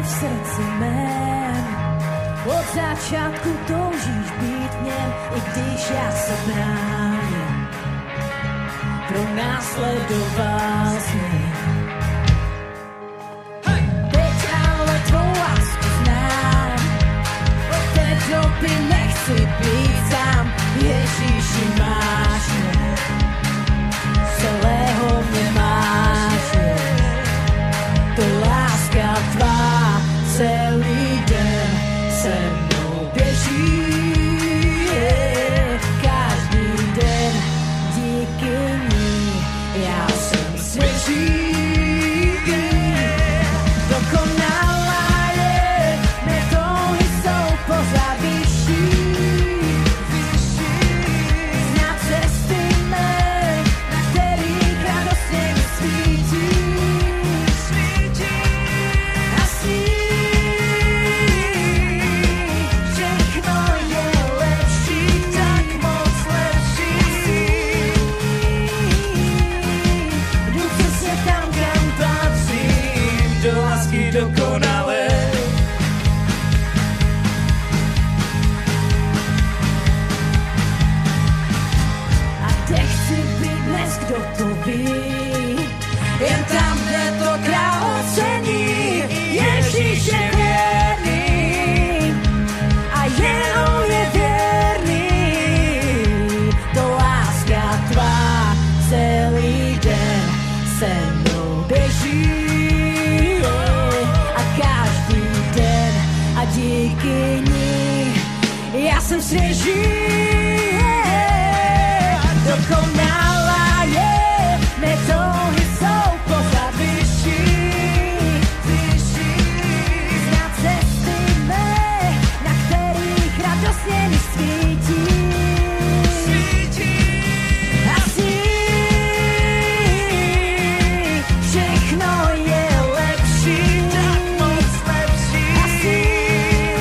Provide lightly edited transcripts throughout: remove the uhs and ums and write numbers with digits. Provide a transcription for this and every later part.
v srdci mém. Od začátku toužíš být v něm, i když já se bráním. Pronásledoval jsi mě. Teď ale tvou lásku znám, od té doby nechci být sám. Ježíši, máš mě, celého mě máš mě. To láska tvá celý den se mnou běží. Každý den díky ní já jsem svěží. Dokonalá je, mé touhy jsou pořád vyšší. Znát cesty mé, na kterých radostně mi svítí. A sní, všechno je lepší, tak moc lepší. Jdu přesně tam, kam patřím, do lásky dokonalé. A kde chci být dnes, kdo to ví? Jen tam, kde to král ocení. Ježíš je věrný a jenom je věrný. To láska tvá celý den se mnou běží. A každý den a díky ní já jsem svěží. Dokonalá je, mé touhy jsou pořád vyšší. Znát cesty mé, na kterých radostně mi svítí. A sní, všechno je lepší, tak moc lepší. A sní,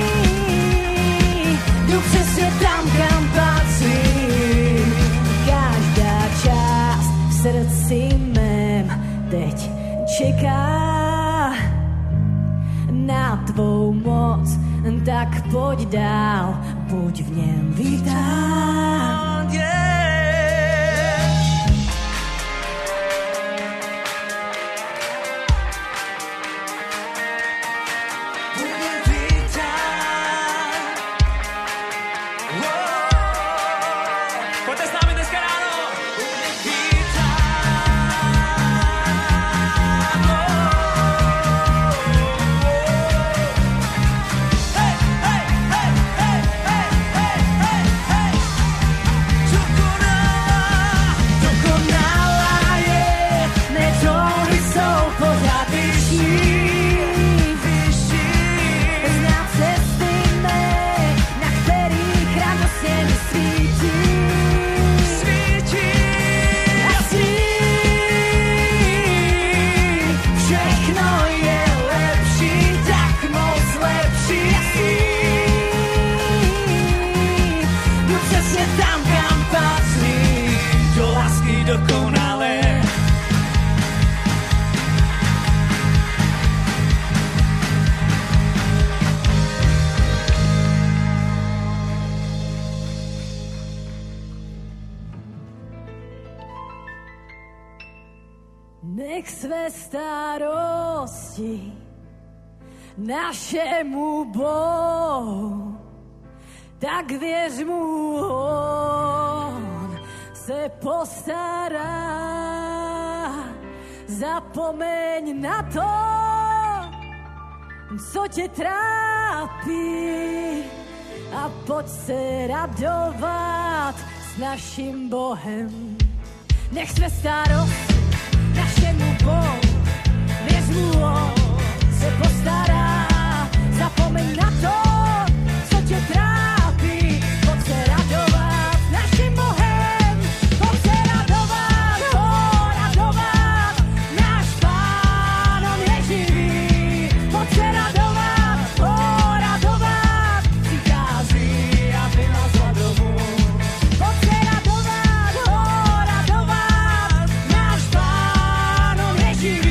jdu přesně tam, kam patřím. Každá část v srdci mém teď čeká na tvou moc, tak pojď dál, buď v něm vítán. Pojďte s námi dneska ráno. Hej, hej, hej, hej, hej, hej, hej, hej. Dokonalá je, Mé touhy jsou pořád vyšší. Znát cesty mé, na kterých radostně mi svítí. A sní, všechno je lepší, tak moc lepší. A sní, jdu přesně tam, kam patří, do lásky dokonalé. nech své starosti našemu Bohu, tak věř mu, on se postará. Zapomeň na to, co tě trápí, a pojď se radovat s naším Bohem. Nech své starosti našemu Bohu, věř mu, on se postará. Zapomeň na to, co tě trápí, pojď se radovat s naším Bohem. Pojď se radovat, radovat, náš Pán, on je živý. Pojď se radovat, radovat, přichází, aby nás domů. Pojď se radovat, radovat, náš Pán, on je živý.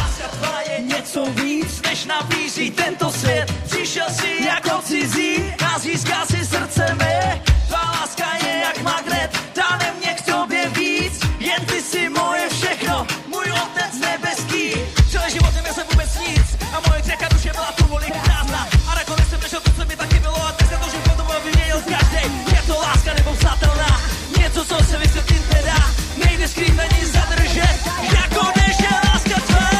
Láska tvá je něco víc, než nabízí tento svět. Přišel si jako cizí a získal si srdce mé. Tvá láska je jak magnet, táhne mě k tobě víc. Jen ty si moje všechno, můj otec nebeský. Celý život neměl jsem vůbec nic a moje řeka duše byla tu volí prázdná. A nakonec jsem nešel to, co mi taky bylo a dneska to, že potom vyměnil každý. Je to láska nebo vzatelná, něco, co se vysvětlit nedá. Nejde skrýt ani zadržet, jako než je láska tvá.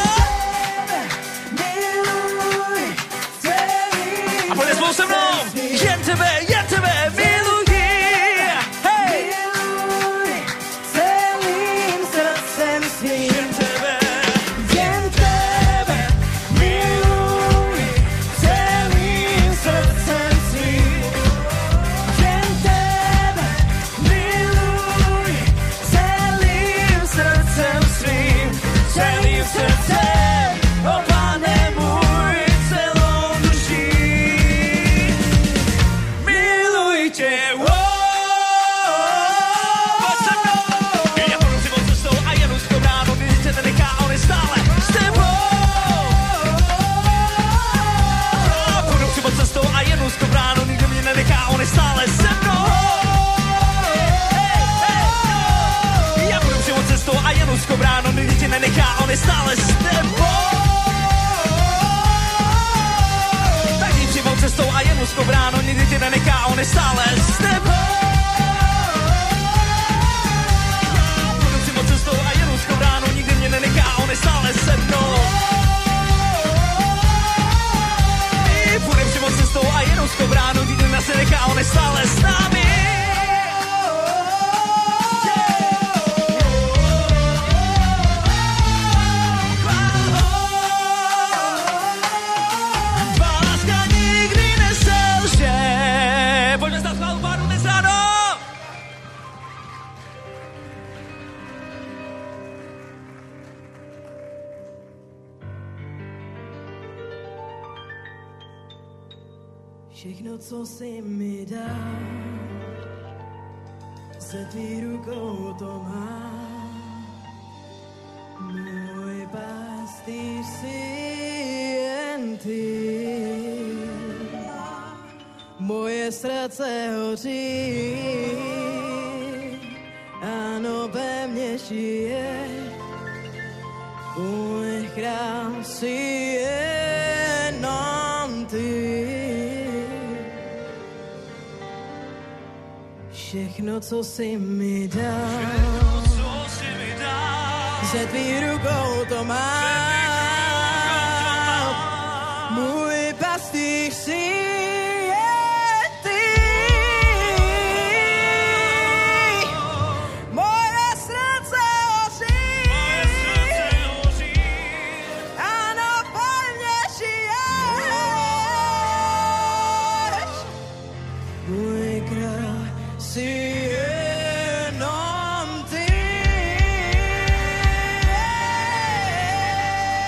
A pojď spolu se mnou, jen tebe miluji. Hej! Miluji celým srdcem svým. Jen tebe. Jen tebe miluji celým srdcem svým. Jen tebe miluji celým srdcem svým. Celým srdcem, o Pane můj, celou duší. Miluji tě, pojď se mnou. Já půjdu si moc cestou a jen úzkou bránou, když tě nenechá, on je stále s tebou. Půjdu si moc cestou a jen úzkou bránou, nikdo mě nenechá, on je stále se mnou. Já půjdu si moc cestou a jen úzkou bránou, nikdy tě nenechá, on je stále s tebou. Tak jdi přímou cestou a jen úzkou bránou, nikdy tě nenechá, on je stále s tebou. Půjdu přímou cestou a jen úzkou bránou, nikdy mě nenechá, on je stále se mnou. Půjdem přímou cestou a jen úzkou bránou, nikdy nás nenechá, on je stále s námi. Všechno, co jsi mi dal, ze tvý rukou to mám. Můj pastýř jsi jen ty. Moje srdce hoří, ano, ve mně žije. Můj chrám jsi jenom ty. Všechno, co jsi mi dal, ze tvý rukou to mám. Můj pastýř jsi jen ty. Moje srdce hoří, ano, pevně žiješ. Můj král jsi jenom ty.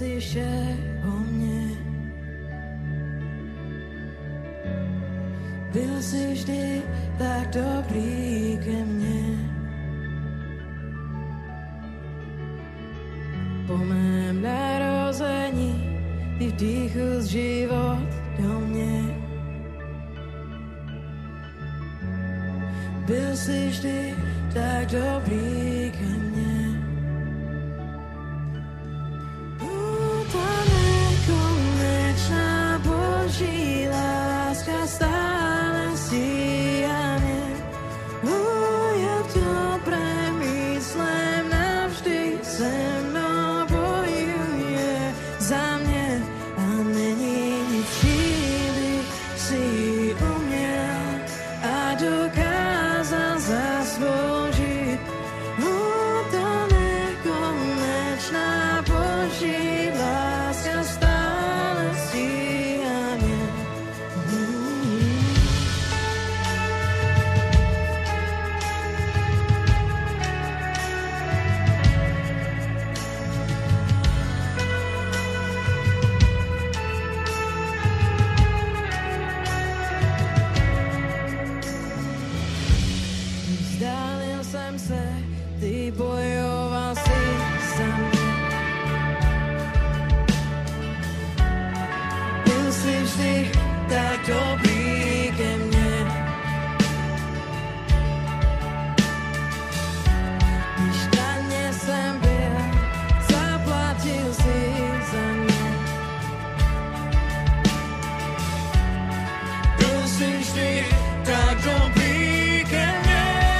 si všeho mě. Byl jsi vždy tak dobrý ke mně. Po mém narození ty vdýchl život do mě. Byl jsi vždy tak dobrý ke mně. Ta nekonečná boží láska stále síja mě. Jak dobré myslím navždy se mnou bojuje za mě. A není nic, čím bych si uměl a dokázal zasloužit. Ta nekonečná boží láska stále síja mě. Vzdálil jsem se, ty bojoval si za mě. Byl jsi vždy tak dobrý ke mně. Když na mě jsem byl, zaplatil jsi za mě. Byl jsi vždy tak dobrý ke mně.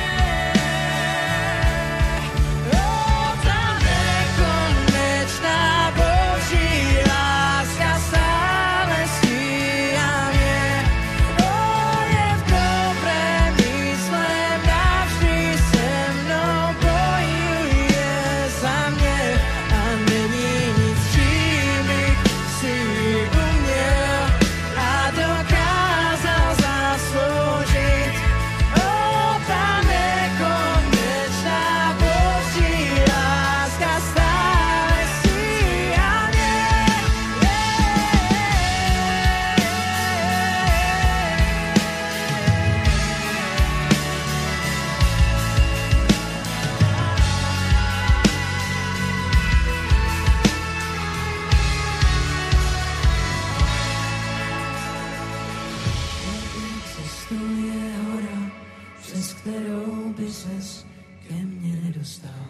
Neexistuje hora, přes kterou by ses ke mně nedostal.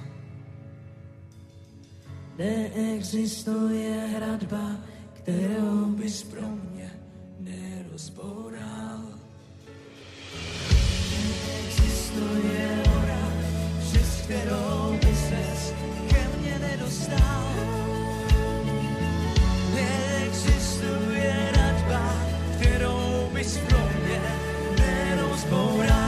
Neexistuje hradba, kterou bys pro mě nerozboural. Neexistuje hora, přes kterou by ses ke mně nedostal. Neexistuje hradba, kterou bys pro mě nerozboural.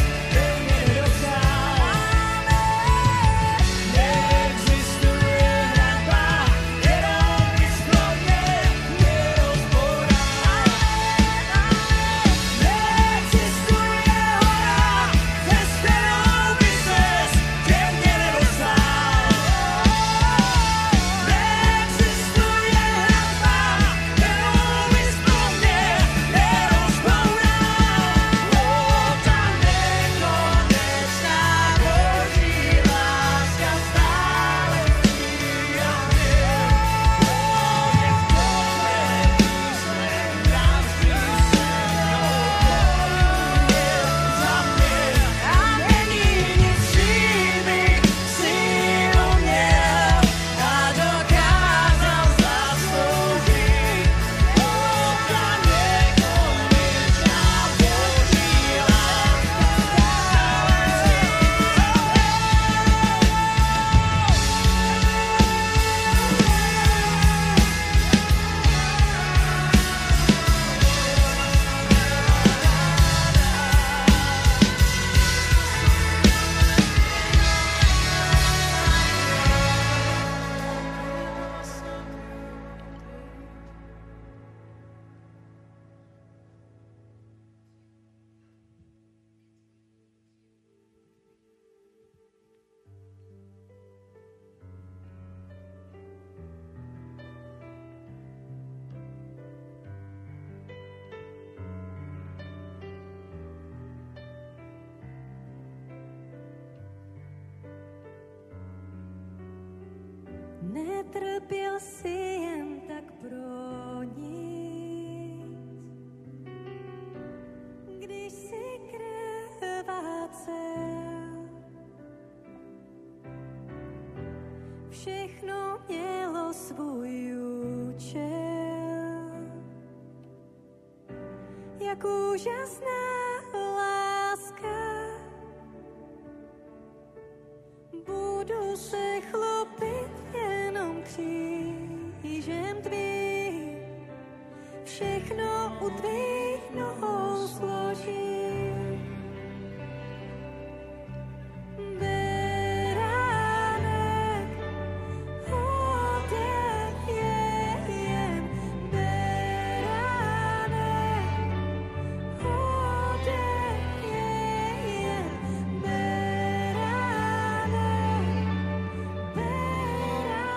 Neexistuje netrpěl si jen tak pro nic. Když si krvácel, všechno mělo svůj účel. Jak úžasná láska, budu se chlopit jenom křížem tvým, všechno u tvých nohou složím. Beránek, oděch je jen beránek, oděch je jen beránek,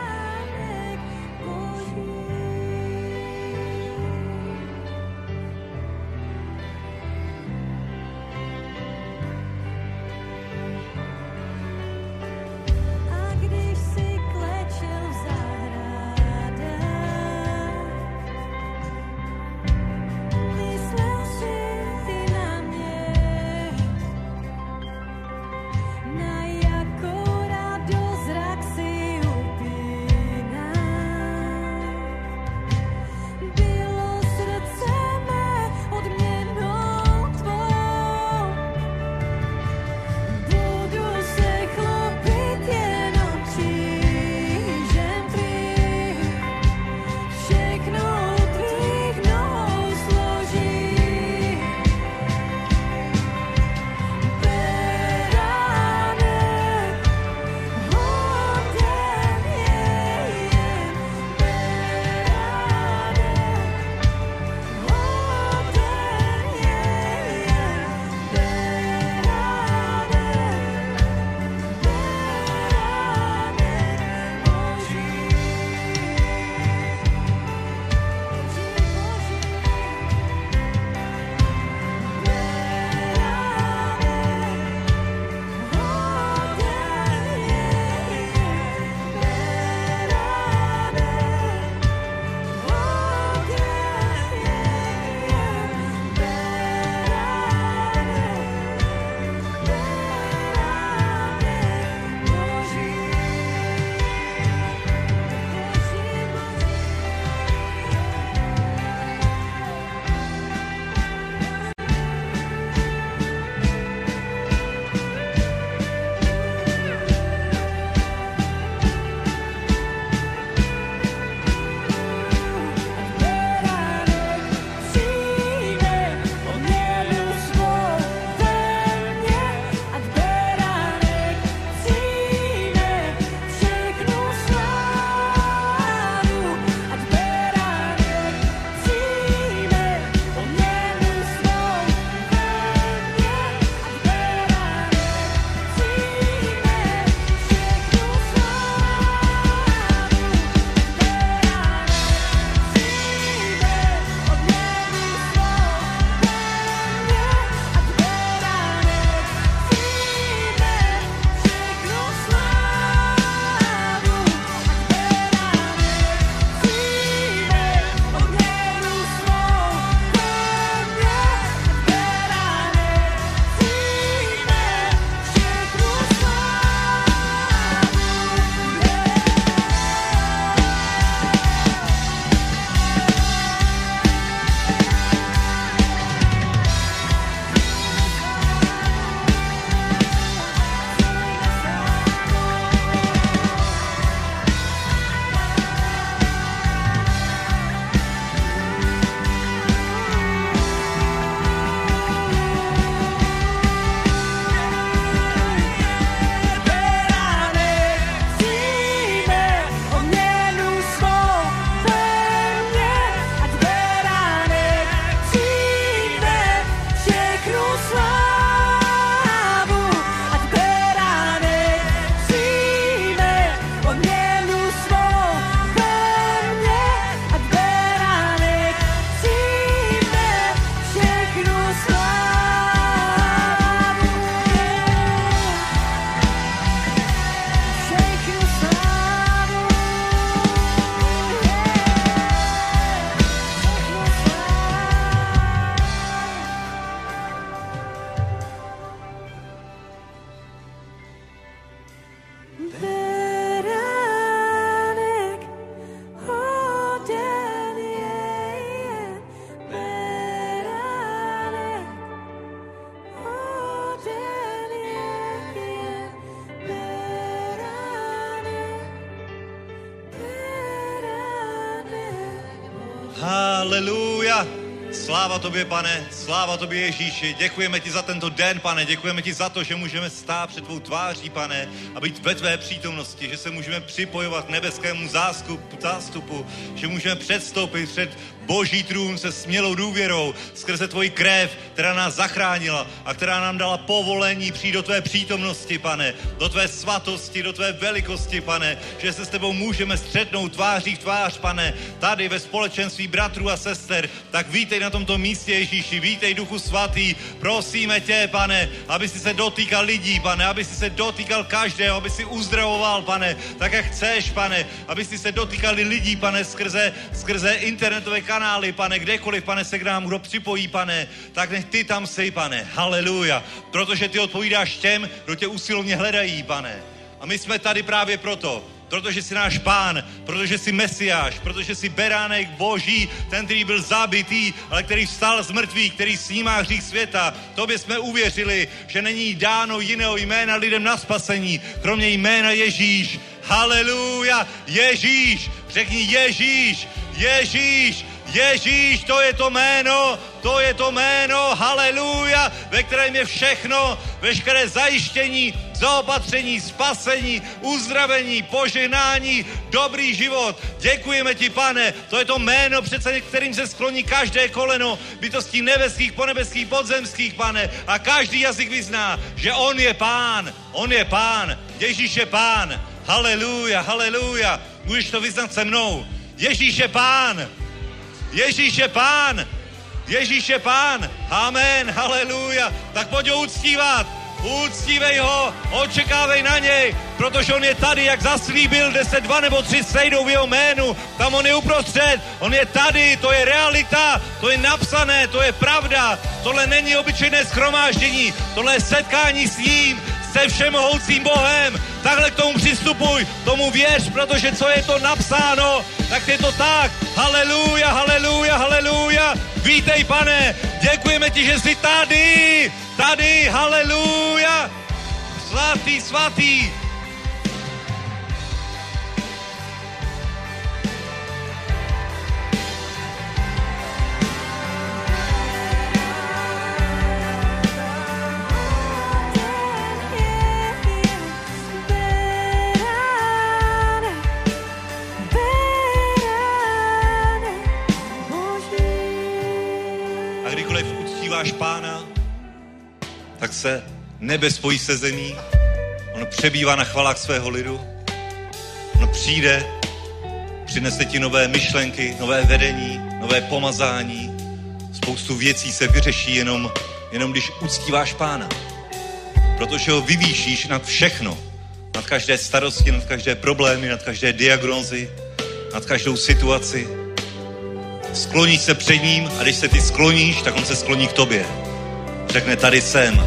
beránek Boží. Haleluja. Sláva tobě, pane, sláva tobě, Ježíši. Děkujeme ti za tento den, pane, děkujeme ti za to, že můžeme stát před tvou tváří, pane, a být ve tvé přítomnosti, že se můžeme připojovat k nebeskému zástupu, že můžeme předstoupit před Boží trůn se smělou důvěrou skrze tvoji krev, která nás zachránila a která nám dala povolení přijít do tvé přítomnosti, pane, do tvé svatosti, do tvé velikosti, pane, že se s tebou můžeme střetnout tváří v tvář, pane, tady ve společenství bratrů a sester. Tak vítej na tomto místě, Ježíši, vítej, Duchu Svatý, prosíme tě, pane, aby si se dotýkal lidí, pane, aby si se dotýkal každého, aby si uzdravoval, pane, tak jak chceš, pane, aby si se dotýkali lidí, pane, skrze internetové kanály, pane, kdekoliv, pane, se k nám kdo připojí, pane, tak nech ty tam sej, pane, haleluja, protože ty odpovídáš těm, kdo tě usilovně hledají, pane. A my jsme tady právě proto, protože jsi náš Pán, protože jsi Mesiáš, protože jsi beránek Boží, ten, který byl zabitý, ale který vstal z mrtvých, který snímá hřích světa. Tobě jsme uvěřili, že není dáno jiného jména lidem na spasení, kromě jména Ježíš. Haleluja, Ježíš, řekni Ježíš, Ježíš, Ježíš, to je to jméno, haleluja, ve kterém je všechno, veškeré zajištění, zaopatření, spasení, uzdravení, požehnání, dobrý život. Děkujeme ti, pane, to je to jméno, přece kterým se skloní každé koleno bytostí nebeských, ponebeských, podzemských, pane, a každý jazyk vyzná, že on je Pán, Ježíš je Pán, haleluja, haleluja, můžeš to vyznat se mnou, Ježíš je Pán, Ježíš je Pán, Ježíš je Pán, amen, haleluja, tak pojď ho uctívat, uctívej ho, očekávej na něj, protože on je tady, jak zaslíbil, kde se 2 nebo 3 sejdou v jeho jménu, tam on je uprostřed, on je tady, to je realita, to je napsané, to je pravda, tohle není obyčejné shromáždění, tohle je setkání s ním, se všemohoucím Bohem, takhle k tomu přistupuj, tomu věř, protože co je to napsáno, tak je to tak, haleluja, haleluja, haleluja, vítej, pane, děkujeme ti, že jsi tady, haleluja, svatý, svatý. Pána, tak se nebe spojí se zemí, on přebývá na chvalách svého lidu, on přijde, přinese ti nové myšlenky, nové vedení, nové pomazání, spoustu věcí se vyřeší jenom když uctíváš Pána, protože ho vyvýšíš nad všechno, nad každé starosti, nad každé problémy, nad každé diagnózy, nad každou situaci. Skloníš se před ním a když se ty skloníš, tak on se skloní k tobě. Řekne, tady jsem.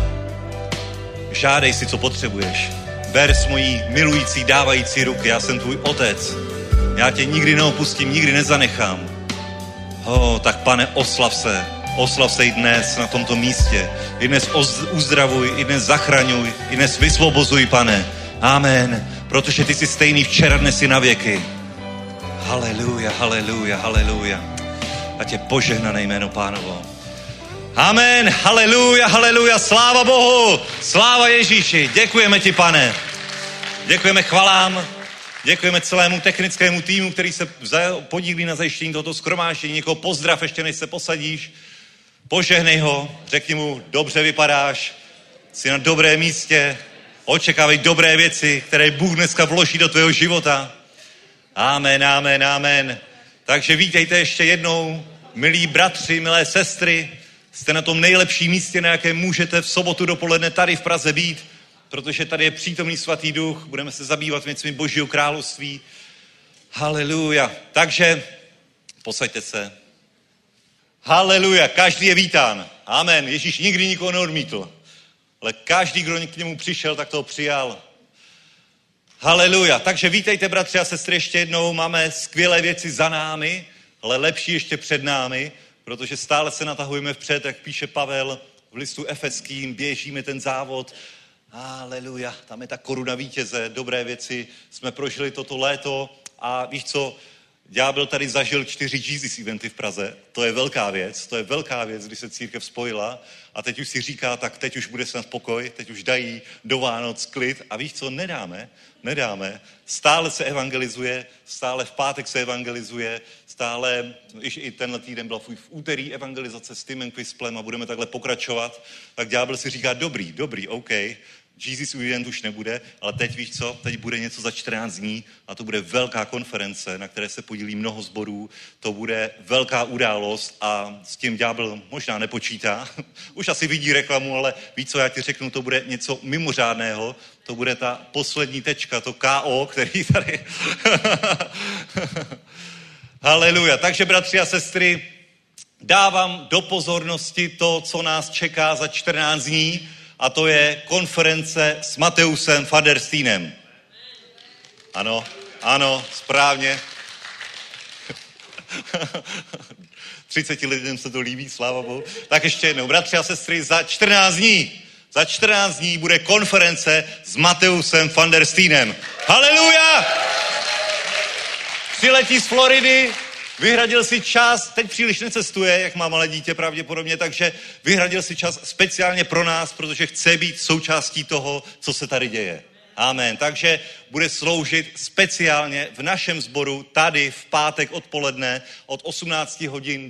Žádej si, co potřebuješ. Ber s mojí milující, dávající ruky. Já jsem tvůj otec. Já tě nikdy neopustím, nikdy nezanechám. Tak pane, oslav se i dnes na tomto místě. I dnes uzdravuj, i dnes zachraňuj, i dnes vysvobozuj, pane. Amen. Protože ty jsi stejný včera, dnes i na věky. Haleluja, haleluja, haleluja. Ať je požehnané jméno Pánovo. Amen, haleluja, haleluja, sláva Bohu, sláva Ježíši. Děkujeme ti, pane. Děkujeme chvalám, děkujeme celému technickému týmu, který se podílí na zajištění tohoto shromáždění. Někoho pozdrav, ještě než se posadíš. Požehnej ho, řekni mu, dobře vypadáš, jsi na dobrém místě, očekávej dobré věci, které Bůh dneska vloží do tvého života. Amen, amen, amen. Takže vítejte ještě jednou, milí bratři, milé sestry. Jste na tom nejlepším místě, na jakém můžete v sobotu dopoledne tady v Praze být, protože tady je přítomný svatý duch, budeme se zabývat věcmi Božího království. Haleluja. Takže posaďte se. Haleluja. Každý je vítán. Amen. Ježíš nikdy nikoho neodmítl. Ale každý, kdo k němu přišel, tak toho přijal. Haleluja. Takže vítejte, bratři a sestry, ještě jednou. Máme skvělé věci za námi, ale lepší ještě před námi, protože stále se natahujeme vpřed, jak píše Pavel v listu Efeským, běžíme ten závod. Haleluja. Tam je ta koruna vítěze, dobré věci jsme prožili toto léto a víš co, Ďábel tady zažil 4 Jesus eventy v Praze. To je velká věc, když se církev spojila a teď už si říká, tak teď už bude snad pokoj, teď už dají do Vánoc klid a víš co, nedáme. Stále se evangelizuje, stále v pátek se evangelizuje, stále, i tenhle týden byla v úterý evangelizace s Timem Quisplem a budeme takhle pokračovat, tak ďábel si říká, dobrý, OK, Jesus Event už nebude, ale teď víš co, teď bude něco za 14 dní a to bude velká konference, na které se podílí mnoho sborů, to bude velká událost a s tím ďábel možná nepočítá, už asi vidí reklamu, ale víš co, já ti řeknu, to bude něco mimořádného, to bude ta poslední tečka, to KO, který tady... Haleluja, takže bratři a sestry, dávám do pozornosti to, co nás čeká za 14 dní, a to je konference s Mateusem van der Steinem. Ano, správně. 30 lidem se to líbí, sláva Bohu. Tak ještě jednou, bratři a sestry, za 14 dní bude konference s Mateusem van der Steinem. Haleluja! Přiletí z Floridy, vyhradil si čas, teď příliš necestuje, jak má malé dítě pravděpodobně, takže vyhradil si čas speciálně pro nás, protože chce být součástí toho, co se tady děje. Amen. Takže bude sloužit speciálně v našem sboru tady v pátek odpoledne od 18 hodin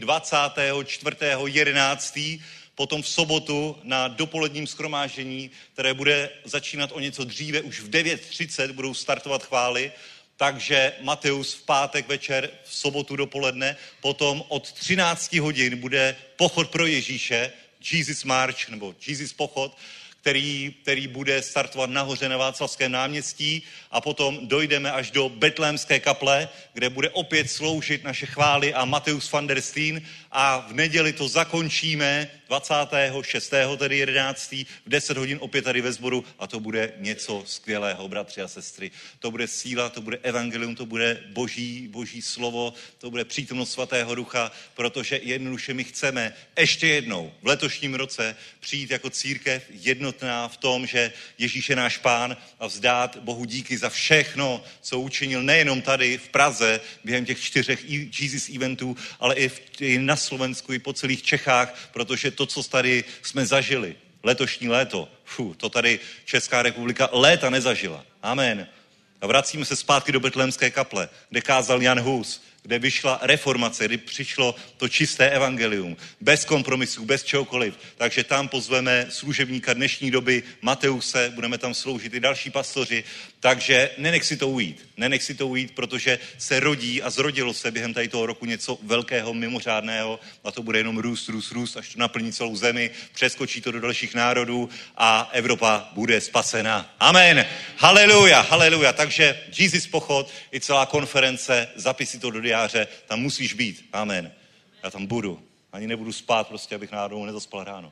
24.11. Potom v sobotu na dopoledním shromáždění, které bude začínat o něco dříve, už v 9:30 budou startovat chvály. Takže Mateus v pátek večer, v sobotu dopoledne, potom od 13 hodin bude pochod pro Ježíše, Jesus March, nebo Jesus pochod, který bude startovat nahoře na Václavském náměstí a potom dojdeme až do Betlémské kaple, kde bude opět sloužit naše chvály a Mateus van der Steen a v neděli to zakončíme 26. tedy 11. v 10 hodin opět tady ve sboru a to bude něco skvělého, bratři a sestry. To bude síla, to bude evangelium, to bude boží slovo, to bude přítomnost svatého ducha, protože jednoduše my chceme ještě jednou v letošním roce přijít jako církev jednotná v tom, že Ježíš je náš pán a vzdát Bohu díky za všechno, co učinil nejenom tady v Praze během těch 4 Jesus eventů, ale i na Slovensku, i po celých Čechách, protože to, co tady jsme zažili, letošní léto, to tady Česká republika léta nezažila. Amen. A vracíme se zpátky do Betlémské kaple, kde kázal Jan Hus, kde vyšla reformace, kdy přišlo to čisté evangelium, bez kompromisů, bez čehokoliv. Takže tam pozveme služebníka dnešní doby Mateuse, budeme tam sloužit i další pastoři, takže nenech si to ujít, protože se rodí a zrodilo se během tady toho roku něco velkého, mimořádného a to bude jenom růst, až to naplní celou zemi, přeskočí to do dalších národů a Evropa bude spasena. Amen. Haleluja. Takže Jesus pochod i celá konference, zapiš si to do diáře, tam musíš být. Amen. Já tam budu. Ani nebudu spát, prostě, abych náhodou nezaspal ráno.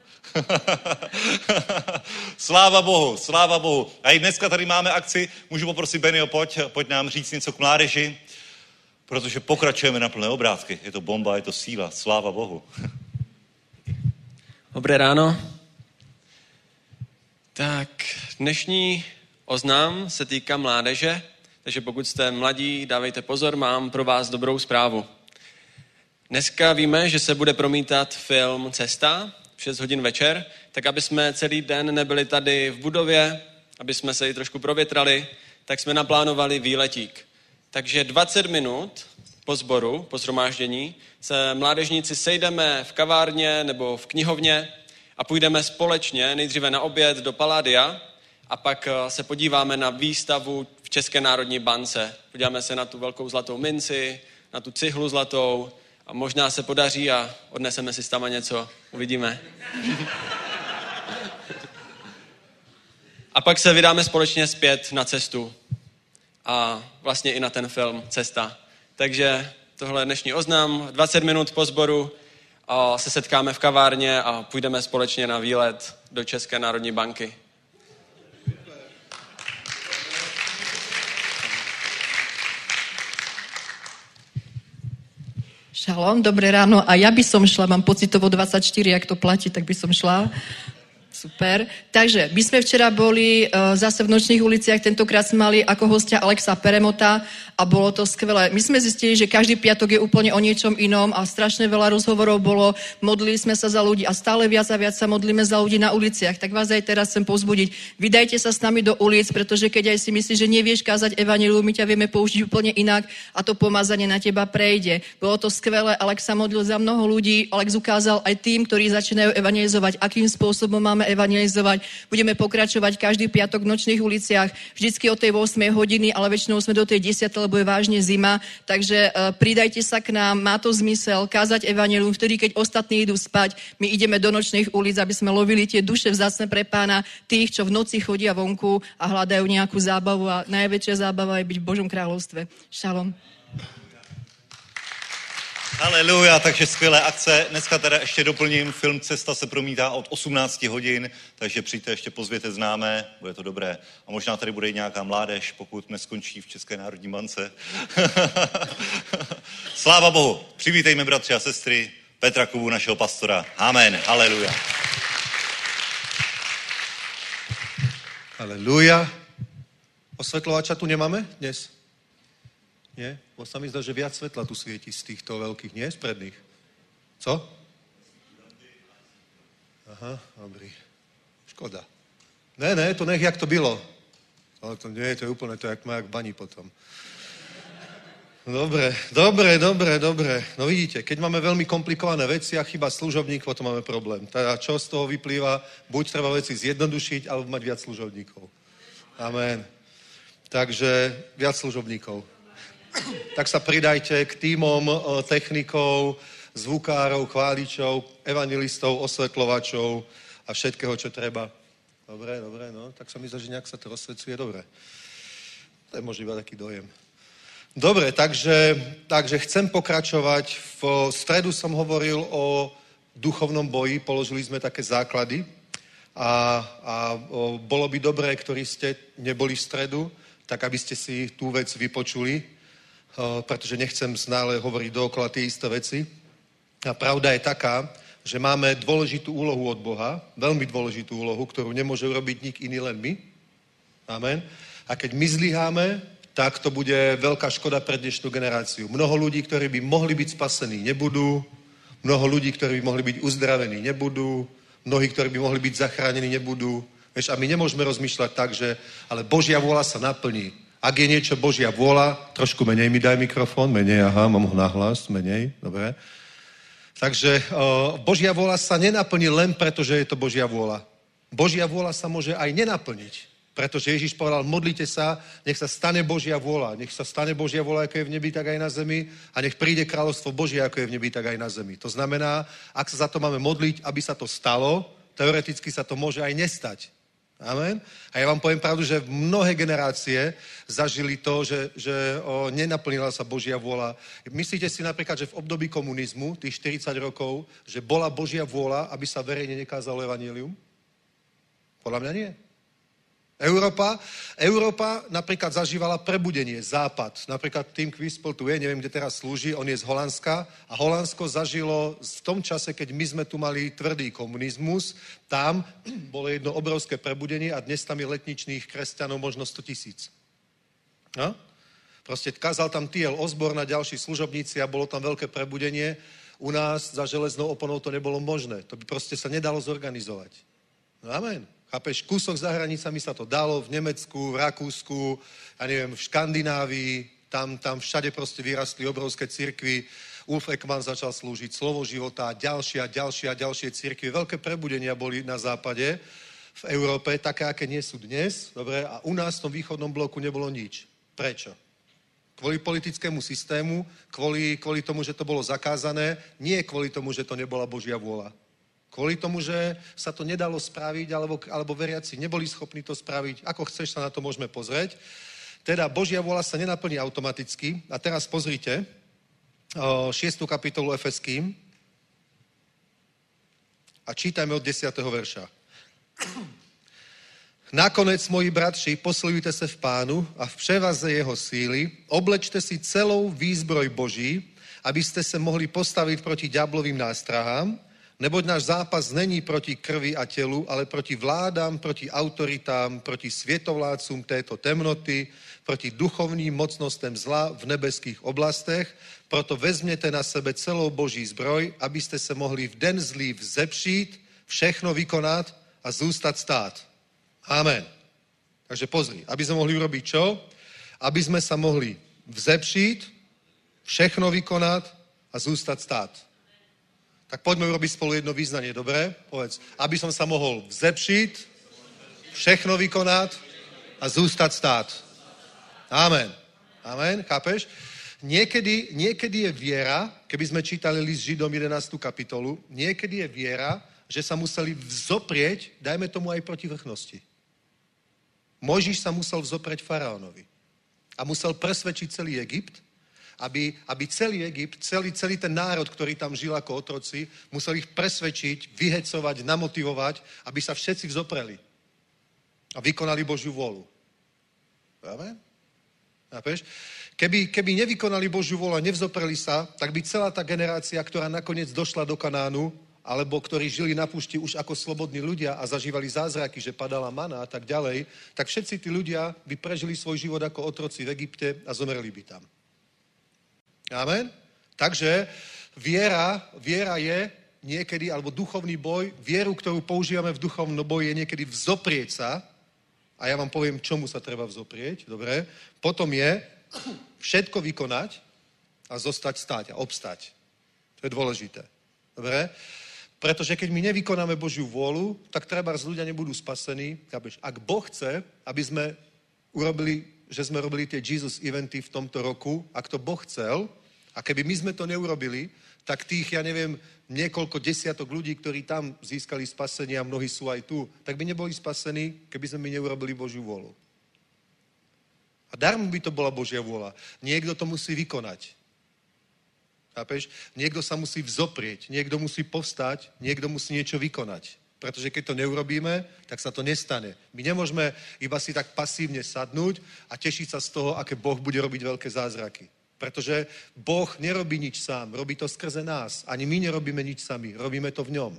Sláva Bohu. A i dneska tady máme akci, můžu poprosit Benio, pojď nám říct něco k mládeži, protože pokračujeme na plné obrátky. Je to bomba, je to síla. Sláva Bohu. Dobré ráno. Tak, dnešní oznam se týká mládeže, takže pokud jste mladí, dávejte pozor, mám pro vás dobrou zprávu. Dneska víme, že se bude promítat film Cesta v 6 hodin večer, tak aby jsme celý den nebyli tady v budově, aby jsme se i trošku provětrali, tak jsme naplánovali výletík. Takže 20 minut po sboru, po shromáždění, se mládežníci sejdeme v kavárně nebo v knihovně a půjdeme společně nejdříve na oběd do Palladia a pak se podíváme na výstavu v České národní bance. Podíváme se na tu velkou zlatou minci, na tu cihlu zlatou a možná se podaří a odneseme si tam něco. Uvidíme. A pak se vydáme společně zpět na cestu a vlastně i na ten film Cesta. Takže tohle je dnešní oznam. 20 minut po sboru a se setkáme v kavárně a půjdeme společně na výlet do České národní banky. Šalom, dobré ráno. A ja by som šla, mám pocitovo 24, jak to platí, tak by som šla. Super. Takže my sme včera boli zase v Nočných uliciach, tentokrát sme mali ako hostia Alexa Peremota a bolo to skvelé. My sme zistili, že každý piatok je úplne o niečom inom a strašne veľa rozhovorov bolo, modlili sme sa za ľudí a stále viac a viac sa modlíme za ľudí na uliciach. Tak vás aj teraz chcem povzbudiť. Vydajte sa s nami do ulic, pretože keď aj si myslíš, že nevieš kázať evanjelium, my ťa vieme použiť úplne inak a to pomazanie na teba prejde. Bolo to skvelé, Alex sa modlil za mnoho ľudí, Alex ukázal aj tým, ktorí začínajú evanjelizovať, akým spôsobom máme evanjelizovať. Budeme pokračovať každý piatok v Nočných uliciach, vždycky o tej 8 hodiny, ale väčšinou sme do tej 10, lebo je vážne zima. Takže pridajte sa k nám, má to zmysel kázať evanjelium, vtedy, keď ostatní idú spať, my ideme do Nočných ulic, aby sme lovili tie duše vzácne pre Pána, tých, čo v noci chodia vonku a hľadajú nejakú zábavu a najväčšia zábava je byť v Božom kráľovstve. Šalom. Haleluja, takže skvělé akce. Dneska teda ještě doplním, film Cesta se promítá od 18 hodin, takže přijďte, ještě pozvěte známé, bude to dobré. A možná tady bude i nějaká mládež, pokud neskončí v České národní bance. Sláva Bohu. Přivítejme bratři a sestry Petra Kubu, našeho pastora. Amen. Haleluja. Haleluja. Osvetľovača tu nemáme dnes? Nie? Bo sa mi zdá, že viac svetla tu svieti z týchto veľkých, nie? Z predných. Co? Aha, dobrý. Škoda. Ne, to nech, jak to bylo. Ale to nie, to je úplne to, jak má jak v bani potom. Dobre. No vidíte, keď máme veľmi komplikované veci a chyba služobník, potom máme problém. Teda čo z toho vyplýva? Buď treba veci zjednodušiť, alebo mať viac služobníkov. Amen. Takže viac služobníkov. Tak sa pridajte k tímom technikov, zvukárov, chváličov, evangelistov, osvetľovačov a všetkého, čo treba. Dobre, no. Tak sa mi zdá, že nejak sa to rozsvecuje. Dobre. To je možno iba taký dojem. Dobre, takže chcem pokračovať. V stredu som hovoril o duchovnom boji, položili sme také základy a bolo by dobré, ktorí ste neboli v stredu, tak aby ste si tú vec vypočuli, pretože nechcem stále hovoriť dookola tie isté veci. A pravda je taká, že máme dôležitú úlohu od Boha, veľmi dôležitú úlohu, ktorú nemôže urobiť nik iný, len my. Amen. A keď my zlyháme, tak to bude veľká škoda pre dnešnú generáciu. Mnoho ľudí, ktorí by mohli byť spasení, nebudú. Mnoho ľudí, ktorí by mohli byť uzdravení, nebudú. Mnohí, ktorí by mohli byť zachránení, nebudú. Vieš, a my nemôžeme rozmýšľať tak, že ale Božia vôľa sa naplní. Ak je niečo Božia vôľa, trošku menej mi daj mikrofón, menej, aha, mám ho nahlas, menej, dobre. Takže Božia vôľa sa nenaplní len preto, že je to Božia vôľa. Božia vôľa sa môže aj nenaplniť, pretože Ježiš povedal, modlite sa, nech sa stane Božia vôľa, nech sa stane Božia vôľa, ako je v nebi, tak aj na zemi a nech príde kráľovstvo Božie, ako je v nebi, tak aj na zemi. To znamená, ak sa za to máme modliť, aby sa to stalo, teoreticky sa to môže aj nestať. Amen. A ja vám poviem pravdu, že mnohé generácie zažili to, že nenaplnila sa Božia vôľa. Myslíte si napríklad, že v období komunizmu, tých 40 rokov, že bola Božia vôľa, aby sa verejne nekázalo evanjelium? Podľa mňa nie. Európa napríklad zažívala prebudenie, Západ. Napríklad Tim Quispel tu je, neviem, kde teraz slúži, on je z Holandska a Holandsko zažilo v tom čase, keď my sme tu mali tvrdý komunizmus, tam bolo jedno obrovské prebudenie a dnes tam je letničných kresťanov možno 100 000. No? Proste kázal tam T.L. Osborne a ďalší služobníci a bolo tam veľké prebudenie. U nás za železnou oponou to nebolo možné. To by proste sa nedalo zorganizovať. No amen. Chápeš, kúsok za hranicami sa to dalo, v Nemecku, v Rakúsku, ja neviem, v Škandinávii, tam všade proste vyrastli obrovské cirkvy, Ulf Ekman začal slúžiť, Slovo života, ďalšie cirkvy, veľké prebudenia boli na západe, v Európe, také, aké nie sú dnes, dobre, a u nás v tom východnom bloku nebolo nič. Prečo? Kvôli politickému systému, kvôli tomu, že to bolo zakázané, nie kvôli tomu, že to nebola Božia vôľa. Kvôli tomu, že sa to nedalo spraviť, alebo veriaci neboli schopní to spraviť. Ako chceš, sa na to môžeme pozrieť. Teda Božia vôľa sa nenaplní automaticky. A teraz pozrite 6. kapitolu Efeským a čítajme od 10. verša. Nakonec, moji bratři, posilujte se v Pánu a v převaze jeho síly, oblečte si celou výzbroj Boží, abyste se mohli postavit proti ďáblovým nástrahám. Neboť náš zápas není proti krvi a tělu, ale proti vládám, proti autoritám, proti světovládcům této temnoty, proti duchovním mocnostem zla v nebeských oblastech. Proto vezměte na sebe celou boží zbroj, abyste se mohli v den zlý vzepřít, všechno vykonat a zůstat stát. Amen. Takže pozri, aby sme mohli urobiť čo? Aby sme sa mohli vzepřít, všechno vykonat a zůstat stát. Tak poďme urobiť spolu jedno význanie, dobre? Povedz, aby som sa mohol vzepřít, všechno vykonat a zůstat stát. Amen. Amen, chápeš? Niekedy je viera, keby sme čítali list Židom 11. kapitolu, niekedy je viera, že sa museli vzoprieť, dajme tomu aj proti vrchnosti. Mojžiš sa musel vzoprieť faraónovi a musel presvedčiť celý Egypt, aby celý Egypt, celý ten národ, ktorý tam žil ako otroci, musel ich presvedčiť, vyhecovať, namotivovať, aby sa všetci vzopreli a vykonali Božiu vôľu. Amen? Chápeš? Keby nevykonali Božiu vôľu a nevzopreli sa, tak by celá tá generácia, ktorá nakoniec došla do Kanánu, alebo ktorí žili na púšti už ako slobodní ľudia a zažívali zázraky, že padala mana a tak ďalej, tak všetci tí ľudia by prežili svoj život ako otroci v Egypte a zomreli by tam. Amen? Takže viera je niekedy, alebo duchovný boj, vieru, ktorú používame v duchovnom boji, je niekedy vzoprieť sa, a ja vám poviem, čomu sa treba vzoprieť, dobre? Potom je všetko vykonať a zostať stáť a obstať. To je dôležité. Dobre? Pretože keď my nevykonáme Božiu vôľu, tak trebárs ľudia nebudú spasení. Ak Boh chce, aby sme robili tie Jesus eventy v tomto roku, ak to Boh chcel, a keby my sme to neurobili, tak tých, ja neviem, niekoľko desiatok ľudí, ktorí tam získali spasenie a mnohí sú aj tu, tak by neboli spasení, keby sme my neurobili Božiu vôľu. A darmo by to bola Božia vôľa. Niekto to musí vykonať. Chápeš? Niekto sa musí vzoprieť, niekto musí povstať, niekto musí niečo vykonať. Pretože keď to neurobíme, tak sa to nestane. My nemôžeme iba si tak pasívne sadnúť a tešiť sa z toho, aké Boh bude robiť veľké zázraky. Pretože Boh nerobí nič sám, robí to skrze nás. Ani my nerobíme nič sami, robíme to v ňom.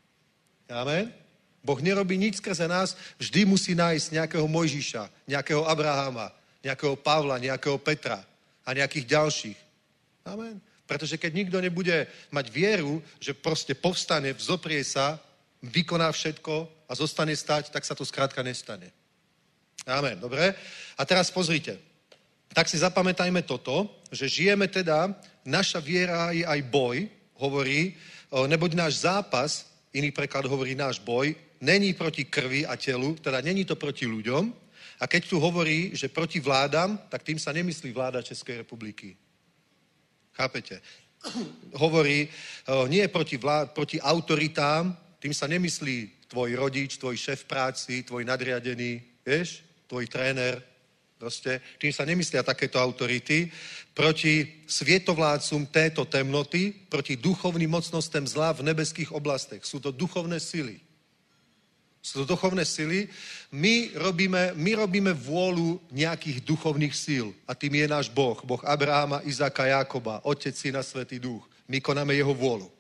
Amen? Boh nerobí nič skrze nás, vždy musí nájsť nejakého Mojžiša, nejakého Abrahama, nejakého Pavla, nejakého Petra a nejakých ďalších. Amen? Pretože keď nikto nebude mať vieru, že proste povstane, vzoprie sa, vykoná všetko a zostane stať, tak sa to skrátka nestane. Amen, dobre? A teraz pozrite. Tak si zapamätajme toto, že žijeme teda, naša viera je aj boj, hovorí, neboť náš zápas, iný preklad hovorí náš boj, není proti krvi a telu, teda není to proti ľuďom. A keď tu hovorí, že proti vládám, tak tým sa nemyslí vláda Českej republiky. Chápete? Hovorí, nie proti autoritám, tým sa nemyslí tvoj rodič, tvoj šéf práci, tvoj nadriadený, vieš, tvoj tréner, proste, tým sa nemyslia takéto autority, proti svietovládcům této temnoty, proti duchovným mocnostem zla v nebeských oblastech. Sú to duchovné sily. Sú to duchovné sily. My robíme vôľu nejakých duchovných síl. A tým je náš Boh. Boh Abrahama, Izáka, Jákoba, Otec, Syna, Svätý Duch. My konáme jeho vôľu.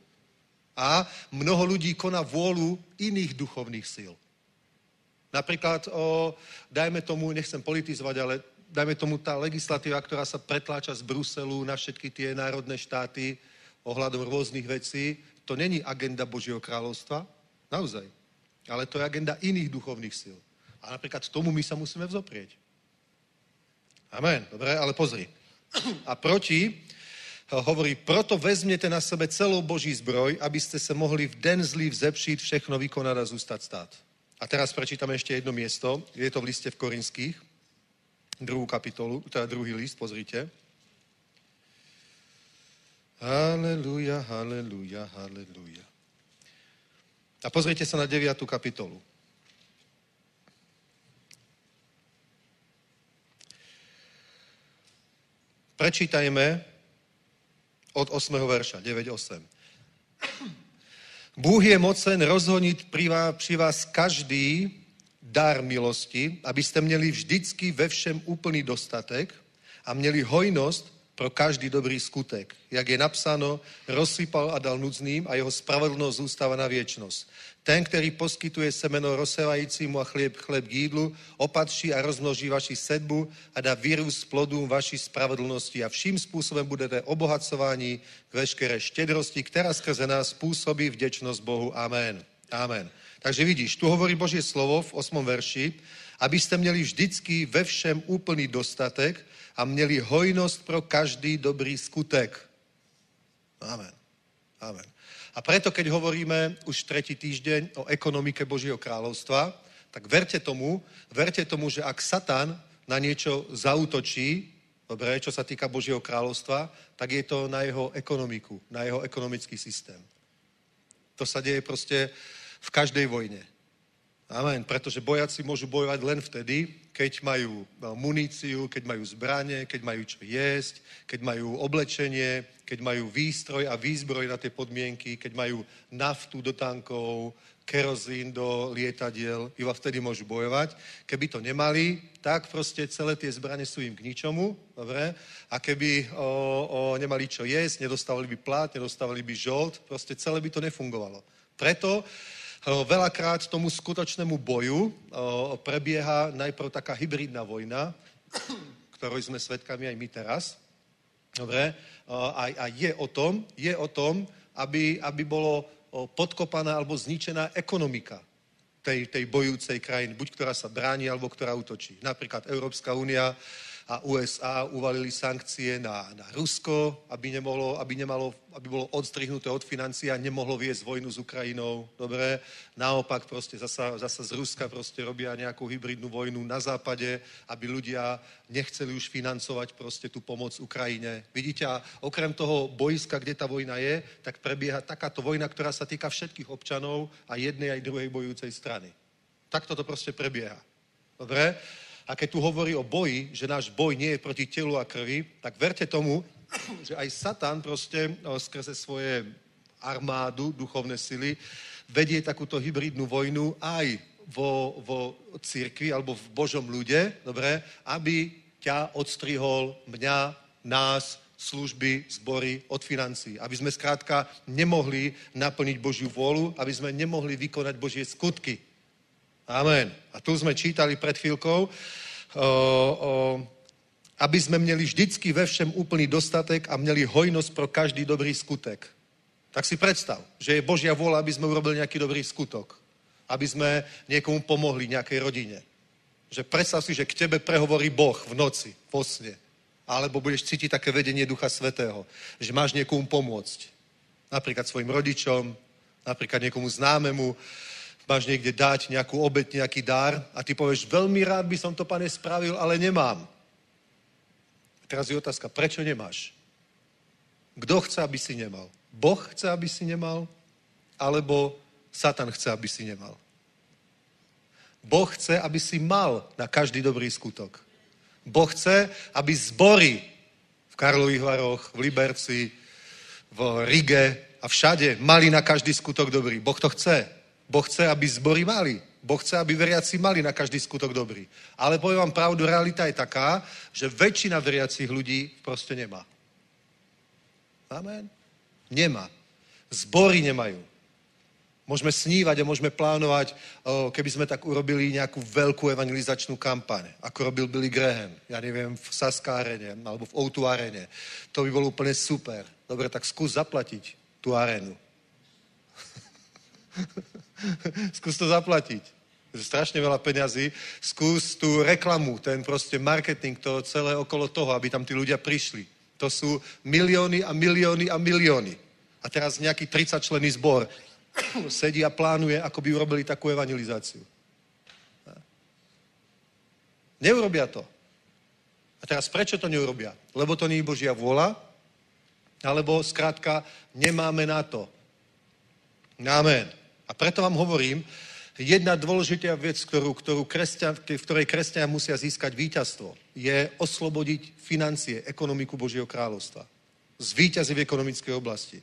A mnoho ľudí koná vôľu iných duchovných síl. Napríklad, dajme tomu, nechcem politizovať, ale dajme tomu tá legislatíva, ktorá sa pretláča z Bruselu na všetky tie národné štáty ohľadom rôznych vecí, to není agenda Božieho kráľovstva, naozaj. Ale to je agenda iných duchovných síl. A napríklad tomu my sa musíme vzoprieť. Amen. Dobre, ale pozri. A hovorí, proto vezměte na sebe celou Boží zbroj, abyste se mohli v den zlý vzepřít, všechno vykonat a zůstat stát. A teraz prečítame ešte jedno miesto. Je to v liste v Korinských, 2. kapitolu, teda 2. list, pozrite. Haleluja, haleluja, haleluja. A pozrite sa na 9. kapitolu. Prečítajme od 8. verša, 9:8. Bůh je mocen rozhonit při vás každý dar milosti, abyste měli vždycky ve všem úplný dostatek a měli hojnost pro každý dobrý skutek. Jak je napsáno, rozsypal a dal núdznym a jeho spravedlnosť zůstává na viečnosť. Ten, který poskytuje semeno rozsevajícímu a chléb k jídlu, opatří a rozmnoží vaši sedbu a dá vyrůst plodům vaší spravedlnosti a vším způsobem budete obohacování k veškeré štědrosti, která skrze nás působí vděčnosť Bohu. Amen. Amen. Takže vidíš, tu hovorí Božie slovo v 8. verši, abyste měli vždycky ve všem úplný dostatek a měli hojnosť pro každý dobrý skutek. Amen. Amen. A preto, keď hovoríme už 3. týždeň o ekonomike Božieho kráľovstva, tak verte tomu, že ak Satan na niečo zaútočí, dobre, čo sa týka Božieho kráľovstva, tak je to na jeho ekonomiku, na jeho ekonomický systém. To sa deje proste v každej vojne. Amen. Pretože bojáci môžu bojovať len vtedy, keď majú muníciu, keď majú zbrane, keď majú čo jesť, keď majú oblečenie, keď majú výstroj a výzbroj na tie podmienky, keď majú naftu do tankov, kerozín do lietadiel, iba vtedy môžu bojovať. Keby to nemali, tak proste celé tie zbrane sú im k ničomu, dobre? A keby nemali čo jesť, nedostávali by plat, nedostávali by žolt, proste celé by to nefungovalo. Preto veľakrát tomu skutočnému boju prebieha najprv taká hybridná vojna, ktorou sme svedkami aj my teraz. Dobre? A je o tom, aby bolo podkopaná alebo zničená ekonomika tej bojúcej krajiny, buď ktorá sa bráni, alebo ktorá útočí. Napríklad Európska únia a USA uvalili sankcie na Rusko, aby bolo odstrihnuté od financií a nemohlo viesť vojnu s Ukrajinou. Dobre? Naopak proste zasa z Ruska proste robia nejakú hybridnú vojnu na západe, aby ľudia nechceli už financovať proste tú pomoc Ukrajine. Vidíte, a okrem toho boiska, kde tá vojna je, tak prebieha takáto vojna, ktorá sa týka všetkých občanov a jednej aj druhej bojúcej strany. Takto to proste prebieha. Dobre? A keď tu hovorí o boji, že náš boj nie je proti telu a krvi, tak verte tomu, že aj Satan proste skrze svoje armádu, duchovné sily, vedie takúto hybridnú vojnu aj vo cirkvi alebo v Božom ľude, dobre, aby ťa odstrihol, mňa, nás, služby, zbory od financií. Aby sme skrátka nemohli naplniť Božiu vôľu, aby sme nemohli vykonať Božie skutky. Amen. A tu sme čítali pred chvíľkou, aby sme měli vždycky ve všem úplný dostatek a měli hojnosť pro každý dobrý skutek. Tak si predstav, že je Božia vôľa, aby sme urobili nejaký dobrý skutok. Aby sme niekomu pomohli, nejakej rodine. Že predstav si, že k tebe prehovorí Boh v noci, vo sne. Alebo budeš cítiť také vedenie Ducha Svätého, že máš niekomu pomôcť. Napríklad svojim rodičom, napríklad niekomu známemu, máš niekde dať nejakú obeť, nejaký dar a ty povieš, veľmi rád by som to, Pane, spravil, ale nemám. Teraz je otázka, prečo nemáš? Kto chce, aby si nemal? Boh chce, aby si nemal? Alebo Satan chce, aby si nemal? Boh chce, aby si mal na každý dobrý skutok. Boh chce, aby zbory v Karlových Varoch, v Liberci, v Rige a všade mali na každý skutok dobrý. Boh to chce. Boh chce, aby zbory mali. Boh chce, aby veriaci mali na každý skutok dobrý. Ale poviem vám pravdu, realita je taká, že väčšina veriacich ľudí proste nemá. Amen? Nemá. Zbory nemajú. Môžeme snívať a môžeme plánovať, keby sme tak urobili nejakú veľkú evangelizačnú kampaň, ako robil Billy Graham, ja neviem, v Saská arene, alebo v O2 arene. To by bolo úplne super. Dobre, tak skús zaplatiť tú arenu. Skús to zaplatiť. Strašne veľa peňazí. Skús tú reklamu, ten proste marketing, to celé okolo toho, aby tam tí ľudia prišli. To sú milióny a milióny a milióny. A teraz nejaký 30-členný zbor sedí a plánuje, ako by urobili takú evangelizáciu. Neurobia to. A teraz prečo to neurobia? Lebo to nie je Božia vôľa, alebo skrátka nemáme na to. Amen. A preto vám hovorím, jedna dôležitá vec, v ktorej kresťania musia získať víťazstvo, je oslobodiť financie, ekonomiku Božieho kráľovstva. Zvíťaziť v ekonomickej oblasti.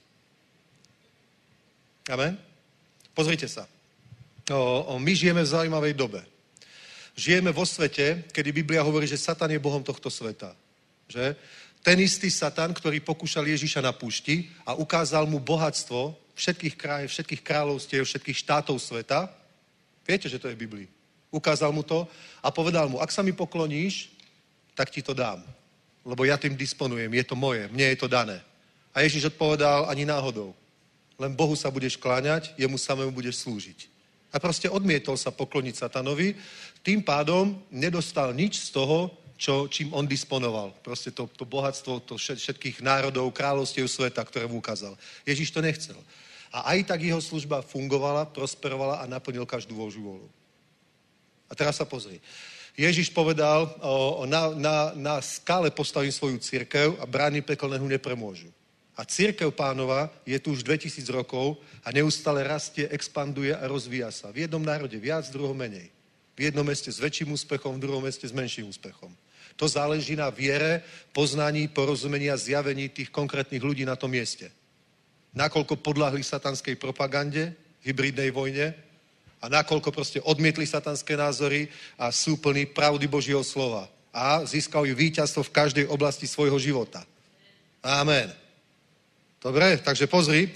Amen? Pozrite sa. My žijeme v zaujímavej dobe. Žijeme vo svete, kedy Biblia hovorí, že Satan je Bohom tohto sveta. Že? Ten istý Satan, ktorý pokúšal Ježiša na púšti a ukázal mu bohatstvo všetkých kráľovstiev, všetkých štátov sveta. Viete, že to je v Biblii. Ukázal mu to a povedal mu, ak sa mi pokloníš, tak ti to dám. Lebo ja tým disponujem, je to moje, mne je to dané. A Ježiš odpovedal, ani náhodou. Len Bohu sa budeš kláňať, jemu samému budeš slúžiť. A proste odmietol sa pokloniť Satanovi, tým pádom nedostal nič z toho, čím on disponoval. Proste to bohatstvo všetkých národov, kráľovstiev sveta, ktoré mu ukázal. Ježiš to nechcel. A aj tak jeho služba fungovala, prosperovala a naplnil každú Božiu vôľu. A teraz sa pozri. Ježiš povedal, na skále postavím svoju cirkev a brány pekelného nepremôžu. A cirkev Pánova je tu už 2000 rokov a neustále rastie, expanduje a rozvíja sa. V jednom národe viac, v druhom menej. V jednom meste s väčším úspechom, v druhom meste s menším úspechom. To záleží na viere, poznaní, porozumení a zjavení tých konkrétnych ľudí na tom mieste. Nakoľko podľahli satanskej propagande, hybridnej vojne a nakoľko proste odmietli satanské názory a sú plní pravdy Božieho slova. A získali víťazstvo v každej oblasti svojho života. Amen. Dobre, takže pozri.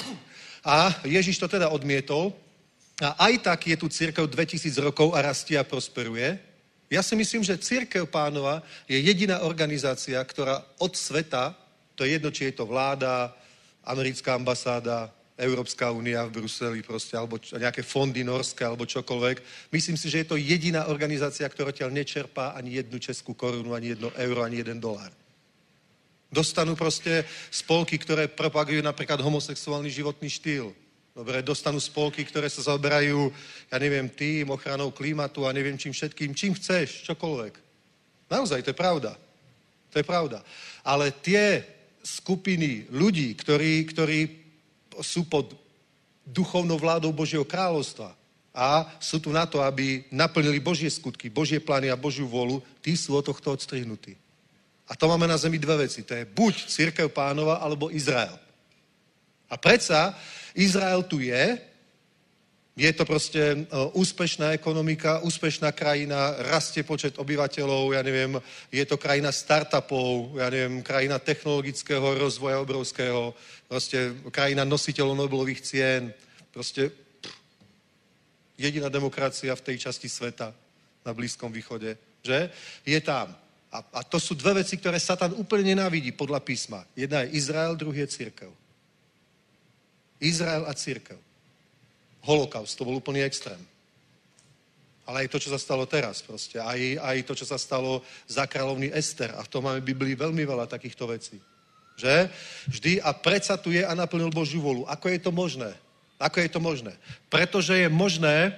A Ježiš to teda odmietol. A aj tak je tu cirkev 2000 rokov a rastie a prosperuje. Ja si myslím, že cirkev Pánova je jediná organizácia, ktorá od sveta, to je jedno, či je to vláda, americká ambasáda, Európska únia v Bruseli proste, alebo nejaké fondy norské, alebo čokoľvek. Myslím si, že je to jediná organizácia, ktorá ťa nečerpá ani jednu českú korunu, ani jedno euro, ani $1. Dostanú proste spolky, ktoré propagujú napríklad homosexuálny životný štýl. Dobre, dostanú spolky, ktoré sa zaoberajú, ja neviem, tým, ochranou klimatu a neviem čím všetkým. Čím chceš, čokoľvek. Naozaj, to je pravda. To je pravda. Ale tie skupiny ľudí, ktorí sú pod duchovnou vládou Božieho kráľovstva a sú tu na to, aby naplnili Božie skutky, Božie plány a Božiu vôľu, tí sú od tohto odstrihnutí. A to máme na zemi dve veci. To je buď cirkev Pánova, alebo Izrael. A predsa Izrael tu je to proste úspešná ekonomika, úspešná krajina, rastie počet obyvateľov, ja neviem, je to krajina startupov, ja neviem, krajina technologického rozvoja obrovského, proste krajina nositeľov Nobelových cien, proste jediná demokracia v tej časti sveta na Blízkom východe, že? Je tam. A to sú dve veci, ktoré Satan úplne nenávidí podľa písma. Jedna je Izrael, druhý je cirkev. Izrael a cirkev. Holokaust, to bol úplný extrém. Ale aj to, čo sa stalo teraz proste. Aj to, čo sa stalo za kráľovny Ester. A v tom máme v Biblii veľmi veľa takýchto vecí. Že? Vždy a predsa tu je a naplnil Božiu vôľu. Ako je to možné? Ako je to možné? Pretože je možné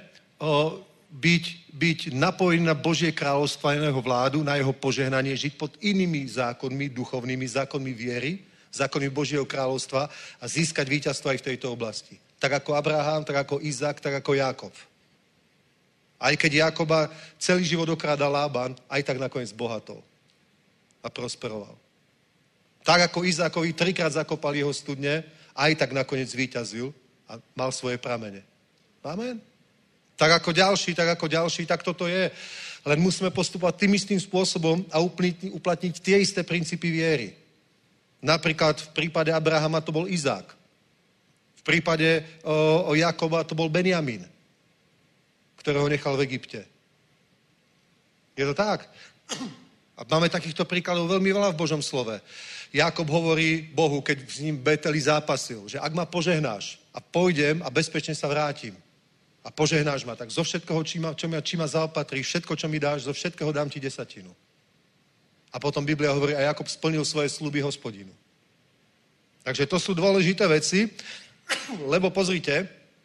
byť napojený na Božie kráľovstvo a na jeho vládu, na jeho požehnanie, žiť pod inými zákonmi, duchovnými zákonmi viery, zákonmi Božieho kráľovstva a získať víťazstvo aj v tejto oblasti. Tak ako Abraham, tak ako Izák, tak ako Jákob. Aj keď Jákoba celý život okrádal Lában, aj tak nakoniec bohatol a prosperoval. Tak ako Izákovi 3-krát zakopal jeho studne, aj tak nakoniec víťazil a mal svoje pramene. Amen. Tak ako ďalší, tak toto je. Len musíme postupovať tým istým spôsobom a uplatniť tie isté princípy viery. Napríklad v prípade Abrahama to bol Izák. V prípade Jakoba to bol Benjamín, ktorého nechal v Egypte. Je to tak? A máme takýchto príkladov veľmi veľa v Božom slove. Jakob hovorí Bohu, keď s ním Beteli zápasil, že ak ma požehnáš a pôjdem a bezpečne sa vrátim a požehnáš ma, tak zo všetkoho, či ma zaopatríš, všetko, čo mi dáš, zo všetkého dám ti 10. A potom Biblia hovorí, a Jakob splnil svoje sľuby Hospodinu. Takže to sú dôležité veci, lebo pozrite,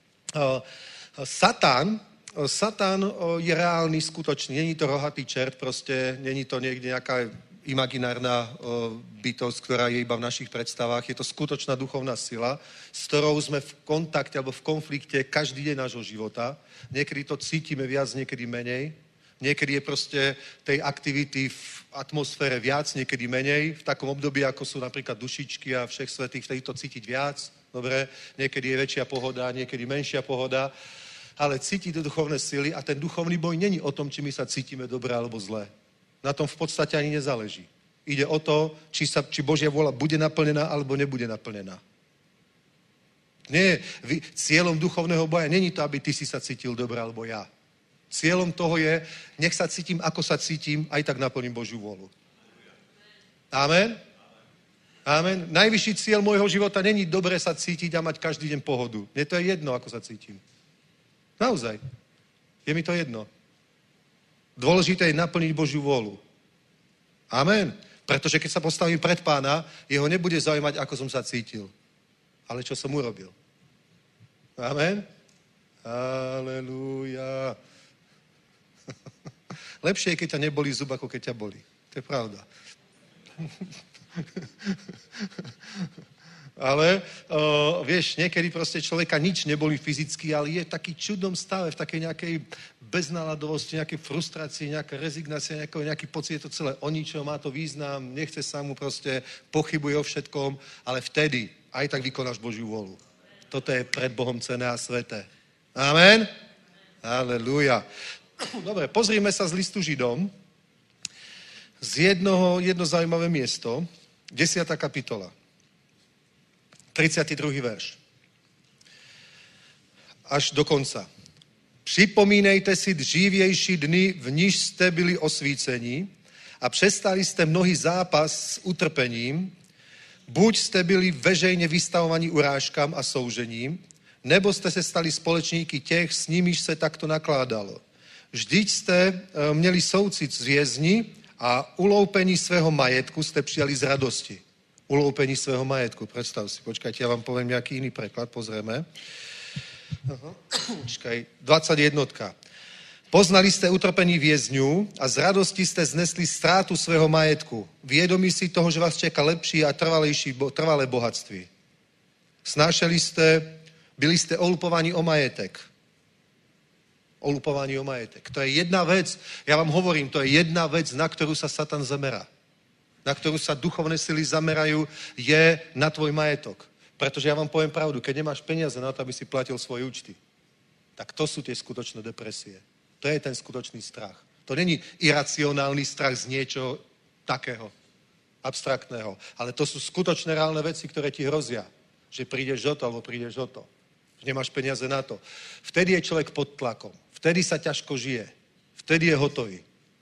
Satan je reálny, skutočný. Není to rohatý čert, proste, není to niekde nejaká imaginárna bytosť, ktorá je iba v našich predstavách. Je to skutočná duchovná sila, s ktorou sme v kontakte alebo v konflikte každý deň nášho života. Niekedy to cítime viac, niekedy menej. Niekedy je proste tej aktivity v atmosfére viac, niekedy menej. V takom období, ako sú napríklad dušičky a všech svätých, vtedy to cítiť viac. Dobre, niekedy je väčšia pohoda, niekedy menšia pohoda. Ale cítiť duchovné sily a ten duchovný boj není o tom, či my sa cítime dobre alebo zle. Na tom v podstate ani nezáleží. Ide o to, či Božia vôľa bude naplnená, alebo nebude naplnená. Nie, cieľom duchovného boja není to, aby ty si sa cítil dobre, alebo ja. Cieľom toho je, nech sa cítim, ako sa cítim, aj tak naplním Božiu vôľu. Amen? Amen. Najvyšší cieľ môjho života není dobre sa cítiť a mať každý deň pohodu. Mne to je jedno, ako sa cítim. Naozaj. Je mi to jedno. Dôležité je naplniť Božiu vôľu. Amen. Pretože keď sa postavím pred Pána, jeho nebude zaujímať, ako som sa cítil, ale čo som urobil. Amen. Halelúja. Lepšie je, keď ťa nebolí zub, ako keď ťa bolí. To je pravda. Ale vieš, niekedy proste človeka nič nebolí fyzicky, ale je v taký čudnom stave, v takej nejakej beznaladovosti, nejakej frustrácii, nejaká rezignácia, nejaký pocit, je to celé o ničom, má to význam, nechce sa mu proste, pochybuje o všetkom, ale vtedy aj tak vykonáš Božiu vôľu. Toto je pred Bohom cenné a sveté. Amen? Halelúja. Dobre, pozrime sa z listu Židom z jedno zaujímavé miesto, 10. kapitola, 32. verš. Až do konca. Připomínejte si dřívější dny, v níž jste byli osvíceni a přestali jste mnohý zápas s utrpením, buď jste byli veřejně vystavovaní urážkám a soužením, nebo jste se stali společníky těch, s nimiž se takto nakládalo. Vždyť jste měli soucit s vězni a uloupení svého majetku jste přijali z radosti. Uloupení svého majetku, predstav si. Počkajte, ja vám poviem nejaký iný preklad, pozrieme. Počkaj, 21. Poznali ste utrpení vězňů a z radosti ste znesli ztrátu svého majetku. Vědomí si toho, že vás čeká lepší a trvalé bohatství. Snášeli ste, byli ste olupovaní o majetek. Olupovaní o majetek. To je jedna vec, ja vám hovorím, to je jedna vec, na ktorú sa Satan zamerá. Na ktorú sa duchovné sily zamerajú, je na tvoj majetok. Pretože ja vám poviem pravdu, keď nemáš peniaze na to, aby si platil svoje účty, tak to sú tie skutočné depresie. To je ten skutočný strach. To není iracionálny strach z niečoho takého, abstraktného, ale to sú skutočné reálne veci, ktoré ti hrozia, že prídeš o to, alebo prídeš o to. Že nemáš peniaze na to. Vtedy je človek pod tlakom. Vtedy sa ťažko žije. Vtedy je hotový.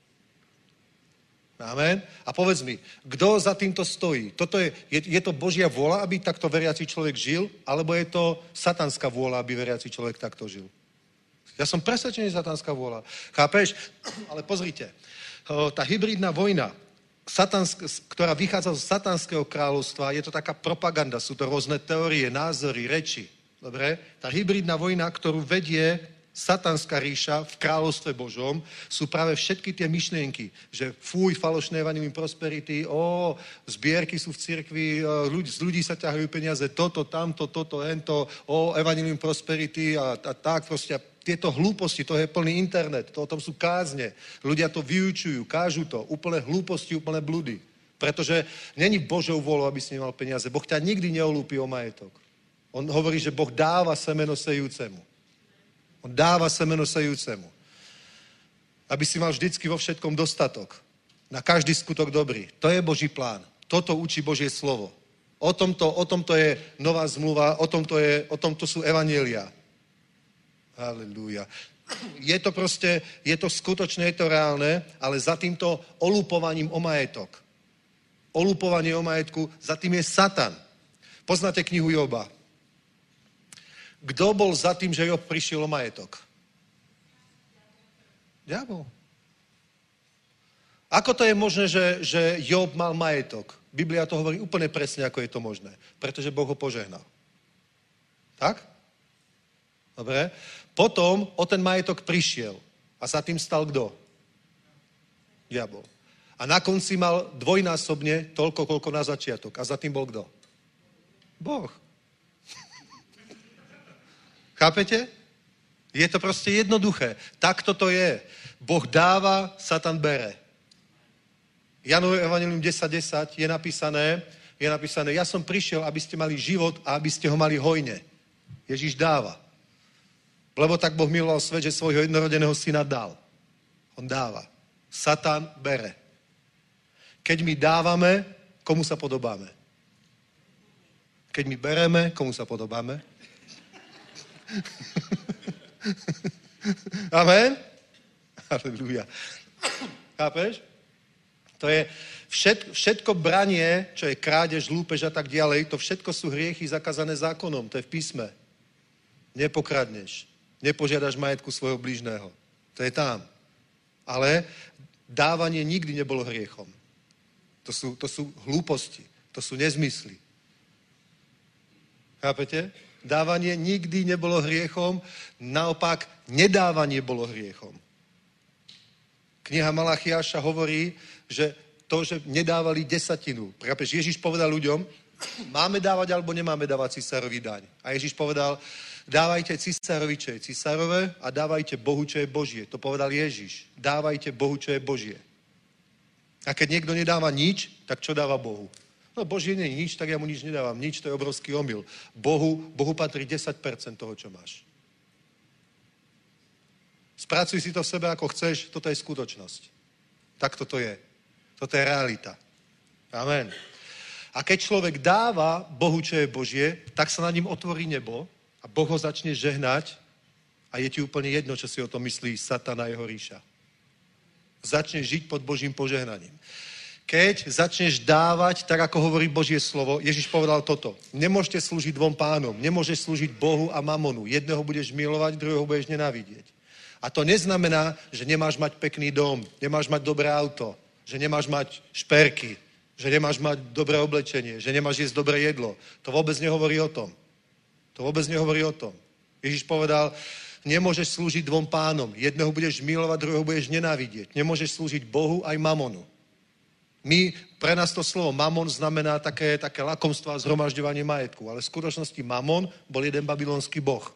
Amen. A povedz mi, kto za týmto stojí? Je to Božia vôľa, aby takto veriaci človek žil, alebo je to satanská vôľa, aby veriaci človek takto žil? Ja som presvedčený, satanská vôľa. Chápeš? Ale pozrite, tá hybridná vojna, ktorá vychádza z satanského kráľovstva, je to taká propaganda, sú to rôzne teórie, názory, reči. Dobre? Tá hybridná vojna, ktorú vedie satanská ríša v kráľovstve Božom, sú práve všetky tie myšlienky, že fuj, falošné evanjelium prosperity, zbierky sú v cirkvi, z ľudí sa ťahajú peniaze, toto, tamto, toto, hento, evanjelium prosperity a tak proste. Tieto hlúposti, to je plný internet, to o tom sú kázne. Ľudia to vyučujú, kážu to, úplné hlúposti, úplné bludy. Pretože není Božou vôľou, aby si nemal peniaze. Boh ťa nikdy neolúpi o majetok. On hovorí, že Boh dáva semeno sejúcemu. On dáva semeno sejúcemu. Aby si mal vždycky vo všetkom dostatok. Na každý skutok dobrý. To je Boží plán. Toto učí Božie slovo. O tomto je nová zmluva, o tomto sú evanjelia. Halelúja. Je to skutočné, je to reálne, ale za týmto olupovaním o majetok. Olupovanie o majetku, za tým je Satan. Poznáte knihu Joba? Kto bol za tým, že Job prišiel o majetok? Diabol. Ako to je možné, že Job mal majetok? Biblia to hovorí úplne presne, ako je to možné. Pretože Boh ho požehnal. Tak? Dobre. Potom o ten majetok prišiel. A za tým stal kto? Diabol. A na konci mal dvojnásobne toľko, koľko na začiatok. A za tým bol kto? Boh. Chápete? Je to proste jednoduché. Takto to je. Boh dáva, Satan bere. Janovo evanjelium 10.10 je napísané, ja som prišiel, aby ste mali život a aby ste ho mali hojne. Ježiš dáva. Lebo tak Boh miloval svet, že svojho jednorodeného syna dal. On dáva. Satan bere. Keď my dávame, komu sa podobáme? Keď my bereme, komu sa podobáme? Amen? Halelúja. Chápeš? To je všetko branie, čo je krádež, lúpež a tak ďalej, to všetko sú hriechy zakázané zákonom, to je v písme. Nepokradneš, nepožiadaš majetku svojho blížneho. To je tam. Ale dávanie nikdy nebolo hriechom. To sú hlúposti, to sú nezmysly. Chápete? Dávanie nikdy nebolo hriechom, naopak nedávanie bolo hriechom. Kniha Malachiáša hovorí, že to, že nedávali desatinu. Chápeš? Ježiš povedal ľuďom, máme dávať alebo nemáme dávať cisárovi daň. A Ježiš povedal, dávajte cisárovi, čo je cisárové a dávajte Bohu, čo je Božie. To povedal Ježiš. Dávajte Bohu, čo je Božie. A keď niekto nedáva nič, tak čo dáva Bohu? No Božie nie je nič, tak ja mu nič nedávam. Nič, to je obrovský omyl. Bohu patrí 10% toho, čo máš. Spracuj si to v sebe, ako chceš, toto je skutočnosť. Tak toto je. Toto je realita. Amen. A keď človek dáva Bohu, čo je Božie, tak sa na ním otvorí nebo a Boh ho začne žehnať a je ti úplne jedno, čo si o tom myslí Satan a jeho ríša. Začneš žiť pod Božím požehnaním. Keď začneš dávať, tak ako hovorí Božie slovo, Ježiš povedal toto. Nemôžete slúžiť dvom pánom. Nemôžeš slúžiť Bohu a mamonu. Jedného budeš milovať, druhého budeš nenávidieť. A to neznamená, že nemáš mať pekný dom, nemáš mať dobré auto, že nemáš mať šperky, že nemáš mať dobré oblečenie, že nemáš jesť dobré jedlo. To vôbec nehovorí o tom. To vôbec nehovorí o tom. Ježiš povedal, nemôžeš slúžiť dvom pánom. Jedného budeš milovať, druhého budeš nenávidieť. Nemôžeš slúžiť Bohu aj mamonu. Pre nás to slovo mamon znamená také lakomstvo a zhromažďovanie majetku, ale v skutočnosti mamon bol jeden babylonský boh.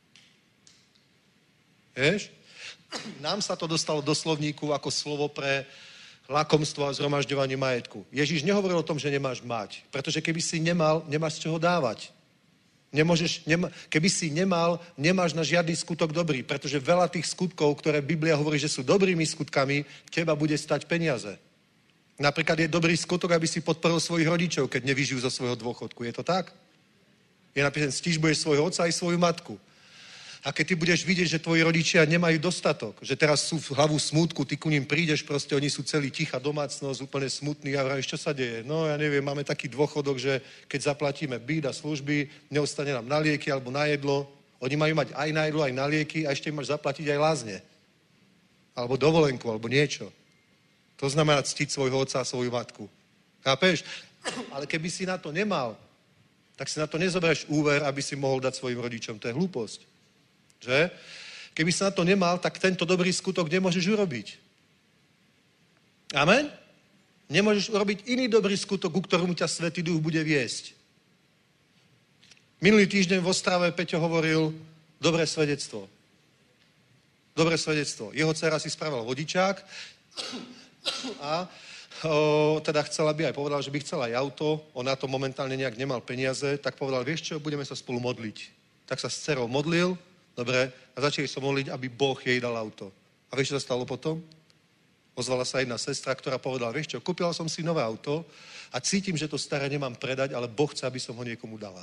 Vieš? Nám sa to dostalo do slovníku ako slovo pre lakomstvo a zhromažďovanie majetku. Ježiš nehovoril o tom, že nemáš mať, pretože keby si nemal, nemáš z čoho dávať. Keby si nemal, nemáš na žiadny skutok dobrý, pretože veľa tých skutkov, ktoré Biblia hovorí, že sú dobrými skutkami, teba bude stať peniaze. Napríklad je dobrý skutok, aby si podporil svojich rodičov, keď nevyžijú zo svojho dôchodku. Je to tak? Je napísané, stížbuješ svojho otca aj svoju matku. A keď ty budeš vidieť, že tvoji rodičia nemajú dostatok, že teraz sú v hlavu smútku, ty ku ním prídeš, proste oni sú celý tichá domácnosť, úplne smutný a vravíš, čo sa deje? No ja neviem, máme taký dôchodok, že keď zaplatíme byt a služby, neostane nám na lieky alebo na jedlo. Oni majú mať aj na jedlo, aj na lieky a ešte máš zaplatiť aj lázne. Alebo dovolenku, alebo niečo. To znamená ctiť svojho otca a svoju matku. Chápeš? Ale keby si na to nemal, tak si na to nezoberieš úver, aby si mohol dať svojim rodičom. To je hlúposť. Že? Keby si na to nemal, tak tento dobrý skutok nemôžeš urobiť. Amen? Nemôžeš urobiť iný dobrý skutok, ku ktorému ťa Svätý Duch bude viesť. Minulý týždeň v Ostrave Peťo hovoril dobré svedectvo. Dobré svedectvo. Jeho dcera si spravila vodičák a teda chcela by aj povedal, že by chcela aj auto. On na to momentálne nejak nemal peniaze, tak povedal, vieš čo, budeme sa spolu modliť. Tak sa s dcerou modlil, dobre, a začali sa modliť, aby Boh jej dal auto. A vieš, čo sa stalo potom? Ozvala sa jedna sestra, ktorá povedala, vieš čo, kúpila som si nové auto a cítim, že to staré nemám predať, ale Boh chce, aby som ho niekomu dala.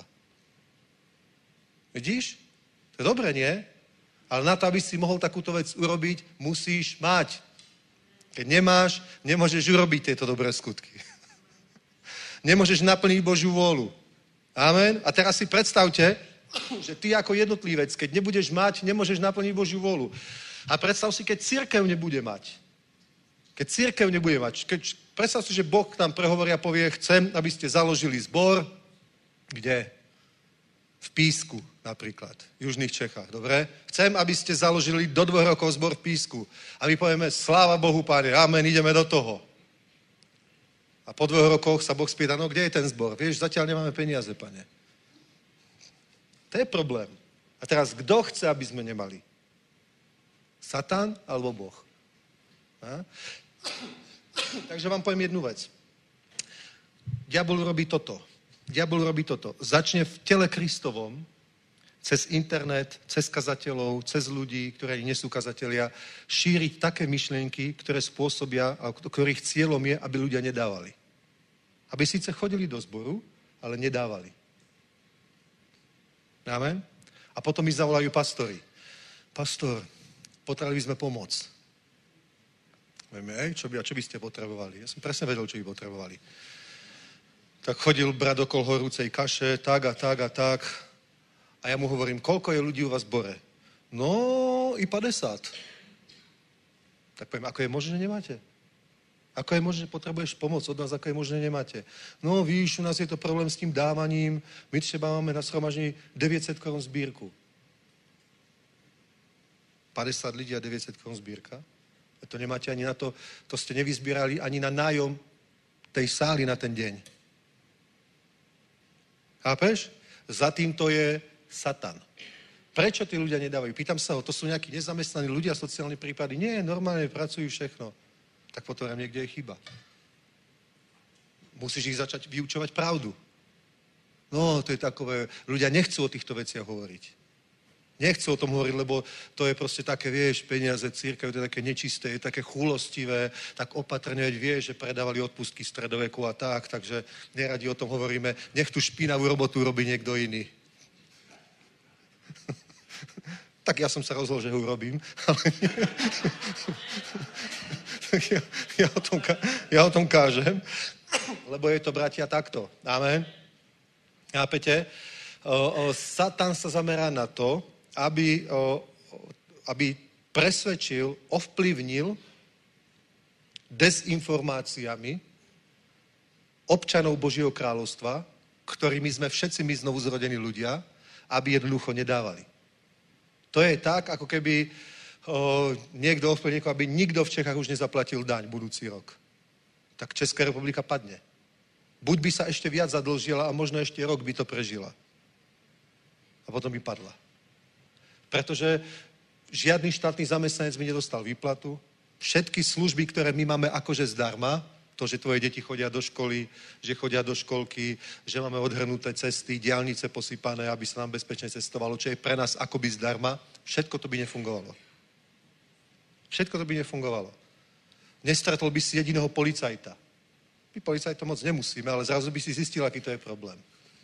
Vidíš? To je dobré, nie? Ale na to, aby si mohol takúto vec urobiť, musíš mať. Keď nemáš, nemôžeš urobiť tieto dobré skutky. Nemôžeš naplniť Božiu vôľu. Amen? A teraz si predstavte, že ty ako jednotlivec, keď nebudeš mať, nemôžeš naplniť Božiu vôľu. A predstav si, keď cirkev nebude mať. Keď cirkev nebude mať. Predstav si, že Boh k nám prehovorí a povie, chcem, aby ste založili zbor, kde? V Písku napríklad, v južných Čechách, dobre? Chcem, aby ste založili do 2 rokov zbor v Písku. A my povieme, sláva Bohu, Pane, amen, ideme do toho. A po 2 rokoch sa Boh spýta, no kde je ten zbor? Vieš, zatiaľ nemáme peniaze, Pane. To je problém. A teraz, kto chce, aby sme nemali? Satan alebo Boh? A? Takže vám poviem jednu vec. Diabol robí toto. Začne v tele Kristovom cez internet, cez kazateľov, cez ľudí, ktorí nie sú kazatelia, šíriť také myšlienky, ktoré spôsobia, a ktorých cieľom je, aby ľudia nedávali. Aby síce chodili do zboru, ale nedávali. Amen? A potom mi zavolajú pastori. Pastor, potrebovali by sme pomôcť. Vieme, čo by ste potrebovali? Ja som presne vedel, čo by potrebovali. Tak chodil brat okolo horúcej kaše, tak a tak a tak. A ja mu hovorím, koľko je ľudí u vás v zbore? No, i 50. Tak poviem, ako je možné, že nemáte? Ako je možné, že potrebuješ pomoc od nás, ako je možné, že nemáte? No, víš, u nás je to problém s tým dávaním. My třeba máme na shromaždení 900 korun zbírku. 50 ľudí a 900 korun zbírka? A to nemáte ani na to, to ste nevyzbírali ani na nájom tej sály na ten deň. Chápeš? Za týmto je Satan. Prečo tí ľudia nedávajú? Pýtam sa ho, to sú nejakí nezamestnaní ľudia, sociálne prípady. Nie, normálne pracujú všechno. Tak potom niekde je chyba. Musíš ich začať vyučovať pravdu. No, to je takové, ľudia nechcú o týchto veciach hovoriť. Nechcú o tom hovoriť, lebo to je proste také, vieš, peniaze, církev, to je také nečisté, je také chúlostivé, tak opatrne, veď vieš, že predávali odpustky stredoveku a tak, takže neradi o tom hovoríme. Nech tú špinavú robotu robí niekto iný. Tak ja som sa rozhodol, že ho urobím. Ja o tom kážem, lebo je to, bratia, takto. Amen. Chápete? Satan sa zamerá na to, aby presvedčil, ovplyvnil dezinformáciami občanov Božieho kráľovstva, ktorými sme všetci my znovu zrodení ľudia, aby jednoducho nedávali. To je tak, ako keby niekto ovplyvnil, aby nikto v Čechách už nezaplatil daň budúci rok. Tak Česká republika padne. Buď by sa ešte viac zadlžila a možno ešte rok by to prežila. A potom by padla. Pretože žiadny štátny zamestnanec by nedostal výplatu. Všetky služby, ktoré my máme akože zdarma, to, že tvoje deti chodia do školy, že chodia do školky, že máme odhrnuté cesty, diaľnice posypané, aby sa nám bezpečne cestovalo, čo je pre nás akoby zdarma, všetko to by nefungovalo. Všetko to by nefungovalo. Nestretol by si jediného policajta. My policajtom moc nemusíme, ale zrazu by si zistil, aký to je problém.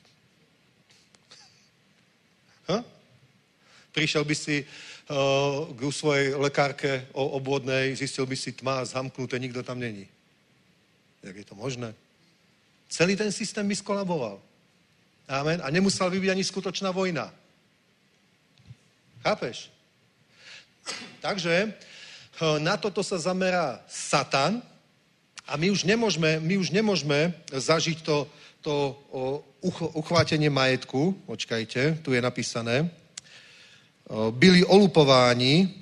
Prišiel by si k svojej lekárke obvodnej, zistil by si tma, zhamknuté, nikto tam není. Jak je to možné? Celý ten systém by skolaboval. Amen. A nemusela by byť ani skutočná vojna. Chápeš? Takže na toto sa zamerá Satan a my už nemôžeme zažiť to uchvátenie majetku. Počkajte, tu je napísané. Byli olupováni,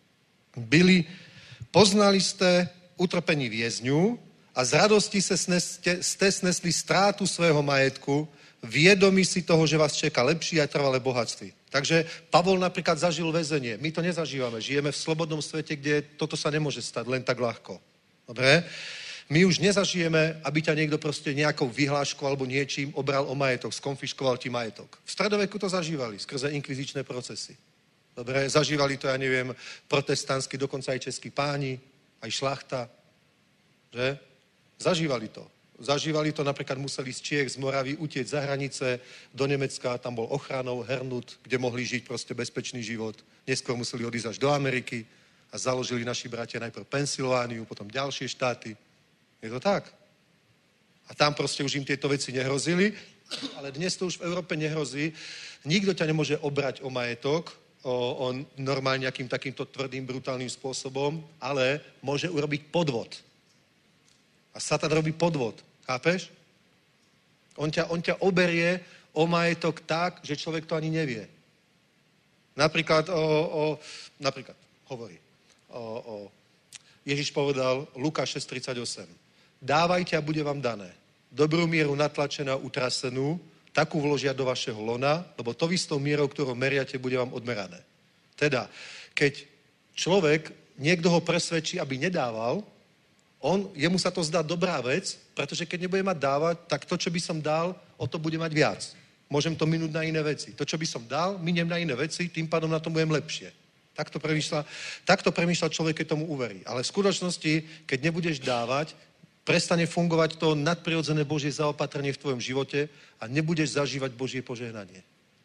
poznali ste utrpení vězňů a z radosti ste snesli ztrátu svého majetku, vědomí si toho, že vás čeká lepší a trvalé bohatství. Takže Pavol napríklad zažil väzenie. My to nezažívame. Žijeme v slobodnom svete, kde toto sa nemôže stať len tak ľahko. Dobre? My už nezažijeme, aby ťa niekto proste nejakou vyhláškou alebo niečím obral o majetok, skonfiškoval ti majetok. V stredoveku to zažívali skrze inkvizičné procesy. Dobre, zažívali to, ja neviem, protestantskí, dokonca aj českí páni, aj šlachta, že? Zažívali to. Zažívali to, napríklad museli z Čiech, z Moravy utiecť za hranice do Nemecka, tam bol ochranou, hernut, kde mohli žiť proste bezpečný život. Neskôr museli odísť až do Ameriky a založili naši bratia najprv Pensylvániu, potom ďalšie štáty. Je to tak? A tam proste už im tieto veci nehrozili, ale dnes to už v Európe nehrozí. Nikto ťa nemôže obrať o majetok, o normálne nejakým takýmto tvrdým, brutálnym spôsobom, ale môže urobiť podvod. A Satan robí podvod. Chápeš? On ťa oberie o majetok tak, že človek to ani nevie. Napríklad hovorí. Ježiš povedal, Lukáš 6:38. Dávajte a bude vám dané. Dobrú mieru natlačená, utrasenú, takú vložia do vašeho lona, lebo to istou mierou, ktorou meriate, bude vám odmerané. Teda, keď človek, niekto ho presvedčí, aby nedával, jemu sa to zdá dobrá vec, pretože keď nebude mať dávať, tak to, čo by som dal, o to bude mať viac. Môžem to minúť na iné veci. To, čo by som dal, miniem na iné veci, tým pádom na tom budem lepšie. Takto premýšľa človek, keď tomu uverí. Ale v skutočnosti, keď nebudeš dávať, prestane fungovať to nadprirodzené Božie zaopatrenie v tvojom živote a nebudeš zažívať Božie požehnanie.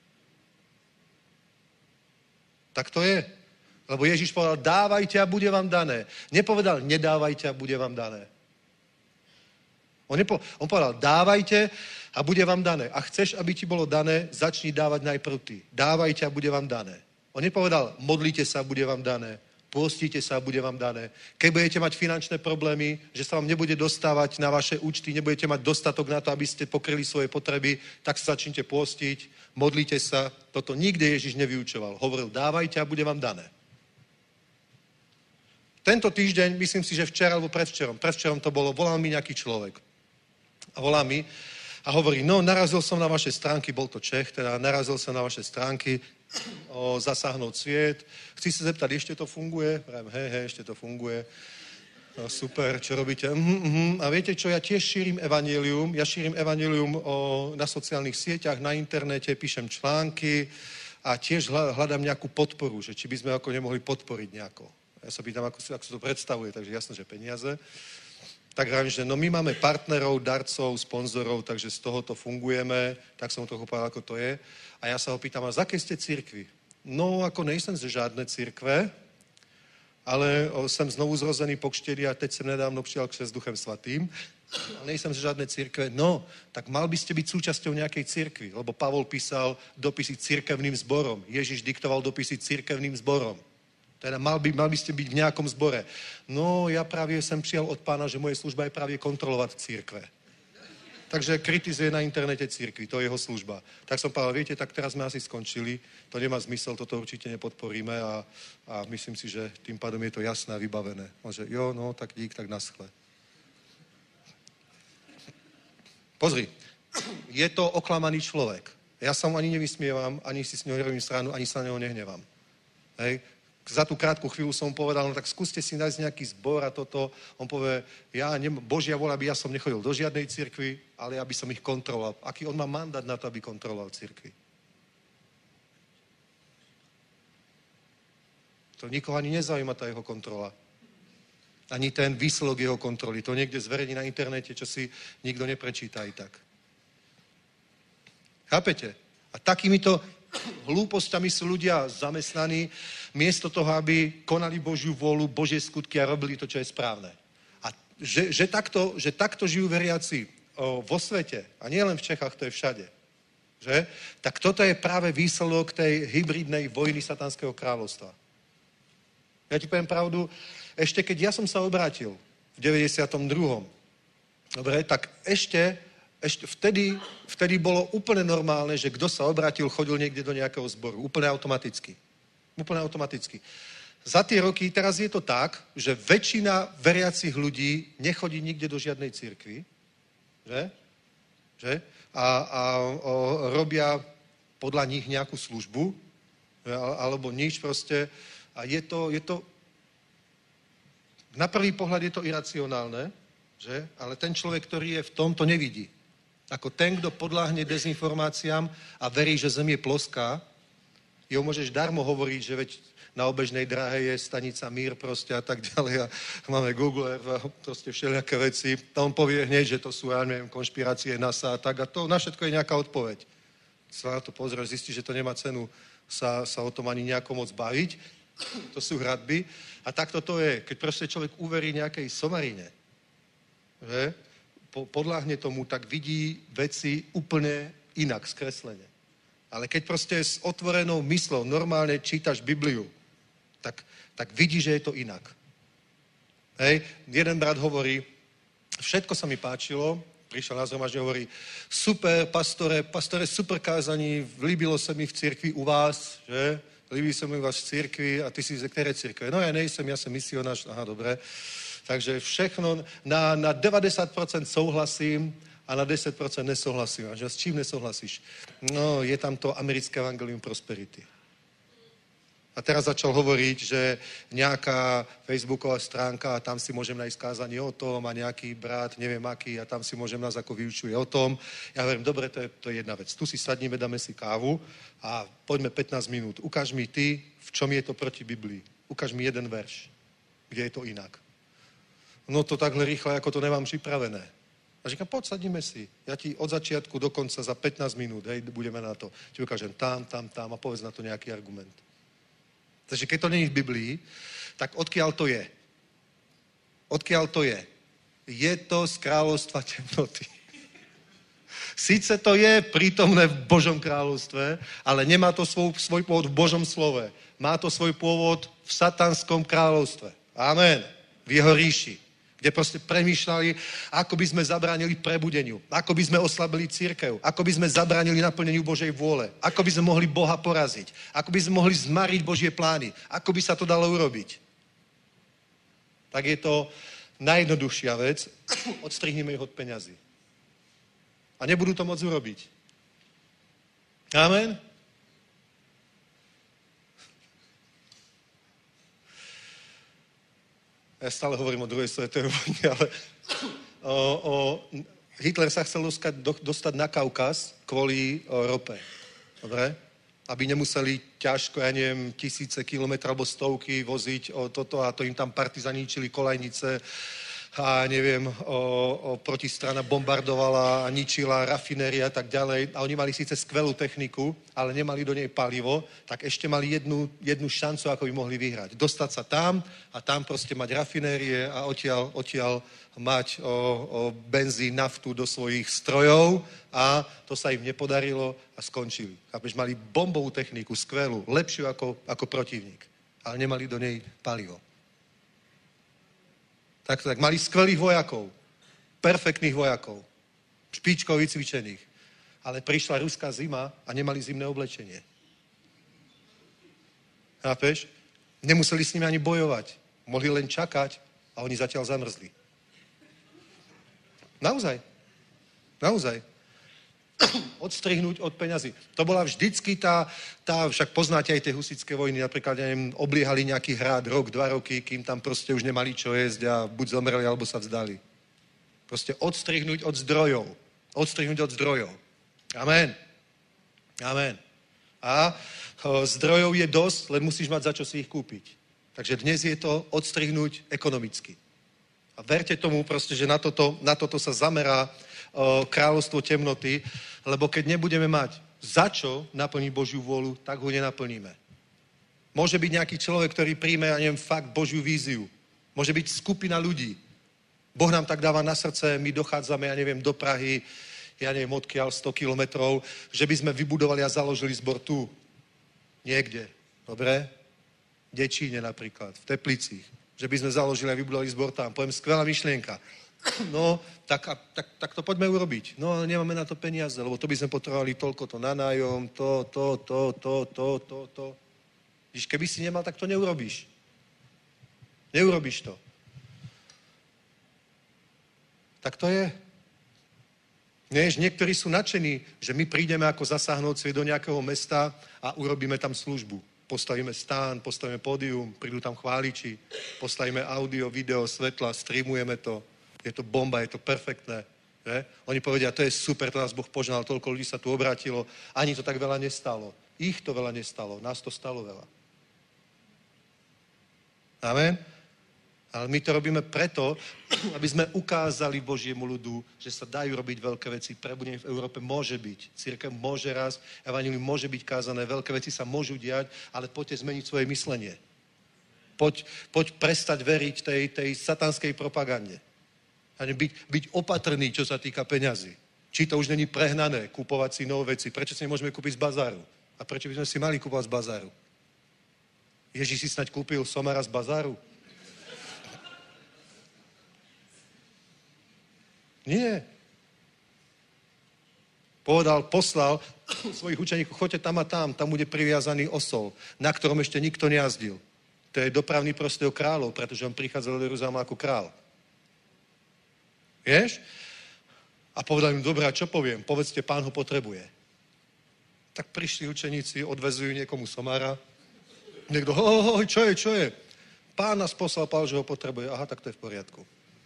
Tak to je. Lebo Ježiš povedal, dávajte a bude vám dané. Nepovedal, nedávajte a bude vám dané. On povedal, dávajte a bude vám dané. A chceš, aby ti bolo dané, začni dávať najprv ty. Dávajte a bude vám dané. On nepovedal, modlite sa a bude vám dané. Pôstíte sa a bude vám dané. Keď budete mať finančné problémy, že sa vám nebude dostávať na vaše účty, nebudete mať dostatok na to, aby ste pokryli svoje potreby, tak sa začnite pôstiť, modlite sa. Toto nikde Ježiš nevyučoval. Hovoril, dávajte a bude vám dané. Tento týždeň, myslím si, že včera alebo predvčerom to bolo, volal mi nejaký človek. A volá mi a hovorí, no narazil som na vaše stránky, bol to Čech, teda narazil som na vaše stránky o zasáhnout sviet. Chci sa zeptať, ešte to funguje? Hej, ešte to funguje. No, super, čo robíte? A viete čo, ja tiež šírim evanjelium. Ja šírim evanjelium na sociálnych sieťach, na internete, píšem články a tiež hľadám nejakú podporu, že či by sme ako nemohli podporiť nejako. Ja sa pýtam, ako sa to predstavuje, takže jasné, že peniaze. Tak hovorím, že no my máme partnerov, darcov, sponzorov, takže z tohoto fungujeme, tak som trochu povedal, ako to je. A ja sa ho pýtam, a z akej ste cirkvi? No, ako nejsem ze žádné církve, ale jsem znovu zrozený po křtění a teď jsem nedávno přijal křest Duchem Svatým. Ale nejsem ze žádné církve. No, tak mal by ste byť súčasťou nejakej církvy, lebo Pavol písal dopisy církevným zborom. Ježiš diktoval dopisy církevným zborom. Teda mal by ste byť v nejakom zbore. No, ja právě jsem přijal od pána, že moje služba je právě kontrolovat církve. Takže kritizuje na internete církvi, to je jeho služba. Tak som povedal, viete, tak teraz sme asi skončili, to nemá zmysel, toto určite nepodporíme a myslím si, že tým pádom je to jasné a vybavené. On že, jo, no, tak dík, tak naschle. Pozri, je to oklamaný človek. Ja sa mu ani nevysmievam, ani si s ňou nerobím stranu, ani sa na neho nehnevám. Hej? Za tú krátku chvíľu som mu povedal, no tak skúste si nájsť nejaký zbor a toto. On povie, Božia vôľa by ja som nechodil do žiadnej cirkvi, ale aby som ich kontroloval. Aký on má mandát na to, aby kontroloval cirkvi? To nikoho ani nezaujíma tá jeho kontrola. Ani ten výsledok jeho kontroly. To niekde zverejní na internete, čo si nikto neprečíta i tak. Chápete? A takýmito hlúpostiami sú ľudia zamestnaní, miesto toho, aby konali Božiu vôľu, Božie skutky a robili to, čo je správne. A že takto žijú veriaci vo svete, a nie len v Čechách, to je všade, že? Tak toto je práve výsledok tej hybridnej vojny satanského kráľovstva. Ja ti poviem pravdu, ešte keď ja som sa obrátil v 92. Dobre, tak ešte vtedy bolo úplne normálne, že kto sa obrátil, chodil niekde do nejakého zboru. Úplne automaticky. Úplne automaticky. Za tie roky, teraz je to tak, že väčšina veriacich ľudí nechodí nikde do žiadnej cirkvi, že? A robia podľa nich nejakú službu, alebo nič proste. A je to na prvý pohľad je to iracionálne, že? Ale ten človek, ktorý je v tom, to nevidí. Ako ten, kto podľahne dezinformáciám a verí, že zem je ploská, jeho môžeš darmo hovoriť, že veď na obežnej dráhe je stanica Mír proste a tak ďalej a máme Google Earth a proste všelijaké veci. A on povie hneď, že to sú, ja neviem, konšpirácie NASA a tak a to na všetko je nejaká odpoveď. Sa na to pozrieš, zistí, že to nemá cenu sa o tom ani nejako moc baviť. To sú hradby. A takto to je, keď proste človek uverí nejakej somarine, že podľahne tomu, tak vidí veci úplne inak, skreslene. Ale keď proste s otvorenou myslou normálne čítaš Bibliu, tak vidí, že je to inak. Hej, jeden brat hovorí, všetko sa mi páčilo, prišiel na zhromaždenie, hovorí, super, pastore, super kázaní, líbilo sa mi v cirkvi u vás, že? Líbí sa mi u vás v cirkvi a ty si ze které cirkve? No ja nejsem, ja som misionář, aha, dobre. Takže všechno, na 90% souhlasím a na 10% nesouhlasím. A že s čím nesouhlasíš? No, je tam to americké evangelium prosperity. A teraz začal hovoriť, že nejaká facebooková stránka a tam si môžem nájsť kázanie o tom a nejaký brat, neviem aký, a tam si môžem nás ako vyučuje o tom. Ja hovorím, dobre, to je jedna vec. Tu si sadníme, dáme si kávu a poďme 15 minút. Ukáž mi ty, v čom je to proti Biblii. Ukáž mi jeden verš, kde je to inak. No to takhle rýchle, ako to nemám připravené. A říkám, poď, sadníme si. Ja ti od začiatku do konca za 15 minút, hej, budeme na to. Ti ukážem tam a povedz na to nejaký argument. Takže keď to není v Biblii, tak odkiaľ to je? Odkiaľ to je? Je to z kráľovstva temnoty. Sice to je prítomné v Božom kráľovstve, ale nemá to svoj pôvod v Božom slove. Má to svoj pôvod v satanskom kráľovstve. Amen. V jeho ríši. Kde proste premýšľali, ako by sme zabránili prebudeniu, ako by sme oslabili cirkev, ako by sme zabránili naplneniu Božej vôle, ako by sme mohli Boha poraziť, ako by sme mohli zmariť Božie plány, ako by sa to dalo urobiť. Tak je to najjednoduchšia vec, odstrihneme ich od peňazí. A nebudú to môcť urobiť. Amen? Ja stále hovorím o druhej svetovej vojne, ale Hitler sa chcel dostať na Kaukaz kvôli rope. Dobre? Aby nemuseli ťažko, ja neviem, 1000 kilometrov alebo stovky voziť o toto a to im tam partizani ničili kolajnice a neviem, protistrana bombardovala a ničila rafinéria a tak ďalej. A oni mali síce skvelú techniku, ale nemali do nej palivo, tak ešte mali jednu šancu, ako by mohli vyhrať. Dostať sa tam a tam proste mať rafinérie a odtiaľ mať benzín, naftu do svojich strojov a to sa im nepodarilo a skončili. Chápeš, mali bombovú techniku, skvelú, lepšiu ako protivník, ale nemali do nej palivo. Tak mali skvelých vojakov, perfektných vojakov, špičkov vycvičených. Ale prišla ruská zima a nemali zimné oblečenie. Chápeš? Nemuseli s nimi ani bojovať. Mohli len čakať a oni zatiaľ zamrzli. Naozaj. Odstrihnúť od peňazí. To bola vždycky tá však poznáte aj tie husitské vojny, napríklad, ja neviem, obliehali nejaký hrad, rok, 2 roky, kým tam proste už nemali čo jesť a buď zomreli, alebo sa vzdali. Proste odstrihnúť od zdrojov. Amen. A zdrojov je dosť, len musíš mať za čo si ich kúpiť. Takže dnes je to odstrihnúť ekonomicky. A verte tomu proste, že na toto sa zamerá kráľovstvo temnoty, lebo keď nebudeme mať za čo naplniť Božiu vôľu, tak ho nenaplníme. Môže byť nejaký človek, ktorý príjme, ja neviem, fakt Božiu víziu. Môže byť skupina ľudí. Boh nám tak dáva na srdce, my dochádzame, ja neviem, do Prahy, ja neviem, odkiaľ 100 kilometrov, že by sme vybudovali a založili zbor tu. Niekde. Dobre? V Dečíne napríklad, v Teplicích. Že by sme založili a vybudovali zbor tam. Poviem, skvelá myšlienka. No, tak to poďme urobiť. No, ale nemáme na to peniaze, lebo to by sme potrebovali toľko to na nájom, to. Když keby si nemal, tak to neurobíš. Neurobíš to. Tak to je. Vieš, niektorí sú nadšení, že my prídeme ako zasáhnout svet do nejakého mesta a urobíme tam službu. Postavíme stán, postavíme pódium, prídu tam chváliči, postavíme audio, video, svetla, streamujeme to. Je to bomba, je to perfektné. Že? Oni povedia, to je super, to nás Boh požehnal, toľko ľudí sa tu obrátilo, ani to tak veľa nestalo. Ich to veľa nestalo, nás to stalo veľa. Amen? Ale my to robíme preto, aby sme ukázali Božiemu ľudu, že sa dajú robiť veľké veci. Prebudenie v Európe môže byť. Cirkev môže raz, evanjelium môže byť kázané, veľké veci sa môžu diať, ale poďte zmeniť svoje myslenie. Poď prestať veriť tej satanskej propagande. A byť opatrný, čo sa týka peňazí. Či to už není prehnané, kúpovať si nové veci. Prečo si nemôžeme kúpiť z bazáru? A prečo by sme si mali kúpovať z bazáru? Ježíš si snaď kúpil somára z bazáru? Nie. Poslal svojich učeníkov, choďte tam a tam bude priviazaný osol, na ktorom ešte nikto nejazdil. To je dopravný prostriedok kráľov, pretože on prichádzal do Jeruzalema ako král. Vieš? A povedal im, dobrá, čo poviem? Povedzte, pán ho potrebuje. Tak prišli učeníci, odvezujú niekomu somára, Niekto, čo je? Pán nás poslal, Pál, že ho potrebuje. Aha, tak to je v poriadku.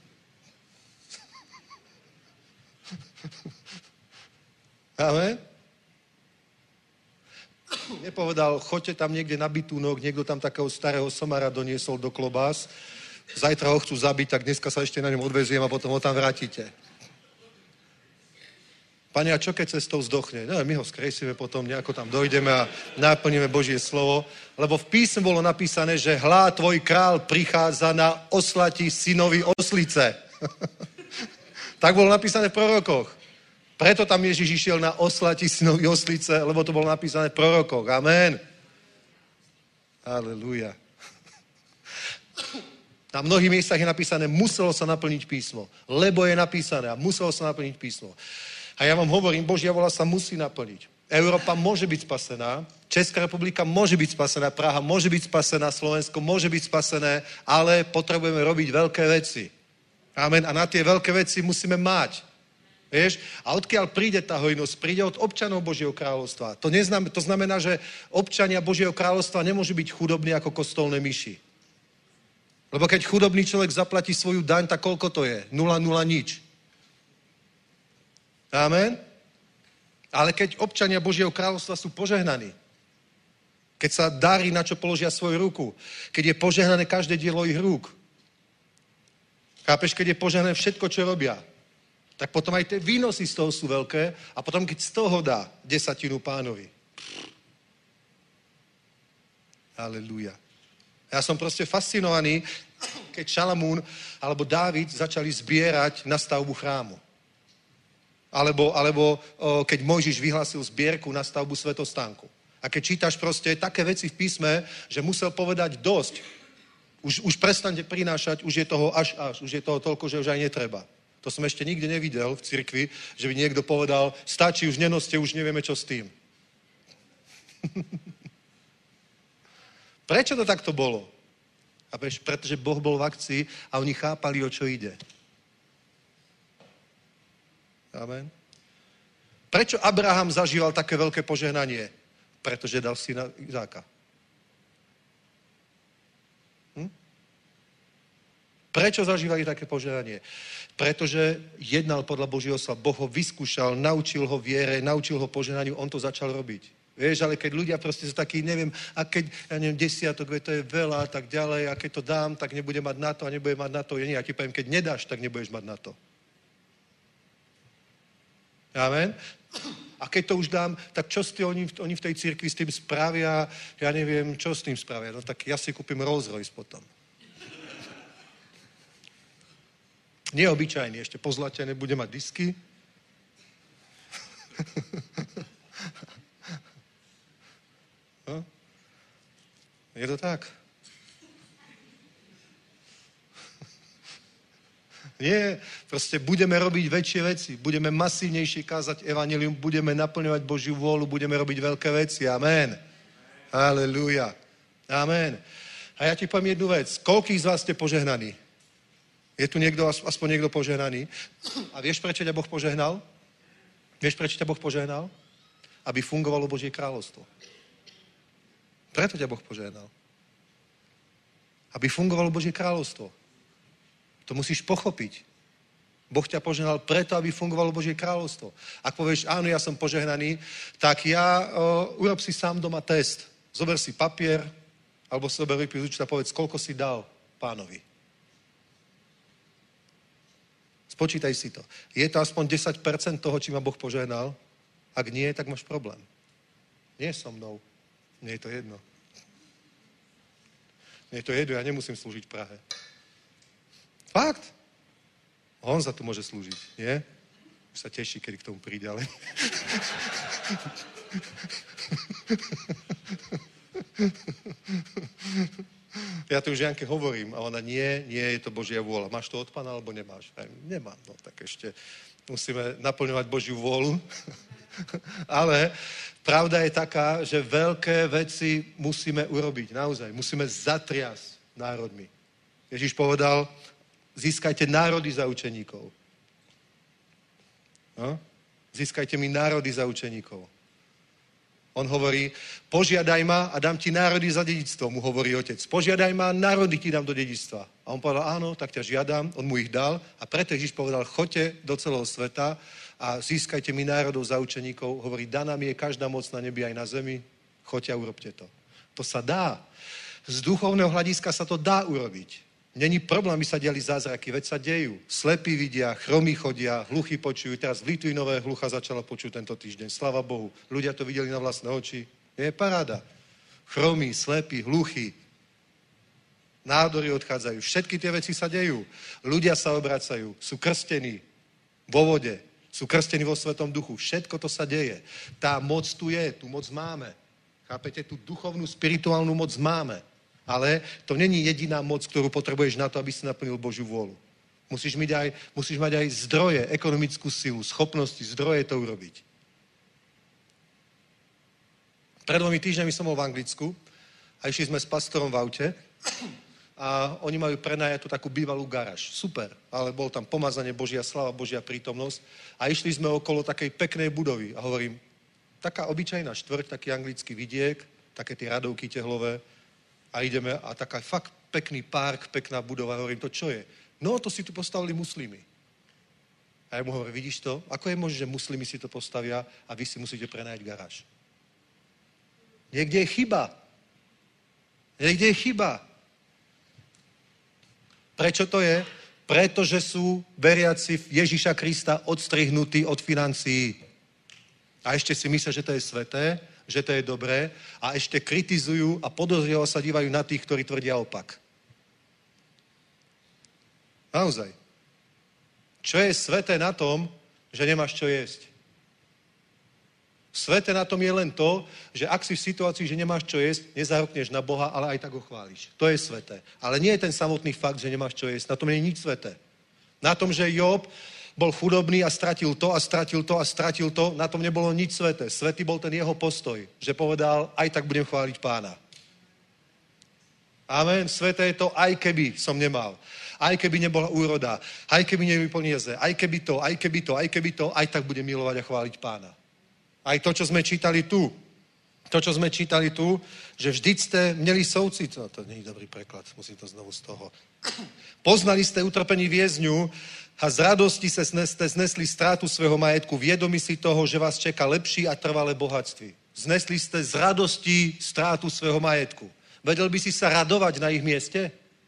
Amen? Nepovedal, choďte tam niekde na bytúnok, niekto tam takého starého somara doniesol do klobás, zajtra ho chcú zabiť, tak dneska sa ešte na ňom odveziem a potom ho tam vrátite. Pane, a čo keď cestou zdochne? No, my ho skresíme potom, nejako tam dojdeme a naplníme Božie slovo, lebo v písme bolo napísané, že hlá, tvoj král prichádza na oslati synovi oslice. Tak bolo napísané v prorokoch. Preto tam Ježiš išiel na oslati synovi oslice, lebo to bolo napísané v prorokoch. Amen. Aleluja. Na mnohých miestach je napísané, muselo sa naplniť písmo. Lebo je napísané a muselo sa naplniť písmo. A ja vám hovorím, Božia vola sa musí naplniť. Európa môže byť spasená, Česká republika môže byť spasená, Praha môže byť spasená, Slovensko môže byť spasené, ale potrebujeme robiť veľké veci. Amen. A na tie veľké veci musíme mať. Vieš? A odkiaľ príde tá hojnosť? Príde od občanov Božieho kráľovstva. To znamená, že občania Božieho kráľovstva nemôžu byť chudobní ako kostolné myši. Lebo keď chudobný človek zaplatí svoju daň, tak koľko to je? 0,0 nič. Amen? Ale keď občania Božieho kráľovstva sú požehnaní, keď sa darí, na čo položia svoju ruku, keď je požehnané každé dielo ich rúk, chápeš, keď je požehnané všetko, čo robia, tak potom aj tie výnosy z toho sú veľké a potom, keď z toho dá 10 Pánovi. Halelúja. Ja som proste fascinovaný, keď Šalamún alebo Dávid začali zbierať na stavbu chrámu. Alebo keď Mojžiš vyhlásil zbierku na stavbu svätostánku. A keď čítaš proste také veci v písme, že musel povedať dosť. Už prestaňte prinášať, už je toho až. Už je toho toľko, že už aj netreba. To som ešte nikdy nevidel v cirkvi, že by niekto povedal, stačí, už nenoste, už nevieme, čo s tým. Prečo to takto bolo? A pretože Boh bol v akcii a oni chápali, o čo ide. Amen. Prečo Abraham zažíval také veľké požehnanie? Pretože dal syna Izáka. Prečo zažívali také požehnanie? Pretože jednal podľa Božieho slova. Boh ho vyskúšal, naučil ho viere, naučil ho požehnaniu, on to začal robiť. Vieš, ale keď ľudia proste sú takí, neviem, a keď, ja neviem, 10, to je veľa a tak ďalej, a keď to dám, tak nebude mať na to a nebude mať na to. Ja ti poviem, keď nedáš, tak nebudeš mať na to. Amen. A keď to už dám, tak čo oni v tej cirkvi s tým spravia, ja neviem, čo s tým spravia. No tak ja si kúpim Rolls Royce potom. Neobyčajný, ešte pozlatené, bude mať disky. No? Je to tak? Nie, proste budeme robiť väčšie veci, budeme masívnejšie kázať evanjelium, budeme naplňovať Božiu vôľu, budeme robiť veľké veci. Amen. Halelúja. Amen. A ja ti poviem jednu vec. Koľký z vás ste požehnaní? Je tu niekto, aspoň niekto požehnaný? A vieš, prečo ťa Boh požehnal? Vieš, prečo ťa Boh požehnal? Aby fungovalo Božie kráľovstvo. Preto ťa Boh požehnal. Aby fungovalo Božie kráľovstvo. To musíš pochopiť. Boh ťa požehnal preto, aby fungovalo Božie kráľovstvo. Ak povieš, áno, ja som požehnaný, tak urob si sám doma test. Zober si papier, alebo si zober výpis účta a povedz, koľko si dal Pánovi. Spočítaj si to. Je to aspoň 10% toho, či ma Boh požehnal? Ak nie, tak máš problém. Nie so mnou. Mne je to jedno. Mne je to jedno, ja nemusím slúžiť v Prahe. Fakt. On za to môže slúžiť, nie? Už sa teší, keď k tomu príde, ale... Ja to už Janke hovorím a ona nie, je to Božia vôľa. Máš to od Pána, alebo nemáš? Nemám, no tak ešte musíme naplňovať Božiu vôľu. Ale pravda je taká, že veľké veci musíme urobiť, naozaj. Musíme zatriasť národmi. Ježiš povedal, získajte národy za učeníkov. No? Získajte mi národy za učeníkov. On hovorí, požiadaj ma a dám ti národy za dedičstvo, mu hovorí otec. Požiadaj ma, národy ti dám do dedičstva. A on povedal, áno, tak ťa žiadam, on mu ich dal a preto Ježiš povedal, choďte do celého sveta a získajte mi národov za učeníkov. Hovorí, daná mi je každá moc na nebi aj na zemi, choďte a urobte to. To sa dá. Z duchovného hľadiska sa to dá urobiť. Není problém, aby sa diali zázraky, veď sa dejú. Slepí vidia, chromí chodia, hluchí počujú. Teraz v Litvínové hlucha začala počuť tento týždeň. Sláva Bohu. Ľudia to videli na vlastné oči. Je paráda. Chromí, slepí, hluchí. Nádory odchádzajú. Všetky tie veci sa dejú. Ľudia sa obracajú. Sú krstení vo vode. Sú krstení vo Svetom duchu. Všetko to sa deje. Tá moc tu je. Tu moc máme. Chápete? Tú duchovnú, spirituálnu moc máme. Ale to není jediná moc, ktorú potrebuješ na to, aby si naplnil Božiu vôľu. Musíš mať aj zdroje, ekonomickú silu, schopnosti, zdroje to urobiť. Pred 2 týždňami som bol v Anglicku a išli sme s pastorom v aute a oni majú prenajatú takú bývalú garáž. Super, ale bol tam pomazanie, Božia slava, Božia prítomnosť a išli sme okolo takej peknej budovy a hovorím, taká obyčajná štvrť, taký anglický vidiek, také tie radovky tehlové a ideme a taká fakt pekný park, pekná budova. Hovorím, to čo je? No, to si tu postavili muslimy. A ja mu hovorím, vidíš to? Ako je možné, že muslimy si to postavia a vy si musíte prenajať garáž? Niekde je chyba. Niekde je chyba. Prečo to je? Pretože sú veriaci v Ježiša Krista odstrihnutí od financií. A ešte si myslia, že to je sveté, že to je dobré a ešte kritizujú a podozrivo sa dívajú na tých, ktorí tvrdia opak. Naozaj. Čo je sveté na tom, že nemáš čo jesť? Sveté na tom je len to, že ak si v situácii, že nemáš čo jesť, nezarokneš na Boha, ale aj tak ho chváliš. To je sveté. Ale nie je ten samotný fakt, že nemáš čo jesť. Na tom nie je nič sveté. Na tom, že Job bol chudobný a stratil to a stratil to a stratil to, na tom nebolo nič sveté. Svetý bol ten jeho postoj, že povedal, aj tak budem chváliť Pána. Amen. Sveté je to, aj keby som nemal. Aj keby nebola úroda. Aj keby nebyli peniaze. Aj keby to, aj keby to, aj keby to, aj tak budem milovať a chváliť Pána. Aj to, čo sme čítali tu. To, čo sme čítali tu, že vždyť ste měli soucit. No, to nie je dobrý preklad, musím to znovu z toho. Poznali ste utrpení vězňů a z radosti ste znesli ztrátu svého majetku, vědomi si toho, že vás čeká lepší a trvalé bohatství. Znesli ste z radosti ztrátu svého majetku. Vedel by si sa radovať na ich mieste?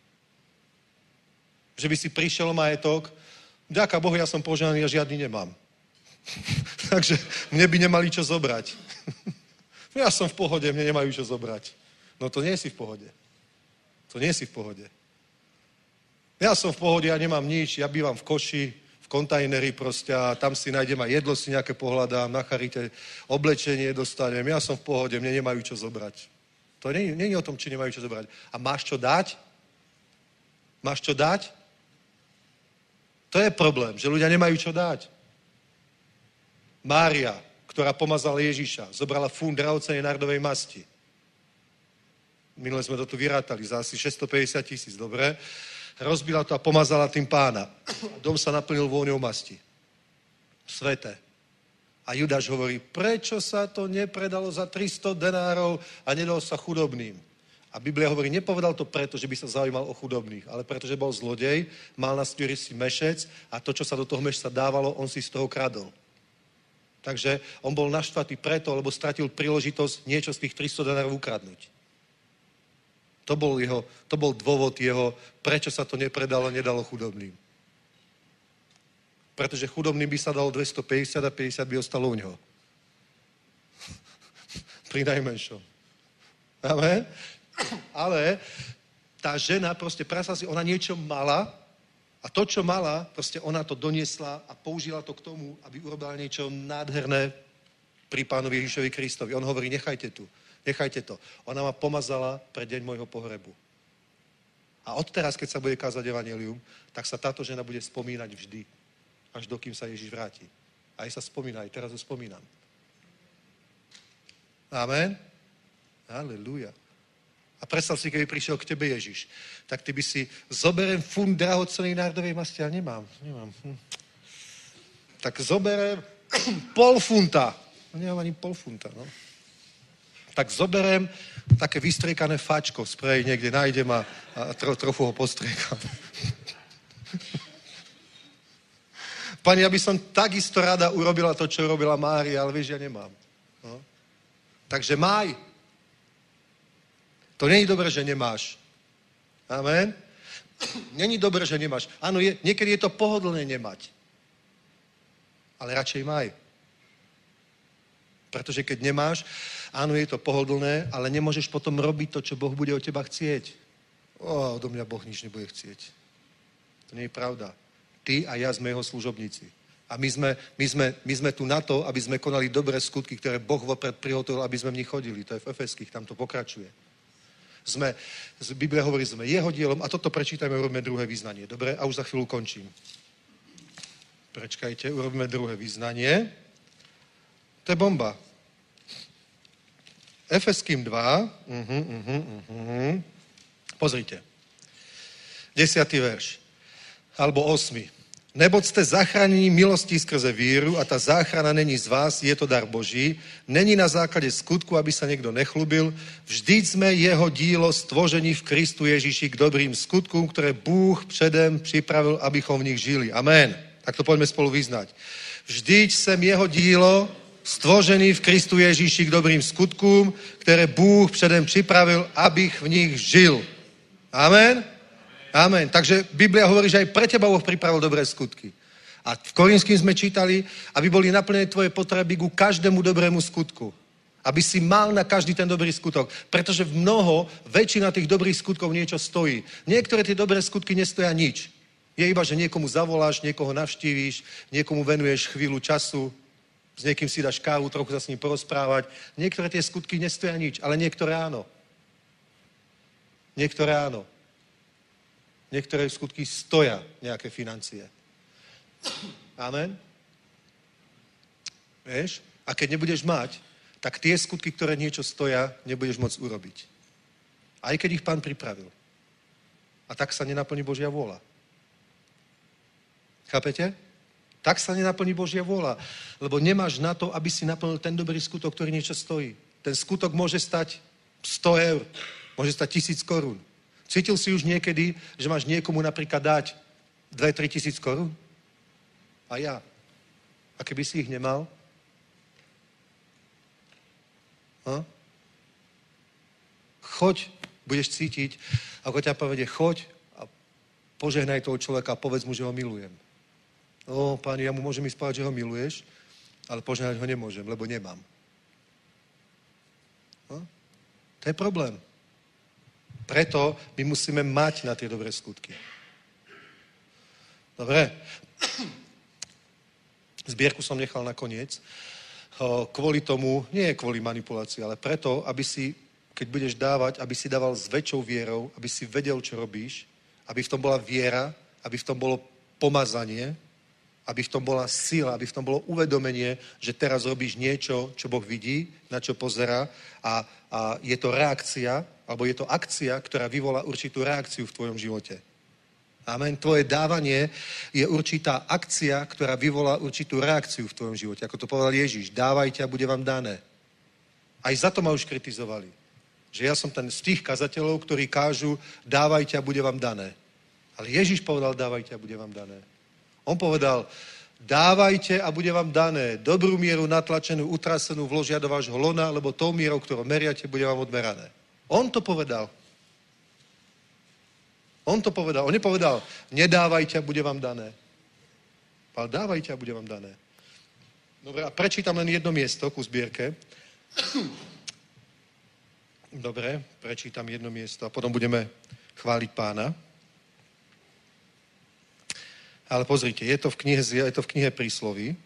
Že by si prišiel o majetok? Ďaká Bohu, ja som požehnaný a žiadny nemám. Takže mne by nemali čo zobrať. Ja som v pohode, mne nemajú čo zobrať. No to nie si v pohode. To nie si v pohode. Ja som v pohode, ja nemám nič, ja bývam v koši, v kontajneri proste a tam si nájdem aj jedlo, si nejaké pohľadám, na charite oblečenie dostanem, ja som v pohode, mne nemajú čo zobrať. To nie je o tom, či nemajú čo zobrať. A máš čo dať? Máš čo dať? To je problém, že ľudia nemajú čo dať. Mária, ktorá pomazala Ježiša, zobrala fund drahocennej nardovej masti. Minule sme to tu vyrátali za asi 650 000, dobre? Rozbila to a pomazala tým Pána. Dom sa naplnil vôňou masti. Sveté. A Judáš hovorí, prečo sa to nepredalo za 300 denárov a nedalo sa chudobným? A Biblia hovorí, nepovedal to preto, že by sa zaujímal o chudobných, ale preto, že bol zlodej, mal na stôri si mešec a to, čo sa do toho mešca dávalo, on si z toho kradol. Takže on bol naštvatý preto, lebo stratil príležitosť niečo z tých 300 denárov ukradnúť. To bol dôvod jeho, prečo sa to nepredalo, nedalo chudobným. Pretože chudobným by sa dalo 250 a 50 by ostalo u neho. Pri najmenšom. Amen? Ale tá žena proste, predstav si, ona niečo mala a to, čo mala, proste ona to doniesla a použila to k tomu, aby urobila niečo nádherné pri Pánovi Ježišovi Kristovi. On hovorí, nechajte to. Ona ma pomazala pre deň môjho pohrebu. A odteraz, keď sa bude kázať evanjelium, tak sa táto žena bude spomínať vždy, až dokým sa Ježiš vráti. Aj sa spomína, aj teraz ho spomínam. Amen? Halelúja. A predstav si, keby prišiel k tebe Ježiš, tak ty by si, zoberem fund drahocennej nárdovej masti, ja nemám. Tak zoberem pol funta. Nemám ani pol funta, no. tak zoberem také vystriekané fačko, sprej niekde nájdem a trochu ho postriekam. Pani, ja by som takisto rada urobila to, čo robila Mária, ale vieš, ja nemám. No. Takže maj. To není dobré, že nemáš. Amen. Není dobré, že nemáš. Áno, niekedy je to pohodlné nemať. Ale radšej maj. Pretože keď nemáš, áno, je to pohodlné, ale nemôžeš potom robiť to, čo Boh bude od teba chcieť. Odo mňa Boh nič nebude chcieť. To nie je pravda. Ty a ja sme jeho služobníci. A my sme tu na to, aby sme konali dobré skutky, ktoré Boh vopred prihotovil, aby sme v nich chodili. To je v Efeských, tam to pokračuje. Biblia hovorí, sme jeho dielom a toto prečítajme, urobíme druhé vyznanie. Dobre? A už za chvíľu končím. Prečkajte, urobíme druhé vyznanie. To je bomba. Efeským 2. Pozrite. 10. verš. Alebo 8. Neboť ste zachránení milostí skrze víru a ta záchrana není z vás, je to dar Boží. Není na základě skutku, aby sa niekto nechlubil. Vždyť sme jeho dílo stvoření v Kristu Ježíši k dobrým skutkům, které Bůh předem připravil, abychom v nich žili. Amen. Tak to poďme spolu vyznať. Vždyť jsem jeho dílo stvořený v Kristu Ježíši k dobrým skutkům, které Bůh předem připravil, abych v nich žil. Amen. Amen. Takže Biblia hovorí, že aj pre teba Boh pripravil dobré skutky. A v Korinským sme čítali, aby boli naplnené tvoje potreby ku každému dobrému skutku. Aby si mal na každý ten dobrý skutok. Pretože väčšina tých dobrých skutkov niečo stojí. Niektoré tie dobré skutky nestoja nič. Je iba, že niekomu zavoláš, niekoho navštívíš, niekomu venuješ chvíľu času, s niekým si dáš kávu, trochu sa s ním porozprávať. Niektoré tie skutky nestoja nič, ale niektoré áno. Niektoré áno. Niektoré skutky stoja nejaké financie. Amen? Vieš? A keď nebudeš mať, tak tie skutky, ktoré niečo stoja, nebudeš môcť urobiť. Aj keď ich Pán pripravil. A tak sa nenaplní Božia vôľa. Chápete? Tak sa nenaplní Božia vôľa. Lebo nemáš na to, aby si naplnil ten dobrý skutok, ktorý niečo stojí. Ten skutok môže stať 100 eur. Môže stať 1000 korún. Cítil si už niekedy, že máš niekomu napríklad dať 2-3 tisíc korún? A ja. A keby si ich nemal? Choď, budeš cítiť, ako ťa povedie, choď a požehnaj toho človeka a povedz mu, že ho milujem. Páni, ja mu môžem ísť povedať, že ho miluješ, ale požehnať ho nemôžem, lebo nemám. To je problém. Preto my musíme mať na tie dobré skutky. Dobre. Zbierku som nechal nakoniec. Kvôli tomu, nie kvôli manipulácii, ale preto, aby si, keď budeš dávať, aby si dával s väčšou vierou, aby si vedel, čo robíš, aby v tom bola viera, aby v tom bolo pomazanie, aby v tom bola sila, aby v tom bolo uvedomenie, že teraz robíš niečo, čo Boh vidí, na čo pozerá a je to reakcia, alebo je to akcia, ktorá vyvolá určitú reakciu v tvojom živote. Amen. Tvoje dávanie je určitá akcia, ktorá vyvolá určitú reakciu v tvojom živote. Ako to povedal Ježíš, dávajte a bude vám dané. Aj za to ma už kritizovali. Že ja som ten z tých kazateľov, ktorí kážu, dávajte a bude vám dané. Ale Ježíš povedal, dávajte a bude vám dané. On povedal, dávajte a bude vám dané. Dobrú mieru natlačenú, utrasenú vložia do vášho lona, lebo tou mierou, ktorou meriate, bude vám odmerané. On to povedal. On to povedal. On nepovedal, nedávajte a bude vám dané. Ale dávajte a bude vám dané. Dobre, a prečítam len jedno miesto ku zbierke. Dobre, prečítam jedno miesto a potom budeme chváliť Pána. Ale pozrite, je to v knihe Prísloví,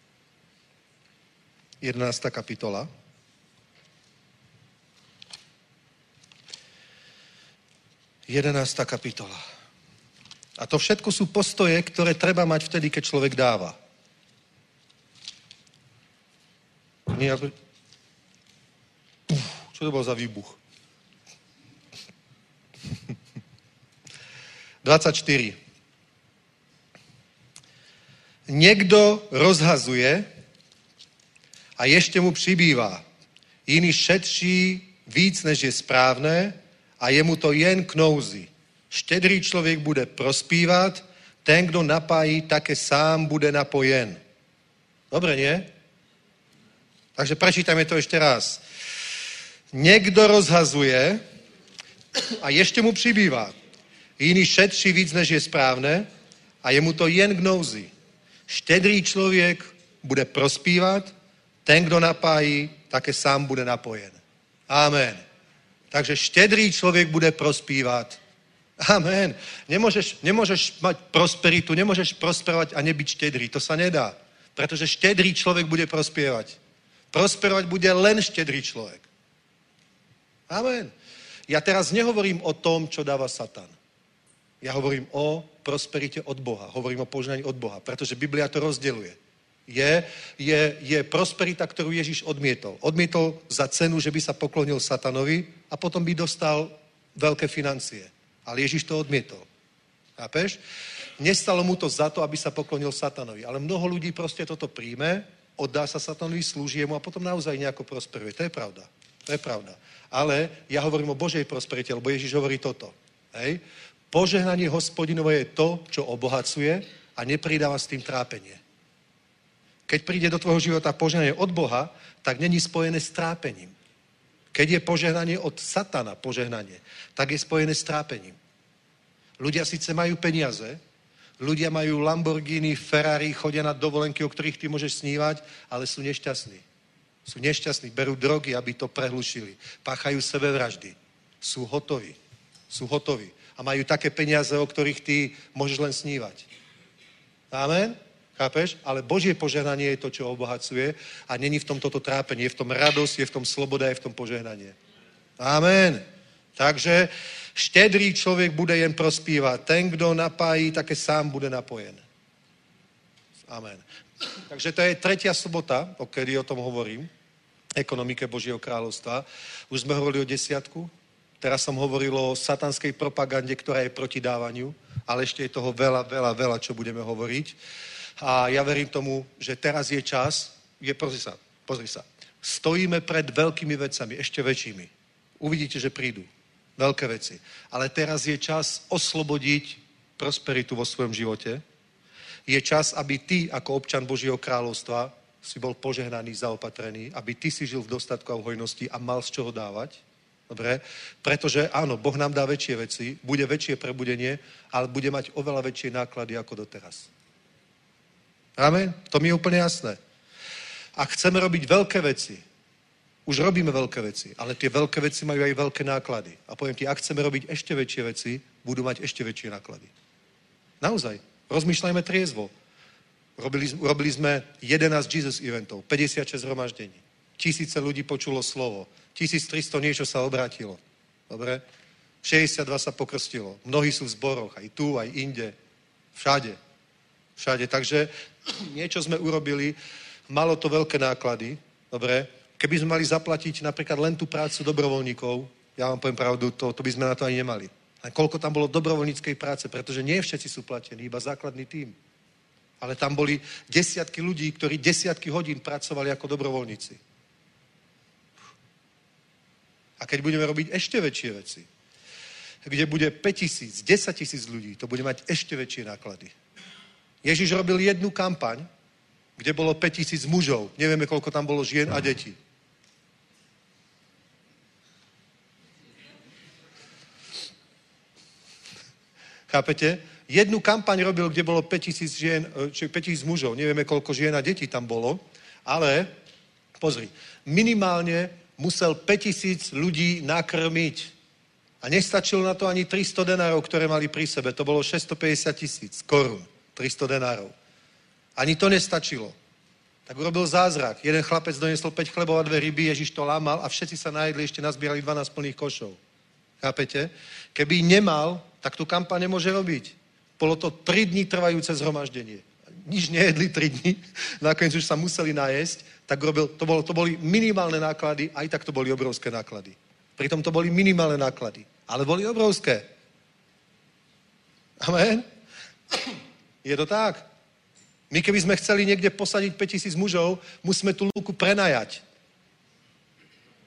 11. kapitola. Kapitola. A to všetko sú postoje, ktoré treba mať vtedy, keď človek dáva. Čo to bol za výbuch? 24. Niekto rozhazuje a ešte mu přibývá. Jiný šetří víc, než je správné a je mu to jen k nouzi. Štedrý člověk bude prospívat, ten, kdo napájí, také sám bude napojen. Dobre, nie? Takže prečítajme to ešte raz. Někdo rozhazuje a ještě mu přibývá. Jiný šetří víc, než je správné a je mu to jen k nouzi. Štedrý člověk bude prospívat, ten, kdo napájí, také sám bude napojen. Amen. Takže štedrý člověk bude prospívat. Amen. Nemôžeš mať prosperitu, nemôžeš prosperovať a nebyť štedrý. To sa nedá. Pretože štedrý človek bude prospievať. Prosperovať bude len štedrý človek. Amen. Ja teraz nehovorím o tom, čo dáva Satan. Ja hovorím o prosperite od Boha. Hovorím o požehnaní od Boha, pretože Biblia to rozdeľuje. Je prosperita, ktorú Ježiš odmietol. Odmietol za cenu, že by sa poklonil Satanovi a potom by dostal veľké financie. Ale Ježiš to odmietol. Chápeš? Nestalo mu to za to, aby sa poklonil Satanovi. Ale mnoho ľudí proste toto príjme, oddá sa Satanovi, slúži jemu a potom naozaj nejako prosperuje. To je pravda. To je pravda. Ale ja hovorím o Božej prosperite, lebo Ježiš hovorí toto. Hej? Požehnanie Hospodinovo je to, čo obohacuje a nepridáva s tým trápenie. Keď príde do tvojho života požehnanie od Boha, tak není spojené s trápením. Keď je požehnanie od Satana, požehnanie, tak je spojené s trápením. Ľudia síce majú peniaze, ľudia majú Lamborghini, Ferrari, chodia na dovolenky, o ktorých ty môžeš snívať, ale sú nešťastní. Sú nešťastní, berú drogy, aby to prehlušili. Páchajú sebevraždy. Sú hotoví. A majú také peniaze, o ktorých ty môžeš len snívať. Amen? Chápeš? Ale Božie požehnanie je to, čo obohacuje a není v tom toto trápenie. Je v tom radosť, je v tom sloboda, je v tom požehnanie. Amen. Takže štedrý človek bude jen prospívať. Ten, kdo napájí, také sám bude napojen. Amen. Takže to je tretia sobota, o kedy o tom hovorím. Ekonomike Božieho kráľovstva. Už sme hovorili o desiatku. Teraz som hovoril o satanskej propagande, ktorá je proti dávaniu. Ale ešte je toho veľa, čo budeme hovoriť. A ja verím tomu, že teraz je čas, pozri sa, stojíme pred veľkými vecami, ešte väčšími. Uvidíte, že prídu veľké veci. Ale teraz je čas oslobodiť prosperitu vo svojom živote. Je čas, aby ty, ako občan Božieho kráľovstva, si bol požehnaný, zaopatrený, aby ty si žil v dostatku a v hojnosti a mal z čoho dávať. Dobre? Pretože áno, Boh nám dá väčšie veci, bude väčšie prebudenie, ale bude mať oveľa väčšie náklady ako doteraz. Amen? To mi je úplne jasné. Ak chceme robiť veľké veci, už robíme veľké veci, ale tie veľké veci majú aj veľké náklady. A poviem ti, ak chceme robiť ešte väčšie veci, budú mať ešte väčšie náklady. Naozaj. Rozmýšľajme triezvo. Robili sme 11 Jesus eventov, 56 zhromaždení. 1000 ľudí počulo slovo. 1300 niečo sa obrátilo. Dobre? 62 sa pokrstilo. Mnohí sú v zboroch, aj tu, aj inde. Všade. Takže niečo sme urobili, malo to veľké náklady, dobre? Keby sme mali zaplatiť napríklad len tú prácu dobrovoľníkov, ja vám poviem pravdu, to by sme na to ani nemali. A koľko tam bolo dobrovoľníckej práce, pretože nie všetci sú platení, iba základný tím. Ale tam boli desiatky ľudí, ktorí desiatky hodín pracovali ako dobrovoľníci. A keď budeme robiť ešte väčšie veci, kde bude 5000, 10 000 ľudí, to bude mať ešte väčšie náklady. Ježiš robil jednu kampaň, kde bolo 5000 mužov. Nevieme, koľko tam bolo žien a detí. Chápete? Jednu kampaň robil, kde bolo 5000 žien, či 5000 mužov. Nevieme, koľko žien a detí tam bolo. Ale, pozri, minimálne musel 5000 ľudí nakrmiť. A nestačilo na to ani 300 denárov, ktoré mali pri sebe. To bolo 650 000 korún. 300 denárov. Ani to nestačilo. Tak urobil zázrak. Jeden chlapec donesol 5 chlebov a 2 ryby, Ježiš to lámal a všetci sa najedli, ešte nazbierali 12 plných košov. Chápete? Keby nemal, tak tu kampaň nemôže robiť. Bolo to 3 dní trvajúce zhromaždenie. Nič nejedli 3 dní, nakoniec už sa museli najesť, tak robil, to boli minimálne náklady, aj tak to boli obrovské náklady. Pritom to boli minimálne náklady, ale boli obrovské. Amen? Je to tak? My keby sme chceli niekde posadiť 5000 mužov, musíme tú lúku prenajať.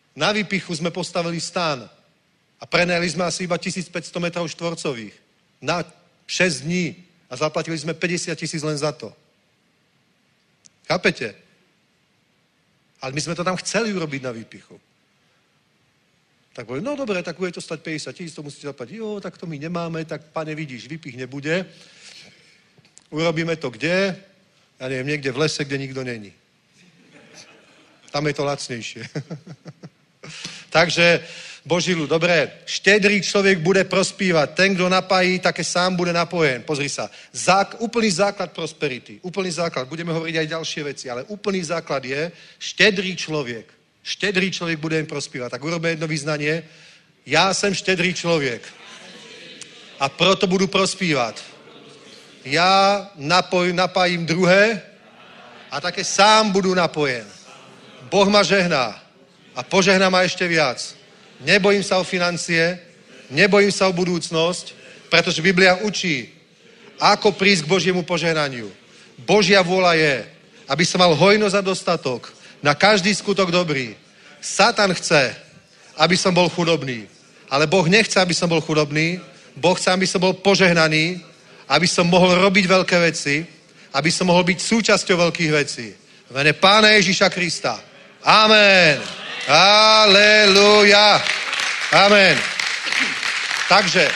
Na Výpichu sme postavili stan a prenajali sme asi iba 1500 metrov štvorcových na 6 dní a zaplatili sme 50 000 len za to. Chápete? Ale my sme to tam chceli urobiť na Výpichu. Tak povedali, no dobre, tak bude to stať 50 000, to musíte zaplatiť. Jo, tak to my nemáme, tak pane, vidíš, Výpich nebude. Urobíme to kde? Ja neviem, niekde v lese, kde nikto není. Tam je to lacnejšie. Takže, Boží ľud, dobré, štedrý človek bude prospívať. Ten, kto napájí, také sám bude napojen. Pozri sa. Úplný základ prosperity. Úplný základ. Budeme hovoriť aj ďalšie veci, ale úplný základ je štedrý človek. Štedrý človek bude im prospívať. Tak urobíme jedno vyznanie. Ja som štedrý človek. A proto budu prospívať. Ja napájím druhé a také sám budu napojen. Boh ma žehná a požehná ma ešte viac. Nebojím sa o financie, nebojím sa o budúcnosť, pretože Biblia učí, ako prísť k Božiemu požehnaniu. Božia vôľa je, aby som mal hojnosť a dostatok na každý skutok dobrý. Satan chce, aby som bol chudobný, ale Boh nechce, aby som bol chudobný, Boh chce, aby som bol požehnaný, aby som mohol robiť veľké veci, aby som mohol byť súčasťou veľkých vecí. V mene Pána Ježíša Krista. Amen. Aleluja. Amen. Takže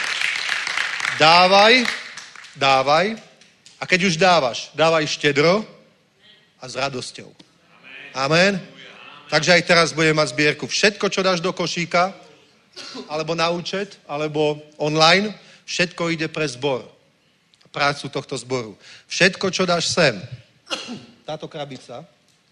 dávaj a keď už dávaj štedro a s radosťou. Amen. Takže aj teraz budeme mať zbierku. Všetko, čo dáš do košíka, alebo na účet, alebo online, všetko ide pre zbor. Prácu tohto zboru. Všetko, čo dáš sem, táto krabica,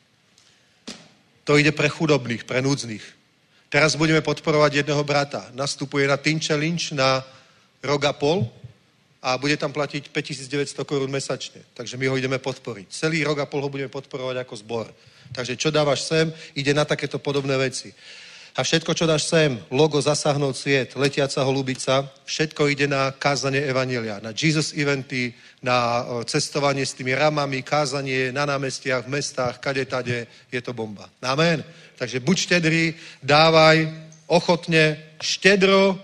to ide pre chudobných, pre núdznych. Teraz budeme podporovať jedného brata. Nastupuje na Teen Challenge na rok a pol a bude tam platiť 5900 korún mesačne. Takže my ho ideme podporiť. Celý rok a pol ho budeme podporovať ako zbor. Takže čo dávaš sem, ide na takéto podobné veci. A všetko, čo dáš sem, logo Zasáhnout sviet, Letiaca holubica, všetko ide na kázanie evanjelia, na Jesus eventy, na cestovanie s tými ramami, kázanie na námestiach, v mestách, kade-tade, je to bomba. Amen. Takže buď štedrý, dávaj ochotne, štedro,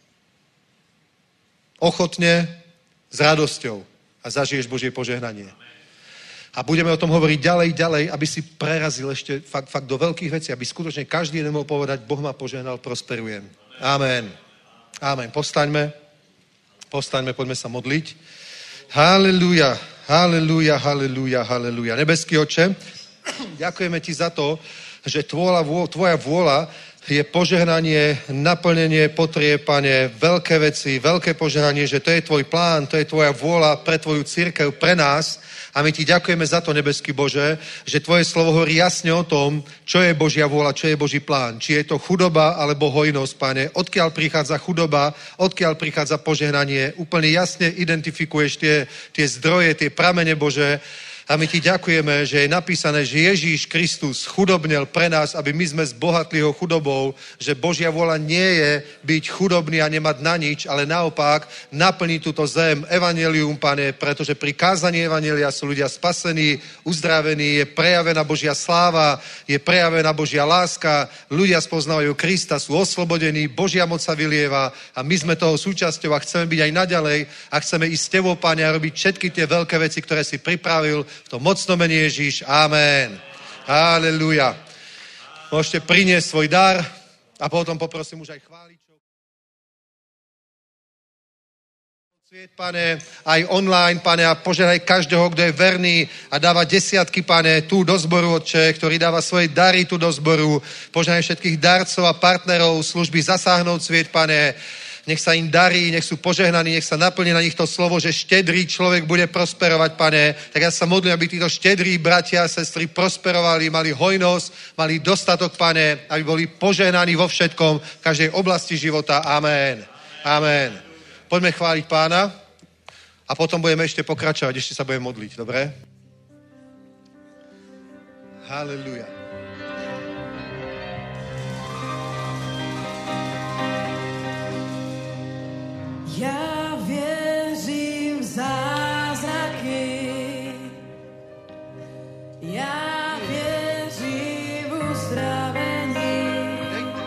ochotne, s radosťou a zažiješ Božie požehnanie. A budeme o tom hovoriť ďalej, aby si prerazil ešte fakt do veľkých vecí, aby skutočne každý jeden mohol povedať, Boh ma požehnal, prosperujem. Amen. Amen. Postaňme, poďme sa modliť. Halelúja, halelúja, halelúja, halelúja. Nebeský Otče, ďakujeme ti za to, že tvoja vôľa je požehnanie, naplnenie potrieb, Pane, veľké veci, veľké požehnanie, že to je tvoj plán, to je tvoja vôľa pre tvoju cirkev, pre nás. A my ti ďakujeme za to, nebeský Bože, že tvoje slovo hovorí jasne o tom, čo je Božia vôľa, čo je Boží plán. Či je to chudoba alebo hojnosť, Pane. Odkiaľ prichádza chudoba, odkiaľ prichádza požehnanie. Úplne jasne identifikuješ tie zdroje, tie pramene, Bože. A my ti ďakujeme, že je napísané, že Ježíš Kristus chudobnel pre nás, aby my sme zbohatli ho chudobou, že Božia vôľa nie je byť chudobný a nemať na nič, ale naopak naplniť túto zem evanjelium, Pane, pretože pri kázaní evanjelia sú ľudia spasení, uzdravení, je prejavená Božia sláva, je prejavená Božia láska, ľudia spoznávajú Krista, sú oslobodení, Božia moc sa vylieva a my sme toho súčasťou a chceme byť aj naďalej a chceme ísť s tebou, Pane, a robiť všetky tie veľké veci, ktoré si pripravil v tom mocnom mene Ježíš. Amen. Halelúja. Môžete priniesť svoj dar a potom poprosím už aj chváličov. Pane, aj online, Pane, a požehnaj každého, kto je verný a dáva desiatky, Pane, tu do zboru, Otče, ktorý dáva svoje dary tu do zboru. Požehnaj všetkých darcov a partnerov služby Zasáhnout sviet, Pane. Nech sa im darí, nech sú požehnaní, nech sa naplní na nich to slovo, že štedrý človek bude prosperovať, Pane. Tak ja sa modlím, aby títo štedrí bratia a sestry prosperovali, mali hojnosť, mali dostatok, Pane, aby boli požehnaní vo všetkom, v každej oblasti života. Amen. Amen. Poďme chváliť Pána a potom budeme ešte pokračovať, ešte sa budeme modliť, dobre? Halelúja. Ja věřím v zázraky, ja věřím v uzdravení,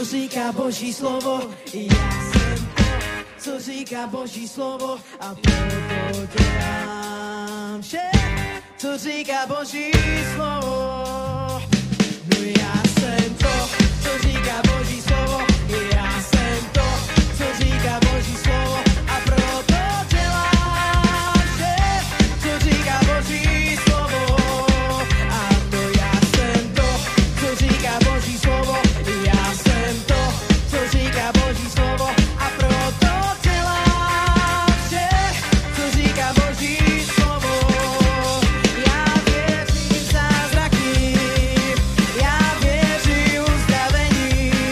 co říká Boží slovo. Já jsem to, co říká Boží slovo, a proto dělám vše, co říká Boží slovo. No já jsem to, co říká Boží slovo. Já jsem to, co říká Boží slovo, a proto dělám vše, co říká Boží slovo. A to já jsem to, co říká Boží slovo. Já jsem to, co říká Boží slovo, a proto dělám vše, co říká Boží slovo. Já věřím v zázraky, já věřím v uzdravení,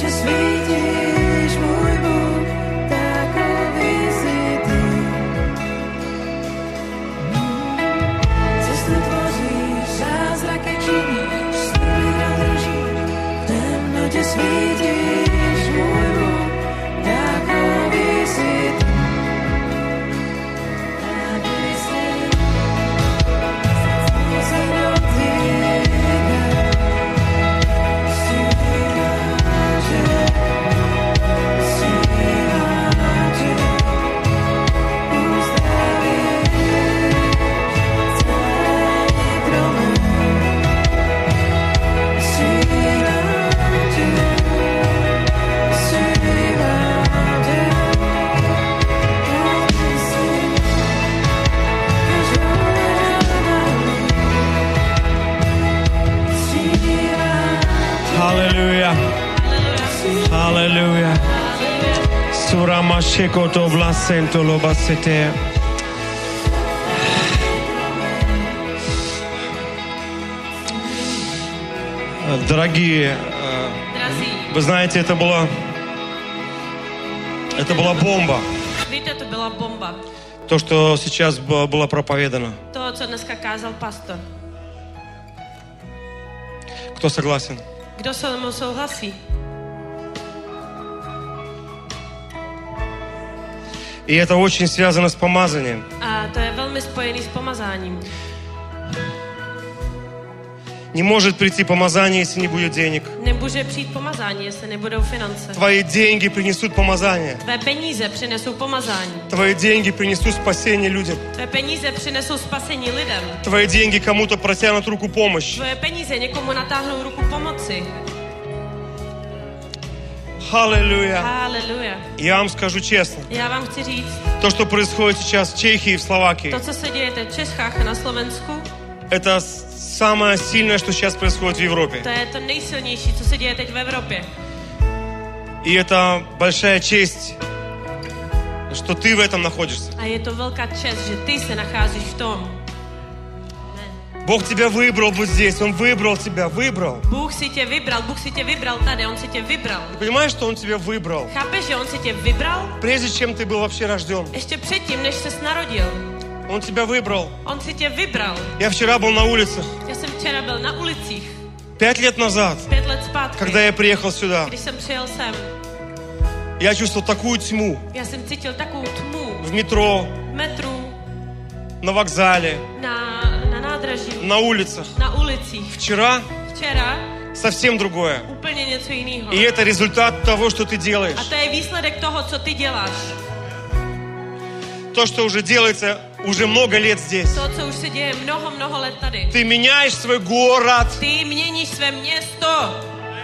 noče svítíš, můj Bůh, takový jsi ty. Cestu tvoříš, zázraky činíš, sny držíš, v temnotě svítíš, můj Bůh, takový jsi ty. Takový jsi, se dotýká, Hallelujah. Hallelujah. Surama shekoto blasento lobasete. Дорогие, вы знаете, это была бомба. Víte, to byla bomba. То, что сейчас было проповедано. To, co dneska kázal pastor. Кто согласен? Kdo se mnou souhlasí? И это очень связано с помазанием. A to je velmi spojený s pomazáním. Не может прийти помазание, если не будет денег. Nemůže přijít pomazání, jestli nebudou finance. Твои деньги принесут помазание. Tvé peníze přinesou pomazání. Твои деньги принесут спасение людям. Tvé peníze přinesou spasení lidem. Твои деньги кому-то протянут руку помощи. Tvoje peníze někomu natáhnou ruku pomoci. Аллилуйя. Haleluja. Я вам скажу честно. Já vám chci říct, То, что происходит сейчас в Чехии и в Словакии, to, co se děje teď v Čechách a na Slovensku, это самое сильное, что сейчас происходит в Европе. to je to nejsilnější, co se děje teď v Evropě. И это большая честь, что ты в этом находишься. A je to velká čest, že ty se nacházíš v tom. Бог тебя выбрал вот здесь, Он выбрал тебя, выбрал. Bůh si tě vybral tady, on si tě vybral. Ты понимаешь, что Он тебя выбрал? Chápeš, že on si tě vybral? Прежде чем ты был вообще rожден, Ještě předtím, než ses narodil. Он тебя выбрал. On si tě vybral. Я včera был на улице, Já jsem včera byl na ulicích, 5 лет назад, 5 let zpátky, когда я приехал сюда. když jsem přijel sem. Я чувствовал такую тьму Já jsem cítil takovou tmu в метро, v metru, на вокзале, na nádraží, на улицах. na ulicích. Вчера Včera совсем другое. úplně něco jiného. И это результат того, что ты A делаешь. to je výsledek toho, co ty děláš. То, что уже делается уже много лет здесь. To, co už se děje mnoho let tady. Ты меняешь свой город. Ty měníš své město.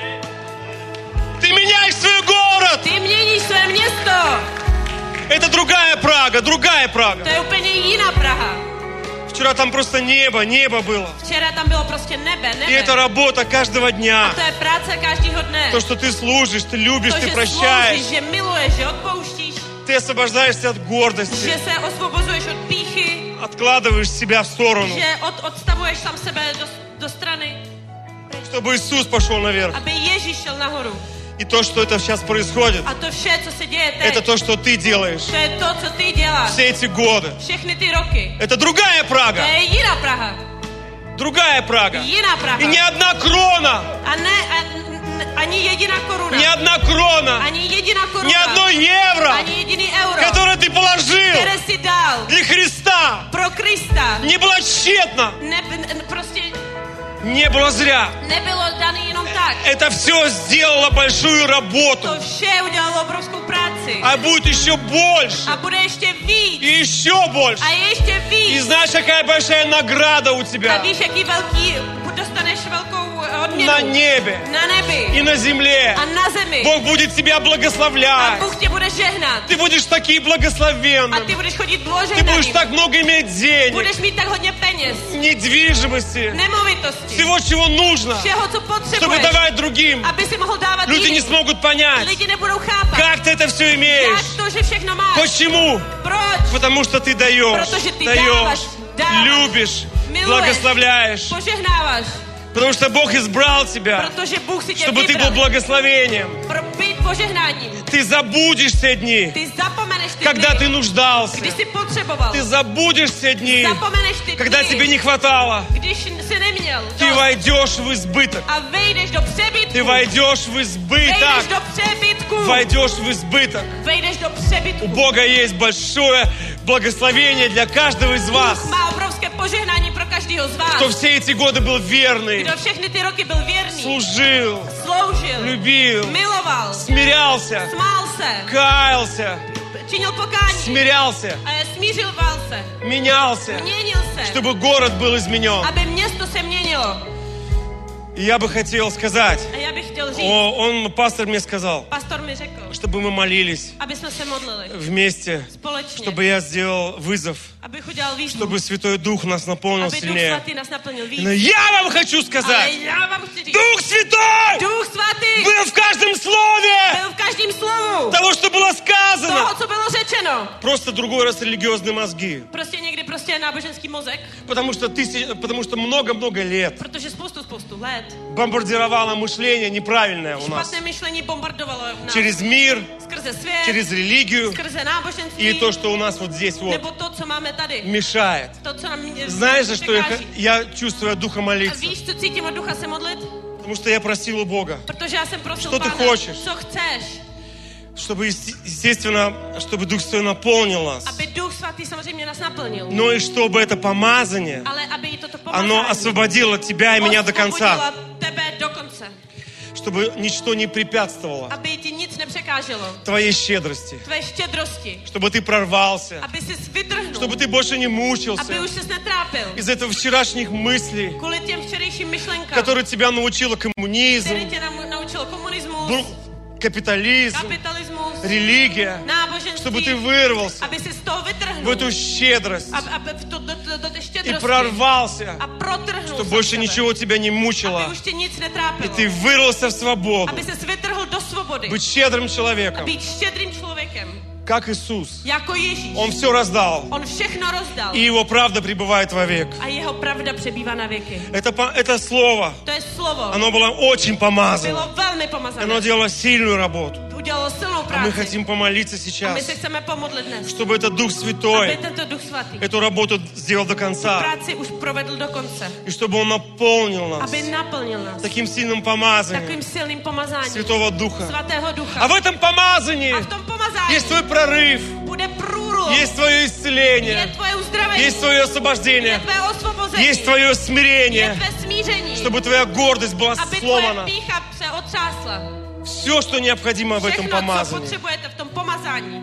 Ты меняешь свой город. Ty měníš své město. Это другая Прага, другая Прага. To je úplně jiná Praha. Вчера там просто небо было. Včera tam bylo prostě nebe. И это работа каждого дня. A to je práce každého dne. То, что ты служишь, ты любишь, To, ты že прощаешь. sloužíš, že miluješ, že odpouštíš, Ты освобождаешься от гордости. že se osvobozuješ od pýchy, Откладываешь себя в сторону, že odstavuješ sám sebe do strany, чтобы Иисус пошел наверх. aby Ježíš šel nahoru. И то, что это сейчас происходит, A to vše, co se děje это teď, то, что ты делаешь to je to, co ty děláš. все эти годы. Všechny ty roky. Это другая To Прага. je jiná Praha. Другая Прага. Jiná Praha. И ни одна крона, A ne, ani jediná koruna. ни одна крона, Ani jediná koruna. ни одно евро, Ani jediný euro, которое ты положил které si dal для Христа, pro Krista, не было тщетно, prostě не было зря. nebylo daný jenom tak. Это все сделало большую работу. To vše udělalo obrovskou práci. А будет еще больше. A bude ještě víc. И еще больше. A ještě И víc. знаешь, какая большая награда у A тебя víš, jaký velký, dostaneš velkou odměnu. на небе Na nebi. и на земле. A na zemi. Бог будет тебя A благословлять. Bůh tě bude žehnat. Ты будешь таким A благословенным. ty budeš chodit Ты будешь bloženým. так много иметь денег, Budeš mít tak hodně peněz. недвижимости, Nemovitosti. всего, чего нужно, Všeho, co чтобы potřebuješ. давать другим. Aby si mohl dávat Люди не jiným. смогут понять, Lidi nebudou chápat. как ты это все Jak имеешь. to, že všechno máš. Почему? Proč? Потому что ты даешь, Protože ty dáváš, любишь, miluješ, благословляешь. požehnáváš. Потому что Бог избрал тебя, Protože Bůh si tě чтобы ты был vybral. благословением. požehnáním. Ты забудешь те дни, Ty zapomeneš ty когда ты dny, нуждался. kdy jsi potřeboval. Ты забудешь те дни, Zapomeneš ty когда dny, тебе не хватало. když jsi neměl. Ты войдешь в избыток. A vejdeš do přebytku. Ты войдешь в Vejdeš избыток. do přebytku. Войдешь в избыток. Vejdeš do У přebytku. Бога есть большое благословение для каждого из вас, Bůh má obrovské požehnání pro každého z vás. кто все эти годы был верный, Kdo všechny ty roky byl věrný, служил, sloužil, любил, miloval, смирялся, smál se, каялся, činil pokání, смирялся, smířoval se, менялся, měnil se, чтобы город был изменен. aby město se měnilo. И я бы хотел сказать, A já bych chtěl říct, пастор мне сказал, pastor mi řekl, чтобы мы молились aby jsme se modlili вместе, společně, чтобы я сделал вызов, abych udělal výzvu, чтобы Святой Дух нас наполнил aby Duch сильнее. Svatý nás naplnil víc. Но я вам хочу Ale сказать, já vám chci říct, Дух Святой Duch Svatý был в каждом слове byl v každém slovu того, что было toho, сказано. co bylo řečeno. Просто другой раз религиозные мозги. Prostě někdy prostě náboženský mozek, Потому что много-много лет protože spoustu let бомбардировало мышление неправильное у нас. špatné myšlení bombardovalo nás Через мир, skrze svět, через религию. skrze náboženství, И то, что у нас вот здесь вот nebo to, co máme tady. мешает. To, co nám Знаешь, за что překáží. я чувствую от Духа A молиться? víš, co cítím od ducha se modlit? Потому что я просил у Бога, Protože já jsem prosil Что ты Pána, хочешь? co chceš, чтобы, естественно, чтобы Дух Святой наполнил нас. aby Duch Svatý samozřejmě nás naplnil. Но и чтобы это помазание, Ale aby jí toto оно pomazání освободило тебя и меня до конца. osvobodilo tebe do konce. Чтобы ничто не препятствовало Aby ti nic nepřekáželo. твоей щедрости. Tvé štědrosti. Чтобы ты прорвался. Aby jsi vytrhnul. Чтобы ты больше не мучился Aby už ses netrápil. из этого вчерашних мыслей, Kvůli těm včerejším myšlenkám, которые тебя научило коммунизм, který tě naučil komunismus, капитализм, kapitalismus, религия, náboženství, чтобы ты вырвался aby si z toho в vytrhnul. эту щедрость Aby do té и štědrosti. прорвался, A protrhnul чтобы se больше sebe. ничего тебя не Aby мучило. už tě nic И netrápilo. ты вырвался в свободу. Aby ses vytrhl do svobody. Быть щедрым человеком, Být štědrým člověkem. как Иисус. Jako Ježíš. Он все раздал. On všechno rozdal. И Его правда пребывает вовек. A jeho pravda přebývá na věky. Это слово, To je slovo. оно было очень помазано. Bylo velmi Оно pomazané. делало сильную работу. Udělalo silnou А мы práci. хотим помолиться A my сейчас, se chceme pomodlit dnes. чтобы этот Дух Aby Святой tento Duch Svatý эту работу сделал до конца. práci už provedl do konce. И чтобы Он наполнил нас Aby naplnil nás таким сильным помазанием takovým silným pomazáním Святого Духа. Svatého Ducha. А в этом помазании A v tom pomazání есть твой прорыв, bude průlom. есть твое Je исцеление, tvoje uzdravení. есть твое Je освобождение, tvé osvobození. есть твое Je смирение, tvé smíření. чтобы твоя гордость была Aby tvoje сломана. pýcha se otřásla. Все, что необходимо в этом Všechno, co помазании. potřebujete v tom pomazání.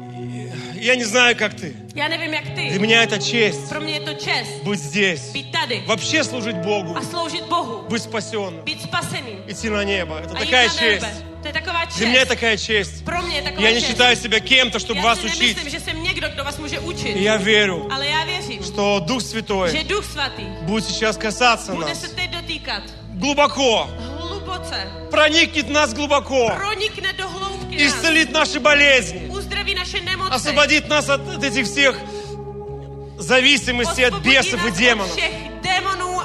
Я не знаю, как ты. Já nevím, jak Для ty. меня это честь Pro mě je to čest быть здесь, být tady вообще служить Богу, a sloužit Bohu. быть спасенным, Být spasený. идти на небо. Это A jít такая na честь. nebe. To je taková Для меня čest. такая честь. Pro mě je taková Я не čest. считаю себя кем-то, чтобы Já вас si учить. nemyslím, že jsem někdo, kdo vás může И učit. я верю, Ale já věřím, что Дух že Святой Duch Svatý будет сейчас касаться bude нас se teď dotýkat глубоко, hluboce. проникнет в нас глубоко, Pronikne do hloubky nás. исцелит наши болезни, Uzdraví naše nemoci. освободит нас от этих всех зависимостей от Osvobodí бесов и nás демонов, od všech démonů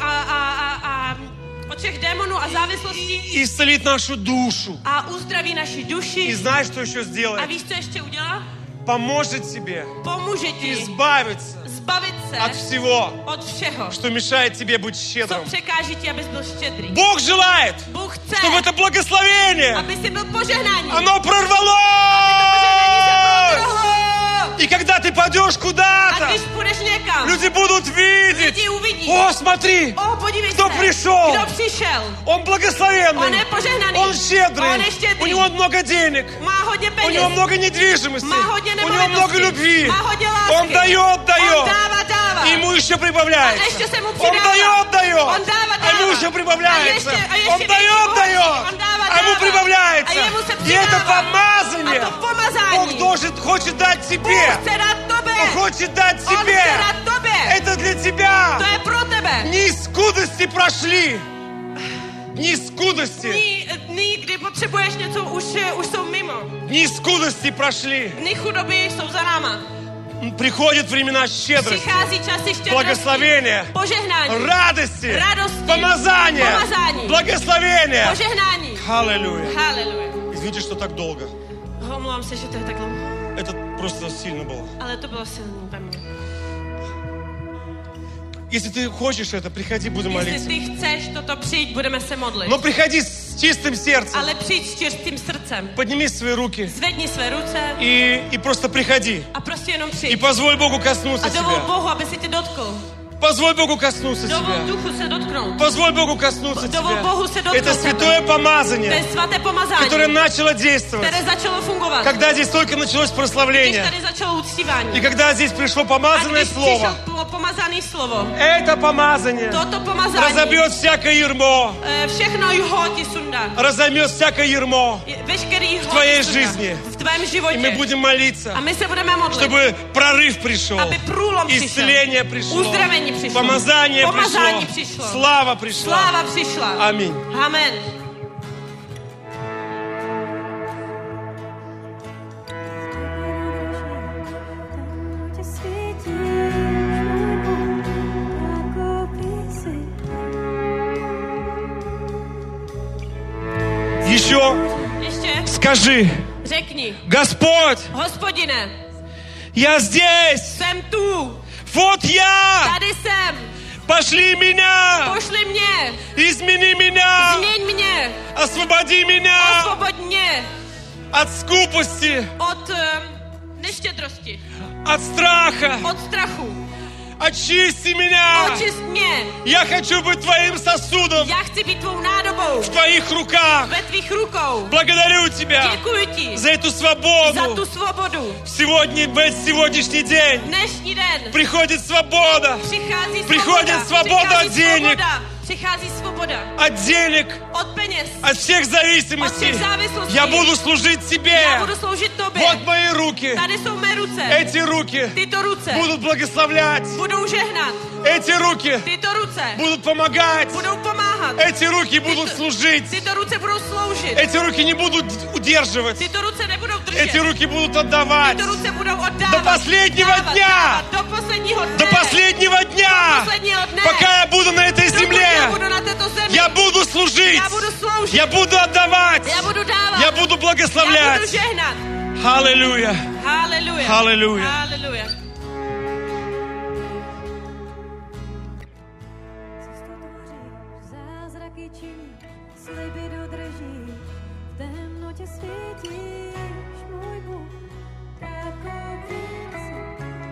od všech démonů a závislostí исцелит нашу душу. a uzdraví naši И duši. знаешь, что еще A сделает? víš, co ještě udělá? Поможет тебе Pomůže ti избавиться zbavit от se всего, od všeho, что mešает тебе быть co щедрым. překáží ti, abys byl štědrý. Бог желает, Bůh chce, чтобы это благословение, aby si byl požehnání. оно Požehnání se прорвалось. protrhlo. И когда ты пойдешь A куда-то, když půjdeš někam, люди будут видеть. lidi uvidí. О, смотри, Podívej Kdo se, přišel? kdo přišel. он благословенный, Он je požehnaný. он щедрый, Он je štědrý. у него много денег, Má hodně у peněz. него много недвижимости, Má hodně у него nemovitostí. много любви. Má hodně lásky. Он дает, On дает, dává. и ему еще A прибавляется. ještě se mu Он přidává. дает, дает, On dává. а ему еще прибавляется. A ještě Он větší дает, bohatství. дает, On dává. а ему A прибавляется. jemu se И это přidává. помазание A to pomazání. Бог хочет дать тебе. Bůh chce dát tobě. Он хочет дать On тебе. chce dát tobě. Это для тебя. To je pro tebe. Дни скудости прошли. Дни скудости. Dny, kdy potřebuješ něco, už jsou mimo. Дни скудости прошли. Dny chudoby jsou za náma. Приходят времена щедрости, Přichází časy štědrosti. благословения, Požehnání. радости, Radosti. помазания, Pomazání. благословения. Požehnání. Аллилуйя. Haleluja. И Извините, что так долго. Omlouvám se, že to je tak dlouho. Это просто сильно было. Ale to bylo silný ve mně. Если ты хочешь это, приходи, будем Jestli молиться. ty chceš toto přijít, budeme se modlit. Но приходи с čistым сердцем. Ale přijď s čistým srdcem. Подними свои руки Zvedni své ruce и просто приходи. a prostě jenom И přijď. позволь Богу коснуться A dovol тебя. Bohu, aby si tě dotkl. Позволь Богу коснуться Dovol тебя. duchu se dotknout. Позволь Богу коснуться Dovol тебя. Bohu se dotknout Это святое tebe. To je помазание, svaté pomazání, которое начало действовать, které začalo fungovat. когда здесь только началось Když прославление. tady začalo uctívání. И когда здесь пришло A помазанное když слово, přišlo pomazané slovo, это помазание toto pomazání разобьет всякое ярмо, všechno jho ti sundá. разомет всякое ярмо. Veškerý jho твоей ti sundá. жизни. V tvém И мы životě. будем молиться, A my se budeme modlit, чтобы прорыв пришел, aby průlom přišel. исцеление пришло, Uzdravení přišlo. помазание Pomazání пришло, přišlo. слава пришла. Sláva přišla. Аминь. Amen. Еще Ještě скажи: řekni, Господь, Hospodine, я здесь, jsem tu, вот я, tady jsem, пошли меня, pošli mě, измени меня, změň mě, освободи меня osvoboď mě от скупости, od neštědrosti, от страха, od strachu, очисти меня. očist mě. Я хочу быть твоим сосудом Já chci být tvou nádobou в твоих руках. ve tvých rukou. Благодарю тебя Děkuji ti за эту za свободу. tu svobodu. Сегодня, в сегодняшний день Dnešní den приходит свобода přichází Приходит свобода от денег. Přichází svoboda от денег, od peněz, от всех зависимостей. От всех зависимостей. Я буду служить тебе. já budu sloužit tobě. Вот мои руки. Tady jsou mé ruce. Эти руки Tyto ruce будут благословлять. budou žehnat. Эти руки Tyto ruce будут помогать. budou pomáhat. Эти руки будут служить. Tyto ruce budou sloužit. Эти руки не будут удерживать. Tyto ruce nebudou držet. Эти руки будут отдавать. Tyto ruce budou oddávat. До последнего dávat, дня. dávat, do posledního dne. До последнего дня. Posledního dne. Пока я буду на этой Dokud já земле. budu na této zemi. Я буду служить. Já budu sloužit. Я буду отдавать. Já budu dávat. Я буду Já благословлять. budu žehnat. Аллилуйя. Haleluja. Haleluja. Haleluja. Zázraky činí, sliby dodrží, v temnotě svítíš, můj Bůh, takový jsi.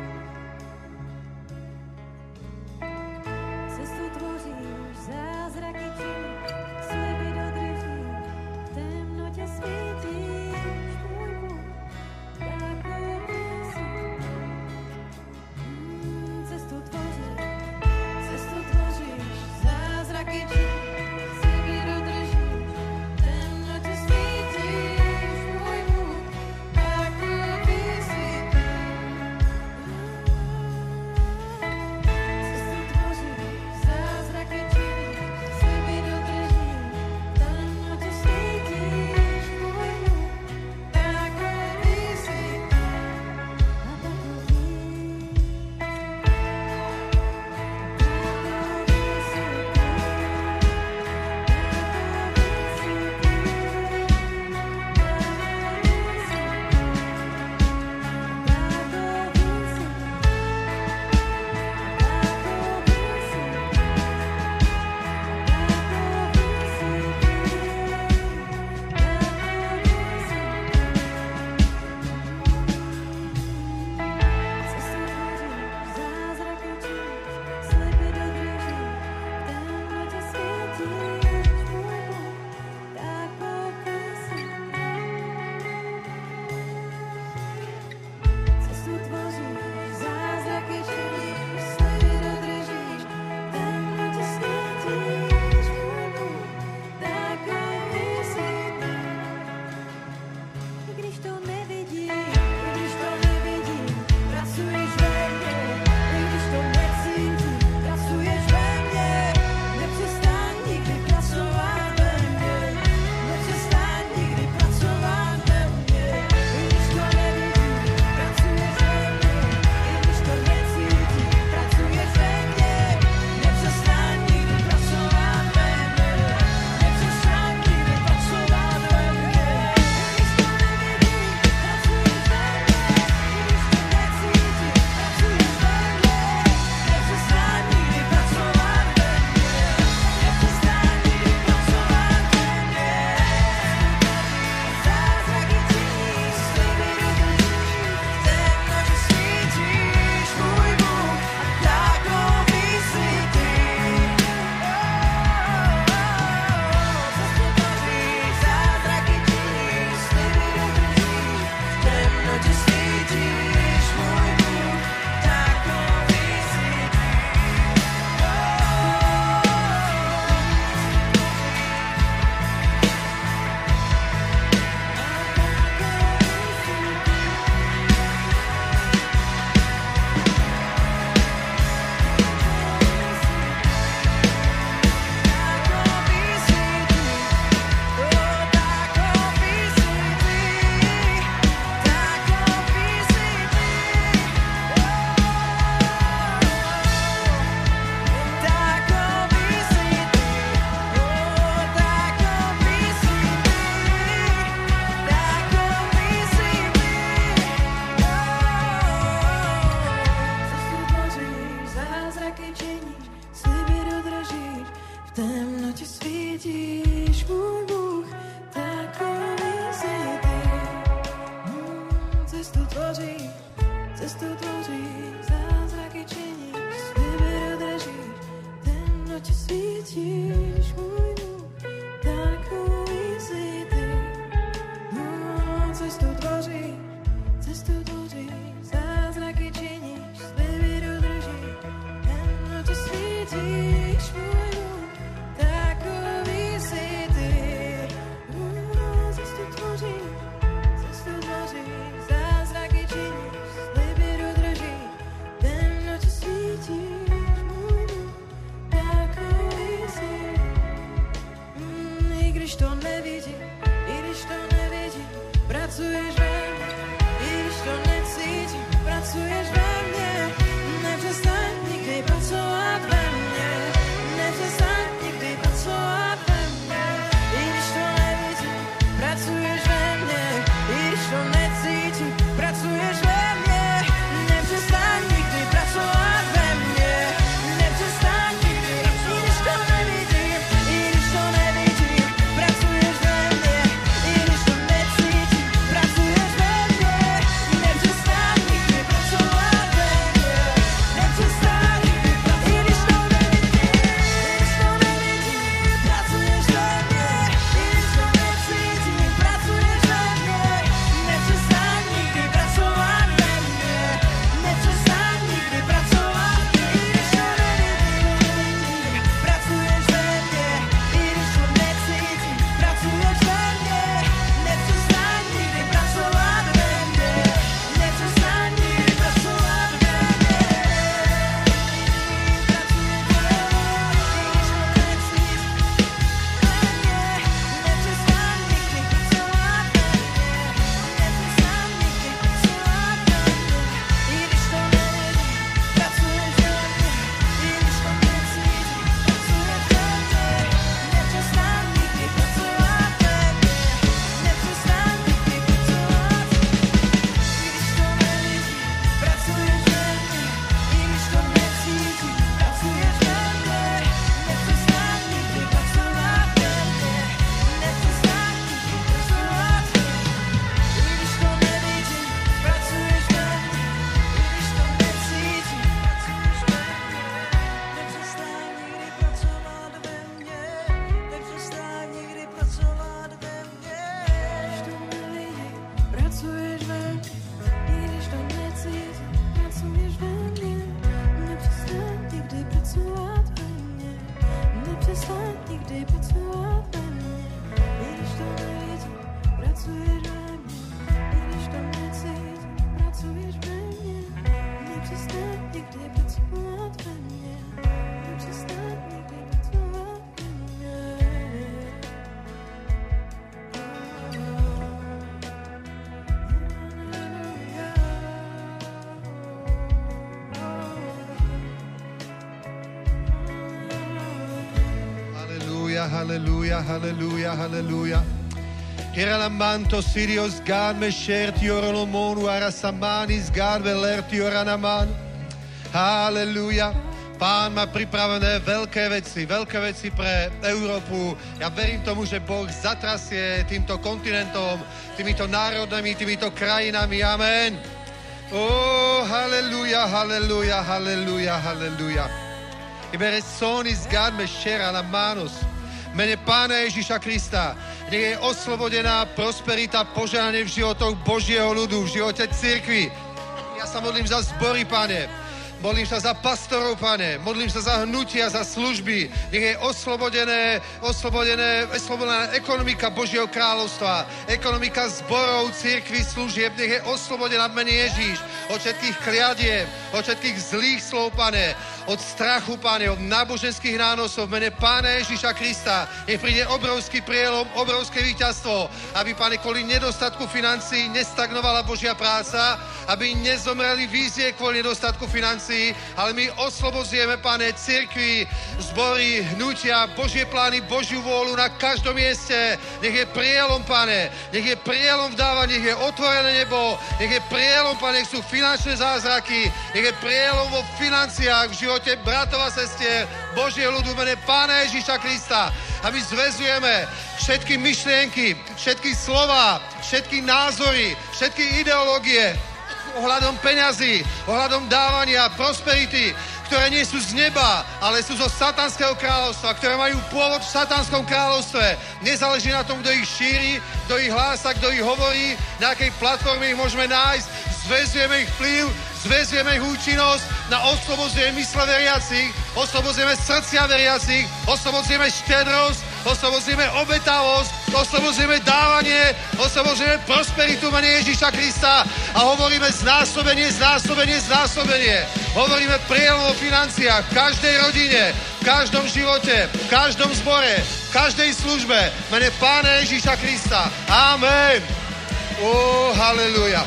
Cestu tvoříš, zázraky činí, sliby dodrží, v temnotě svítíš, můj Bůh, takový jsi. Cestu tvoříš, zázraky činíš, sliby dodržíš, v temnotě svítíš, můj Bůh, takový jsi. halleluja, halleluja, halleluja. Hiralamanto Sirius gan me sherti orolomonu arasamanis gan velerti oranaman. Halleluja. Pán má pripravené veľké veci pre Európu. Ja verím tomu, že Boh zatrasie týmto kontinentom, týmito národami, týmito krajinami. Amen. Halleluja, halleluja, halleluja, halleluja. Ibere sonis gan me shera la manos. Mene Pána Ježíša Krista, nech je oslobodená prosperita, požehnanie v životoch Božieho ľudu, v živote cirkvi. Ja sa modlím za zbory, Pane. Modlím sa za pastorov, Pane. Modlím sa za hnutia, za služby. Nech je oslobodená ekonomika Božieho kráľovstva. Ekonomika zborov, cirkvi, služieb. Nech je oslobodená v mene Ježíš. Od všetkých kliadieb, od všetkých zlých slov, Pane. Od strachu, Pane, od náboženských nánosov. V mene Pána Ježíša Krista. Nech príde obrovský prielom, obrovské víťazstvo. Aby, Pane, kvôli nedostatku financií nestagnovala Božia práca. Aby nezomreli vízie kvôli nedostatku financií. Ale my oslobodzujeme, Pane, cirkvi, zbory, hnutia, Božie plány, Božiu vôľu na každom mieste. Nech je prielom, Pane, nech je prielom v dávaní, nech je otvorené nebo, nech je prielom, Pane, nech sú finančné zázraky, nech je prielom vo financiách, v živote bratov a sestier, Božieho ľudu, v mene Pána Ježíša Krista. A my zväzujeme všetky myšlienky, všetky slova, všetky názory, všetky ideológie, ohľadom peňazí, ohľadom dávania, prosperity, ktoré nie sú z neba, ale sú zo satanského kráľovstva, ktoré majú pôvod v satanskom kráľovstve. Nezáleží na tom, kto ich šíri, kto ich hlása, kto ich hovorí, na akej platforme ich môžeme nájsť. Zväzujeme ich vplyv, zväzujeme ich účinnosť, oslobodzujeme mysle veriacich, oslobodzujeme srdcia veriacich, oslobodzujeme štedrosť, oslobodzujeme obetavosť, oslobodzujeme dávanie, oslobodzujeme prosperitu v mene Ježíša Krista a hovoríme znásobenie, znásobenie, znásobenie. Hovoríme prielom o financiách v každej rodine, v každom živote, v každom zbore, v každej službe v mene Pána Ježíša Krista. Amen. Halleluja.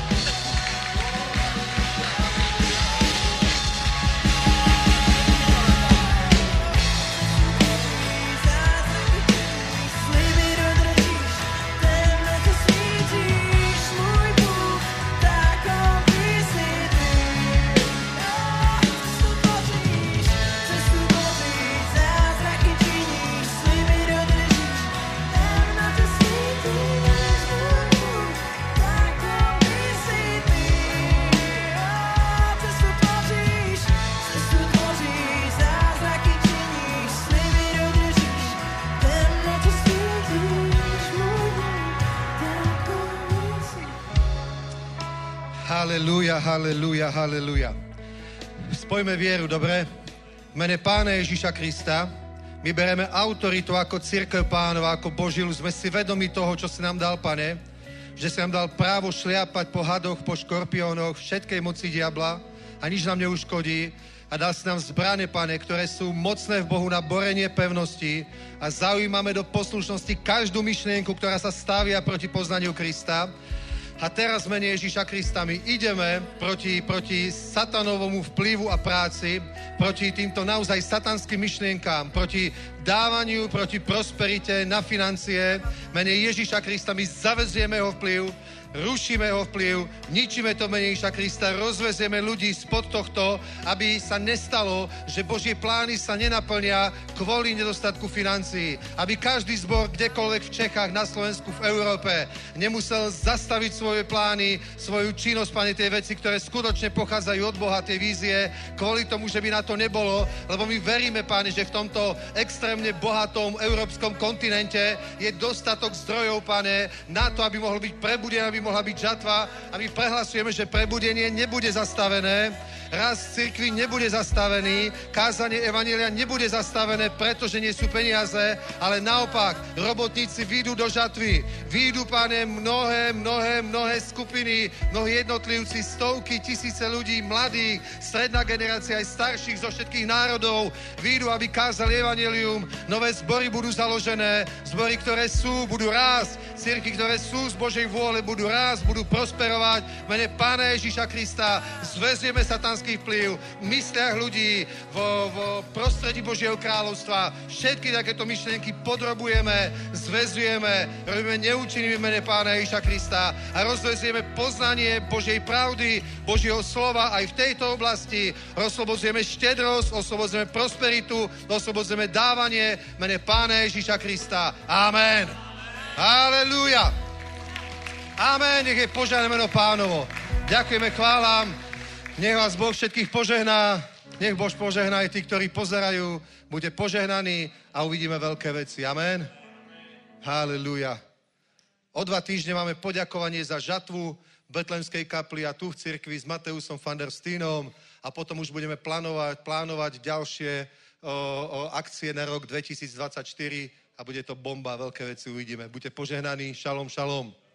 Halleluja, halleluja, halleluja. Spojme vieru, dobre? V mene Pána Ježíša Krista my bereme autoritu ako cirkev Pánova, ako Boží ľud. Sme si vedomi toho, čo si nám dal, Pane, že si nám dal právo šliapať po hadoch, po škorpiónoch, všetkej moci diabla a nič nám neuškodí. A dal si nám zbrane, Pane, ktoré sú mocné v Bohu na borenie pevnosti a zaujímame do poslušnosti každú myšlienku, ktorá sa stavia proti poznaniu Krista. A teraz v mene Ježíša Krista my ideme proti satanovomu vplyvu a práci, proti týmto naozaj satanským myšlienkám, proti dávaniu, proti prosperite na financie. V mene Ježíša Krista my zavezujeme jeho vplyv, rušíme jeho vplyv, ničíme to mene Ježíša Krista, rozvezieme ľudí spod tohto, aby sa nestalo, že Božie plány sa nenaplnia kvôli nedostatku financií. Aby každý zbor kdekoľvek v Čechách, na Slovensku, v Európe nemusel zastaviť svoje plány, svoju činnosť, Pane, tie veci, ktoré skutočne pochádzajú od Boha, tie vízie, kvôli tomu, že by na to nebolo, lebo my veríme, Pane, že v tomto extrémne bohatom európskom kontinente je dostatok zdrojov, Pane, na to, aby mohol byť prebudený, aby mohla byť žatva a my prehlasujeme, že prebudenie nebude zastavené, rast cirkvi nebude zastavený, kázanie evanjelia nebude zastavené, pretože nie sú peniaze, ale naopak, robotníci výjdu do žatvy, výjdu, Pane, mnohé mnohé skupiny, mnohí jednotlivci, stovky, tisíce ľudí, mladých, stredná generácia, aj starších zo všetkých národov výjdu, aby kázali evanjelium. Nové zbory budú založené, zbory, ktoré sú, budú rásť, cirkvi, ktoré sú z Božej vôle, budú rásť, budú prosperovať. V mene Pána Ježíša Krista zväzujeme satanský vplyv v mysliach ľudí, vo prostredí Božieho kráľovstva. Všetky takéto myšlienky podrobujeme, zväzujeme, robíme neúčinnými v mene Pána Ježíša Krista a rozvezujeme poznanie Božej pravdy, Božieho slova aj v tejto oblasti. Oslobodzujeme štedrosť, oslobodzujeme prosperitu, oslobodzujeme dávanie v mene Pána Ježíša Krista. Amen. Halelúja. Amen. Nech je požehnané meno Pánovo. Ďakujeme, chválam. Nech vás Boh všetkých požehná. Nech Boh požehná aj tí, ktorí pozerajú. Buďte požehnaní a uvidíme veľké veci. Amen. Halelúja. O 2 týždne máme poďakovanie za žatvu v Betlémskej kapli a tu v cirkvi s Mateusom van der Steenom a potom už budeme plánovať ďalšie akcie na rok 2024 a bude to bomba, veľké veci uvidíme. Buďte požehnaní. Šalom, šalom.